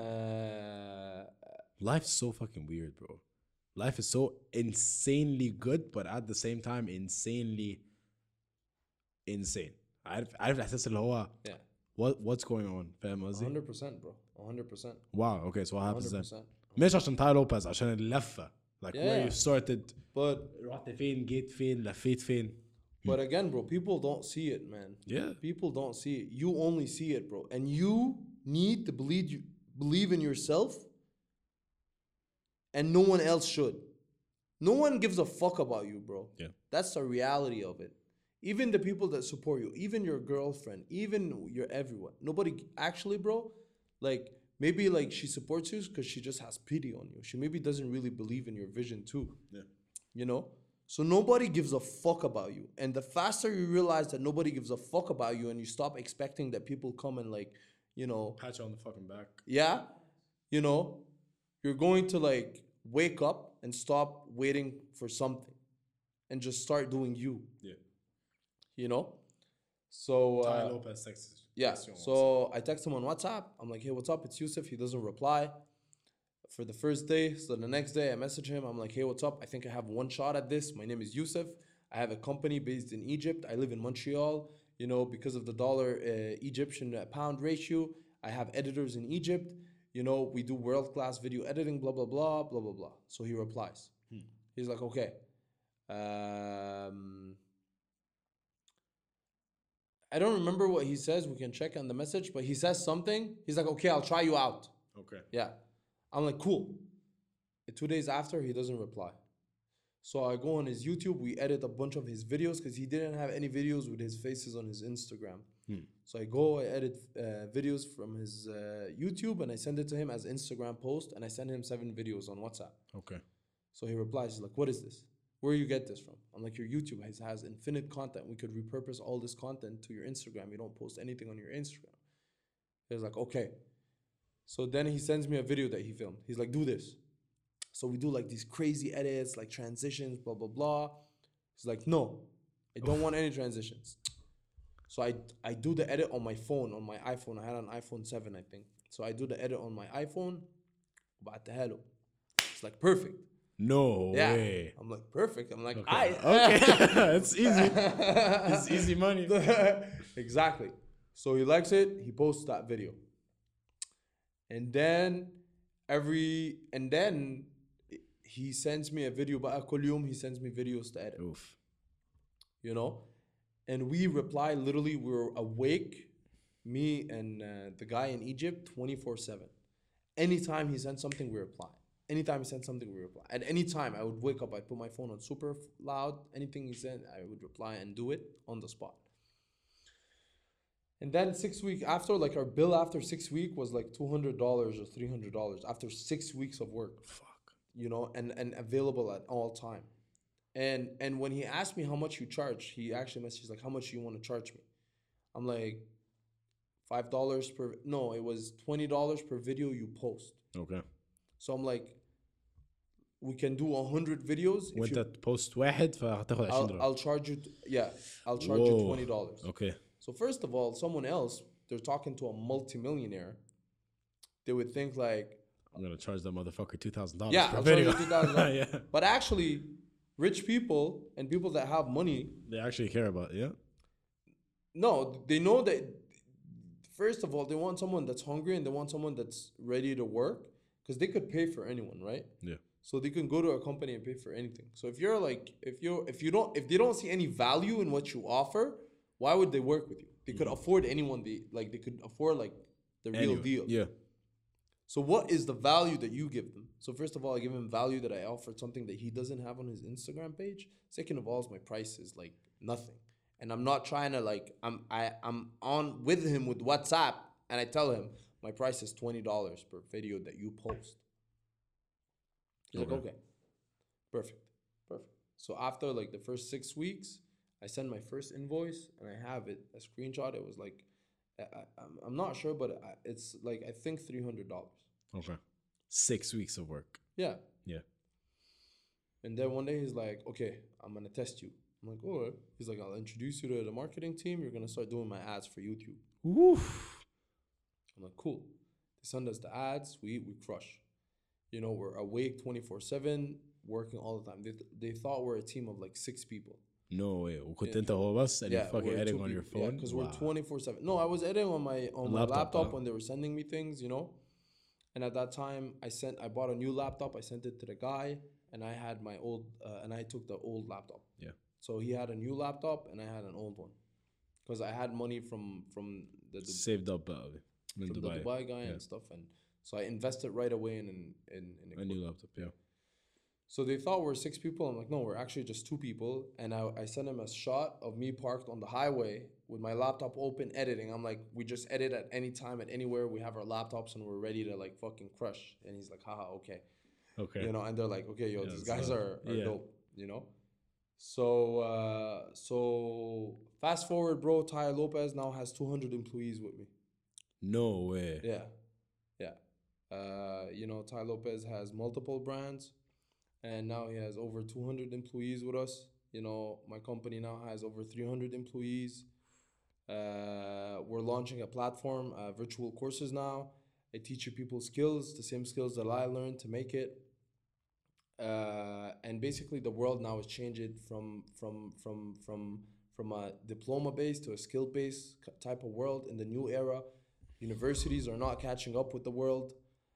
Life's so fucking weird, bro. Life is so insanely good, but at the same time insanely insane. عارف الإحساس اللي هو yeah, what's going on. فاهم قصدي؟ 100%, bro. 100%. Wow. Okay, so what happens then? 100%. مش عشان تاي لوبيز عشان اللفة. Like where Yeah. you started. But رحت فين جيت فين لفيت فين. But again, bro, people don't see it, man. Yeah. People don't see it. You only see it, bro. And you need to believe in yourself. And no one else should. No one gives a fuck about you, bro. Yeah. That's the reality of it. Even the people that support you, even your girlfriend, even your everyone. Nobody actually, bro, like maybe like she supports you because she just has pity on you. She maybe doesn't really believe in your vision too. Yeah. You know? So nobody gives a fuck about you. And the faster you realize that nobody gives a fuck about you and you stop expecting that people come and like, you know, Pat you on the fucking back. yeah, you know, you're going to like wake up and stop waiting for something and just start doing you. Yeah. You know? So Ty Lopez texts. yeah. texts you on So I text him on WhatsApp. I'm like, hey, what's up? It's Yusuf. He doesn't reply for the first day. So the next day I message him. I'm like, hey, what's up? I think I have one shot at this. My name is Yusuf. I have a company based in Egypt. I live in Montreal. You know, because of the dollar Egyptian pound ratio, I have editors in Egypt. You know, we do world-class video editing, blah, blah, blah, blah, blah, blah. So he replies. He's like, okay. I don't remember what he says. We can check on the message, but he says something. He's like, okay, I'll try you out. Okay. Yeah. I'm like, cool. 2 days after, he doesn't reply. So I go on his YouTube. We edit a bunch of his videos because he didn't have any videos with his faces on his Instagram. So I edit videos from his YouTube and I send it to him as Instagram post and I send him 7 videos on WhatsApp. Okay. So he replies, he's like, what is this? Where you get this from? I'm like, your YouTube has infinite content. We could repurpose all this content to your Instagram. You don't post anything on your Instagram. He's like, okay. So then he sends me a video that he filmed. He's like, do this. So we do like these crazy edits, like transitions, blah, blah, blah. He's like, no, I don't want any transitions. So I do the edit on my phone, on my iPhone. I had an iPhone 7, I think. So I do the edit on my iPhone. وبعتها له. It's like perfect. No Yeah. way. I'm like, perfect. I'm like, Okay. I. Okay. It's easy. It's easy money. Exactly. So he likes it. He posts that video. And then he sends me a video. بقى كل يوم he sends me videos to edit. Oof. You know? And we reply, literally, we were awake, me and the guy in Egypt, 24/7. Anytime he sent something, we reply. Anytime he sent something, we reply. At any time, I would wake up, I'd put my phone on super loud. Anything he sent, I would reply and do it on the spot. And then 6 weeks after, like our bill after 6 weeks was like $200 or $300 after 6 weeks of work. Fuck. You know, and available at all time. And when he asked me how much you charge, he actually messaged like, how much do you want to charge me? I'm like, $5 per, no, it was $20 per video you post. Okay. So I'm like, we can do 100 videos. If وانت you, تبوست واحد فهتاخد $20. I'll charge you, I'll charge you Whoa. $20. Okay. So first of all, someone else, they're talking to a multimillionaire. They would think like, I'm gonna charge that motherfucker $2,000 yeah, per I'll video. charge you $2,000. Yeah. But actually, rich people and people that have money, They actually care about it, yeah? no, they know that, first of all, they want someone that's hungry and they want someone that's ready to work because they could pay for anyone, right? Yeah. So they can go to a company and pay for anything. So if you're like, if they don't see any value in what you offer, why would they work with you? They could afford anyone. They could afford like the real Anyway, deal. Yeah. So what is the value that you give them? So first of all, I give him value that I offered something that he doesn't have on his Instagram page. Second of all, is my price is like nothing. And I'm not trying to like, I'm on with him with WhatsApp and I tell him my price is $20 per video that you post. He's like, okay, perfect. So after like the first 6 weeks, I send my first invoice and I have it, a screenshot. It was like, I'm not sure, but it's like, I think $300. Okay. 6 weeks of work. Yeah. Yeah. And then one day he's like, okay, I'm going to test you. I'm like, all right. He's like, I'll introduce you to the marketing team. You're going to start doing my ads for YouTube. Oof. I'm like, cool. They send us the ads. We crush. You know, we're awake 24/7, working all the time. They thought we're a team of like 6 people. No way. وكنت انت هو بس and you fucking we're editing 2 on your people. phone? Yeah, because Wow. we're 24/7. No, I was editing on my laptop huh? when they were sending me things, you know. And at that time, I bought a new laptop. I sent it to the guy, and I had my old, and I took the old laptop. Yeah. So he had a new laptop, and I had an old one, because I had money from the Saved up من the Dubai. Dubai guy Yeah. and stuff, and so I invested right away in A new laptop, yeah. So they thought we're 6 people. I'm like, no, we're actually just 2 people. And I sent him a shot of me parked on the highway with my laptop open editing. I'm like, we just edit at any time, at anywhere. We have our laptops and we're ready to like fucking crush. And he's like, haha, okay. Okay. You know, and they're like, okay, yo, Yeah, these so- guys are yeah. dope, you know? So fast forward, bro, Ty Lopez now has 200 employees with me. No way. Yeah. You know, Ty Lopez has multiple brands, and now he has over 200 employees with us. You know, my company now has over 300 employees. We're launching a platform, virtual courses now. I teach you people skills, the same skills that I learned to make it. And basically, the world now is changing from a diploma based to a skill based type of world in the new era. Universities are not catching up with the world.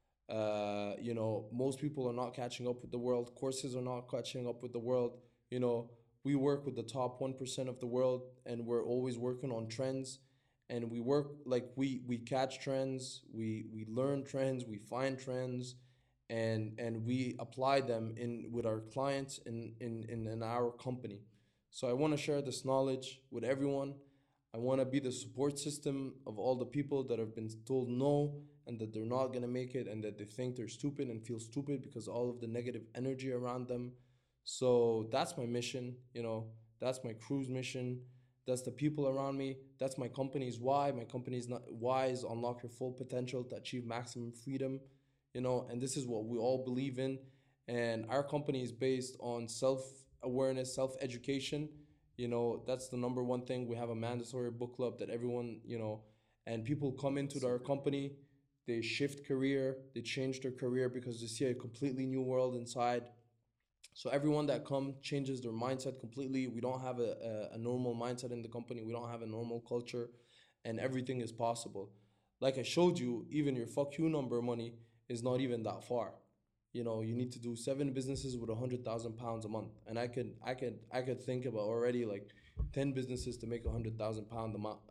You know, most people are not catching up with the world. Courses are not catching up with the world. You know, we work with the top 1% of the world, and we're always working on trends. And we work like we catch trends, we learn trends, we find trends, and we apply them in with our clients in our company. So I want to share this knowledge with everyone. I want to be the support system of all the people that have been told no and that they're not going to make it and that they think they're stupid and feel stupid because all of the negative energy around them. So that's my mission, you know, that's my crew's mission. That's the people around me. That's my company's why. My company's not why is unlock your full potential to achieve maximum freedom, you know, and this is what we all believe in. And our company is based on self-awareness, self-education. You know, that's the number one thing. We have a mandatory book club that everyone, you know, and people come into our company, they shift career, they change their career because they see a completely new world inside. So everyone that come changes their mindset completely. We don't have a normal mindset in the company. We don't have a normal culture, and everything is possible. Like I showed you, even your fuck you number money is not even that far. You know, you need to do 7 businesses with £100,000 a month, and I could think about already like 10 businesses to make £100,000 a month,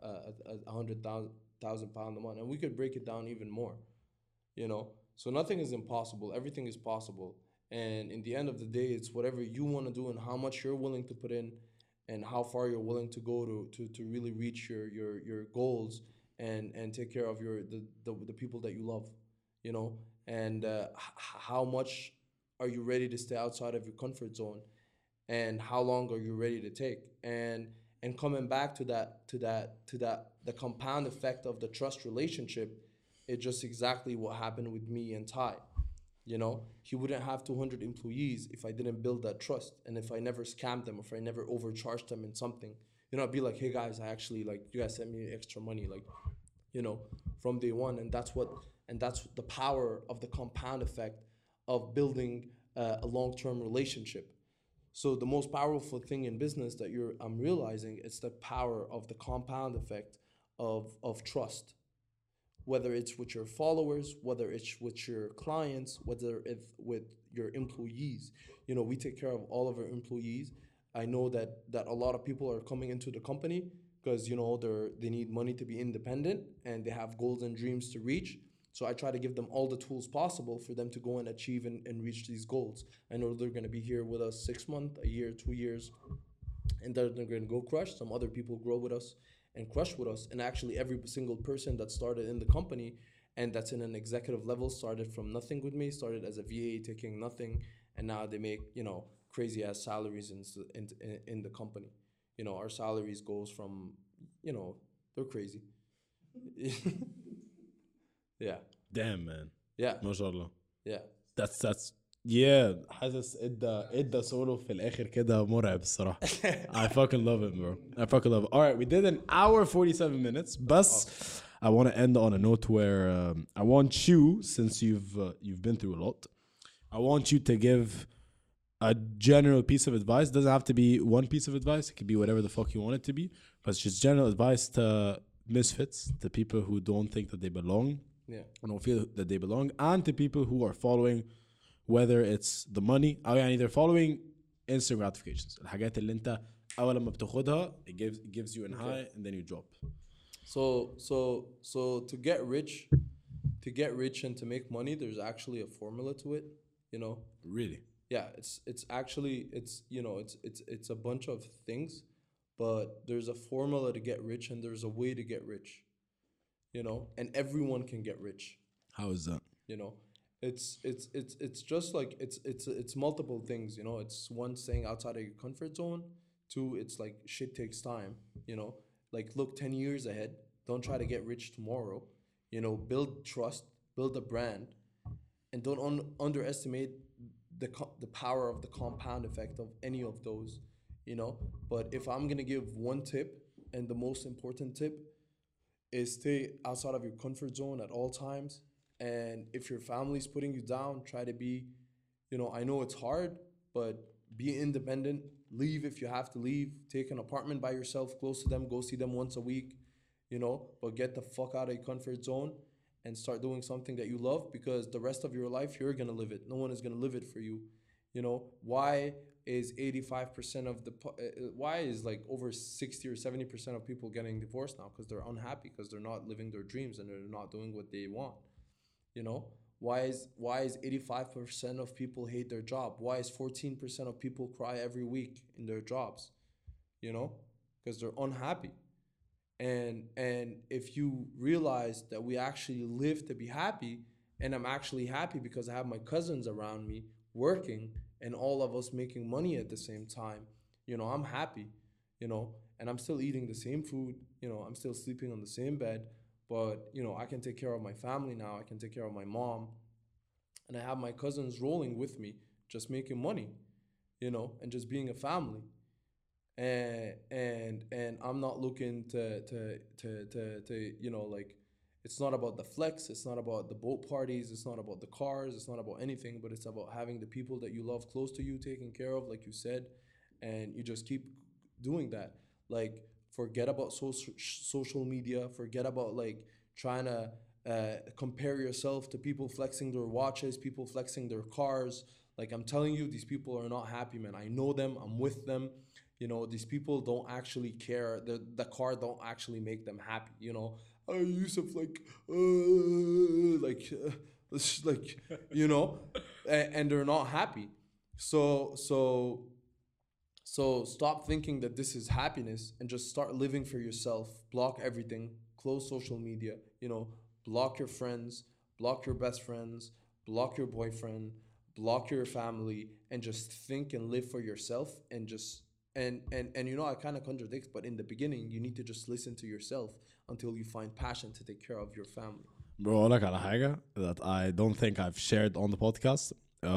£100,000 a month, and we could break it down even more. You know, so nothing is impossible. Everything is possible. And in the end of the day, it's whatever you want to do and how much you're willing to put in and how far you're willing to go to really reach your goals and take care of the people that you love, you know, and how much are you ready to stay outside of your comfort zone and how long are you ready to take and coming back to that the compound effect of the trust relationship. It's just exactly what happened with me and Ty. You know, he wouldn't have 200 employees if I didn't build that trust and if I never scammed them, if I never overcharged them in something. You know, I'd be like, hey guys, I actually like you guys sent me extra money, like, you know, from day one. And that's the power of the compound effect of building a long-term relationship. So the most powerful thing in business that I'm realizing is the power of the compound effect of trust, whether it's with your followers, whether it's with your clients, whether it's with your employees. You know, we take care of all of our employees. I know that a lot of people are coming into the company because, you know, they need money to be independent and they have goals and dreams to reach. So I try to give them all the tools possible for them to go and achieve and reach these goals. I know they're going to be here with us 6 months, a year, 2 years, and they're going to go crush. Some other people grow with us and crush with us. And actually, every single person that started in the company and that's in an executive level started from nothing with me, started as a VA taking nothing, and now they make, you know, crazy ass salaries in the company. You know, our salaries goes from, you know, they're crazy. Yeah, Damn, man. yeah, ما شاء الله. yeah. That's yeah. حاسس ادى سولو في الاخر كده مرعب الصراحه. I fucking love it, bro. I fucking love it. All right, we did an hour 47 minutes. But I want to end on a note where I want you, since you've been through a lot, I want you to give a general piece of advice. It doesn't have to be one piece of advice. It could be whatever the fuck you want it to be. But it's just general advice to misfits, to people who don't think that they belong, Yeah. and don't feel that they belong, and to people who are following, whether it's the money أو يعني they're following instant gratifications. الحاجات اللي انت أول لما بتاخدها it gives you an high and then you drop. So to get rich and to make money, there's actually a formula to it, you know. Really? Yeah, it's actually you know, it's a bunch of things, but there's a formula to get rich and there's a way to get rich, you know, and everyone can get rich, How is that? you know. It's just like it's multiple things, you know. It's one, staying outside of your comfort zone. Two, it's like shit takes time, you know. Like look 10 years ahead. Don't try to get rich tomorrow. You know, build trust, build a brand, and don't underestimate the power of the compound effect of any of those, you know. But if I'm gonna give one tip, and the most important tip is stay outside of your comfort zone at all times. And if your family's putting you down, try to be, you know, I know it's hard, but be independent. Leave if you have to leave. Take an apartment by yourself, close to them. Go see them once a week, you know. But get the fuck out of your comfort zone and start doing something that you love, because the rest of your life you're gonna live it. No one is gonna live it for you. You know, why is 85% of the why is like over 60 or 70% of people getting divorced now? Because they're unhappy, because they're not living their dreams and they're not doing what they want. You know, why is 85% of people hate their job? Why is 14% of people cry every week in their jobs? You know, because they're unhappy. And if you realize that we actually live to be happy, and I'm actually happy because I have my cousins around me working and all of us making money at the same time, you know, I'm happy, you know, and I'm still eating the same food, you know, I'm still sleeping on the same bed, but, you know, I can take care of my family now, I can take care of my mom, and I have my cousins rolling with me, just making money, you know, and just being a family. And I'm not looking to you know, like, it's not about the flex, it's not about the boat parties, it's not about the cars, it's not about anything, but it's about having the people that you love close to you taken care of, like you said, and you just keep doing that. Like, forget about social media, forget about like trying to compare yourself to people flexing their watches, people flexing their cars. Like, I'm telling you, these people are not happy, man. I know them, I'm with them. You know, these people don't actually care. The car don't actually make them happy. You know, Yusuf, like, like, you know, and they're not happy. So stop thinking that this is happiness and just start living for yourself. Block everything. Close social media. You know, block your friends, block your best friends, block your boyfriend, block your family, and just think and live for yourself, and just and you know, I kind of contradict, but in the beginning you need to just listen to yourself until you find passion to take care of your family. Bro, أقول لك على حاجة that I don't think I've shared on the podcast.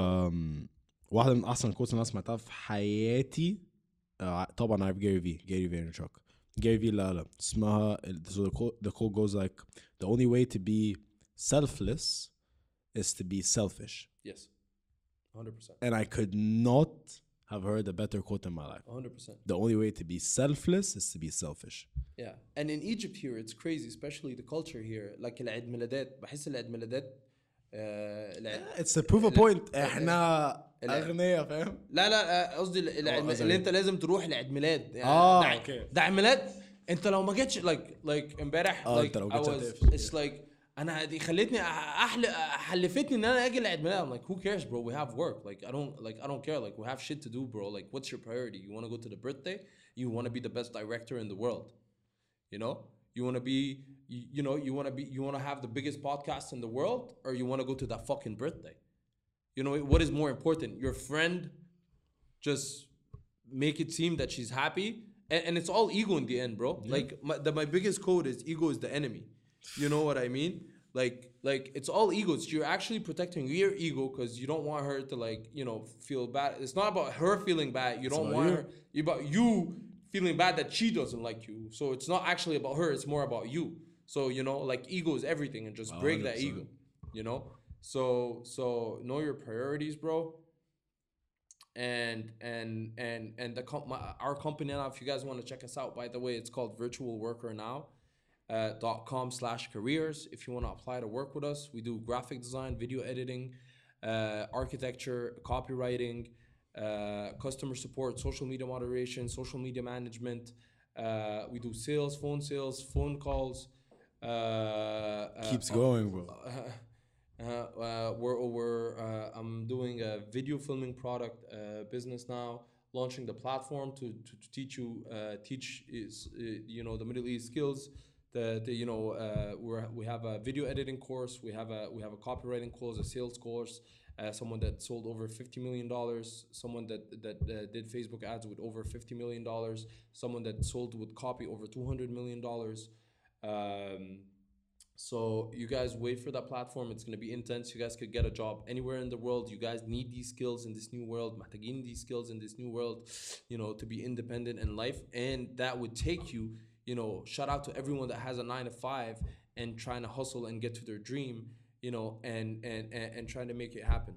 واحدة من أحسن الكوتس اللي أنا سمعتها في حياتي. طبعا عارف Gary Vaynerchuk. Gary V لا اسمها so the quote goes like, the only way to be selfless is to be selfish. Yes, 100%. And I could not have heard a better quote in my life. 100%. The only way to be selfless is to be selfish. Yeah, and in Egypt here it's crazy, especially the culture here. Like العيد ميلادات، بحس العيد ميلادات It's a proof of point. احنا أغنياء فاهم؟ لا قصدي اللي انت لازم تروح لعيد ميلاد يعني. اوكي. ده عيد ميلاد انت لو ما جيتش like امبارح like لو I جيتش was هتقفل. it's like انا دي خلتني حلفتني ان انا اجي لعيد ميلاد. I'm like, who cares bro, we have work, like I don't care, like we have shit to do bro. Like, what's your priority? You want to go to the birthday? You want to be the best director in the world, you know? You want to be you know, you want to have the biggest podcast in the world, or you want to go to that fucking birthday? You know, what is more important? Your friend just make it seem that she's happy, and it's all ego in the end, bro. Yeah. Like my biggest code is ego is the enemy. You know what I mean? Like it's all ego. You're actually protecting your ego because you don't want her to, like, you know, feel bad. It's not about her feeling bad. You don't want her. It's about you feeling bad that she doesn't like you. So it's not actually about her. It's more about you. So, you know, like, ego is everything, and just break that ego. You know. So know your priorities, bro. And our company now, if you guys want to check us out, by the way, it's called Virtual Worker Now. .com/careers. If you want to apply to work with us, we do graphic design, video editing, architecture, copywriting, customer support, social media moderation, social media management. We do sales, phone calls. Keeps going, bro. I'm doing a video filming product business now, launching the platform to teach you you know, the Middle East skills. You know, we have a video editing course, we have a copywriting course, a sales course, someone that sold over $50 million, someone that did Facebook ads with over $50 million, someone that sold with copy over $200 million. So you guys wait for that platform. It's gonna be intense. You guys could get a job anywhere in the world. You guys need these skills in this new world. محتاجين these skills in this new world, you know, to be independent in life. And that would take you, you know, shout out to everyone that has a 9 to 5 and trying to hustle and get to their dream, you know, and trying to make it happen.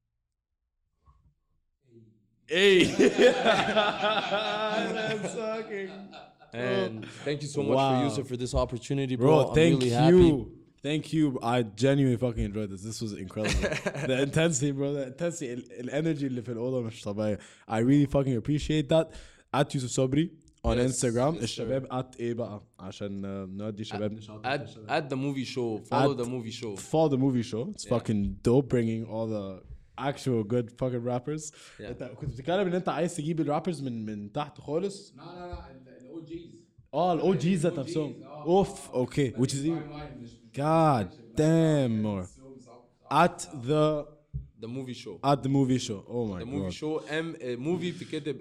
Hey. That's fucking. And thank you so much Wow. for Yusuf for this opportunity, bro. Bro, I'm thank really you. happy. Thank you. I genuinely fucking enjoyed this. This was incredible. The intensity, bro. The intensity. Energy اللي في الأوضة مش طبيعية. I really fucking appreciate that. At Yusuf Sobri on Yes, Instagram. yes, الشباب at ايه بقى عشان نودي شباب At the movie show. Follow At- the movie show. for the movie show. It's Yeah. fucking dope bringing all the actual good fucking rappers. Yeah. انت كنت بتتكلم ان انت عايز تجيب الرابرز من تحت خالص. لا الاو جيز الاو جيز ذات نفسهم. اوف اوكي which is even god damn more at The movie show. the movie show. Oh my The god. movie show movie بتكتب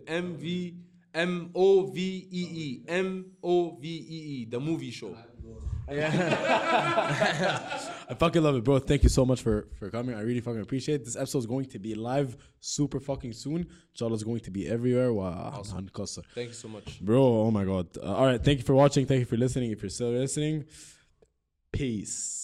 MOVEE the movie show. I fucking love it, bro. Thank you so much for coming. I really fucking appreciate it. This episode is going to be live super fucking soon. Inshallah, it's going to be everywhere. Wow. Thank you so much. Bro, oh my god. All right. Thank you for watching. Thank you for listening. If you're still listening, peace.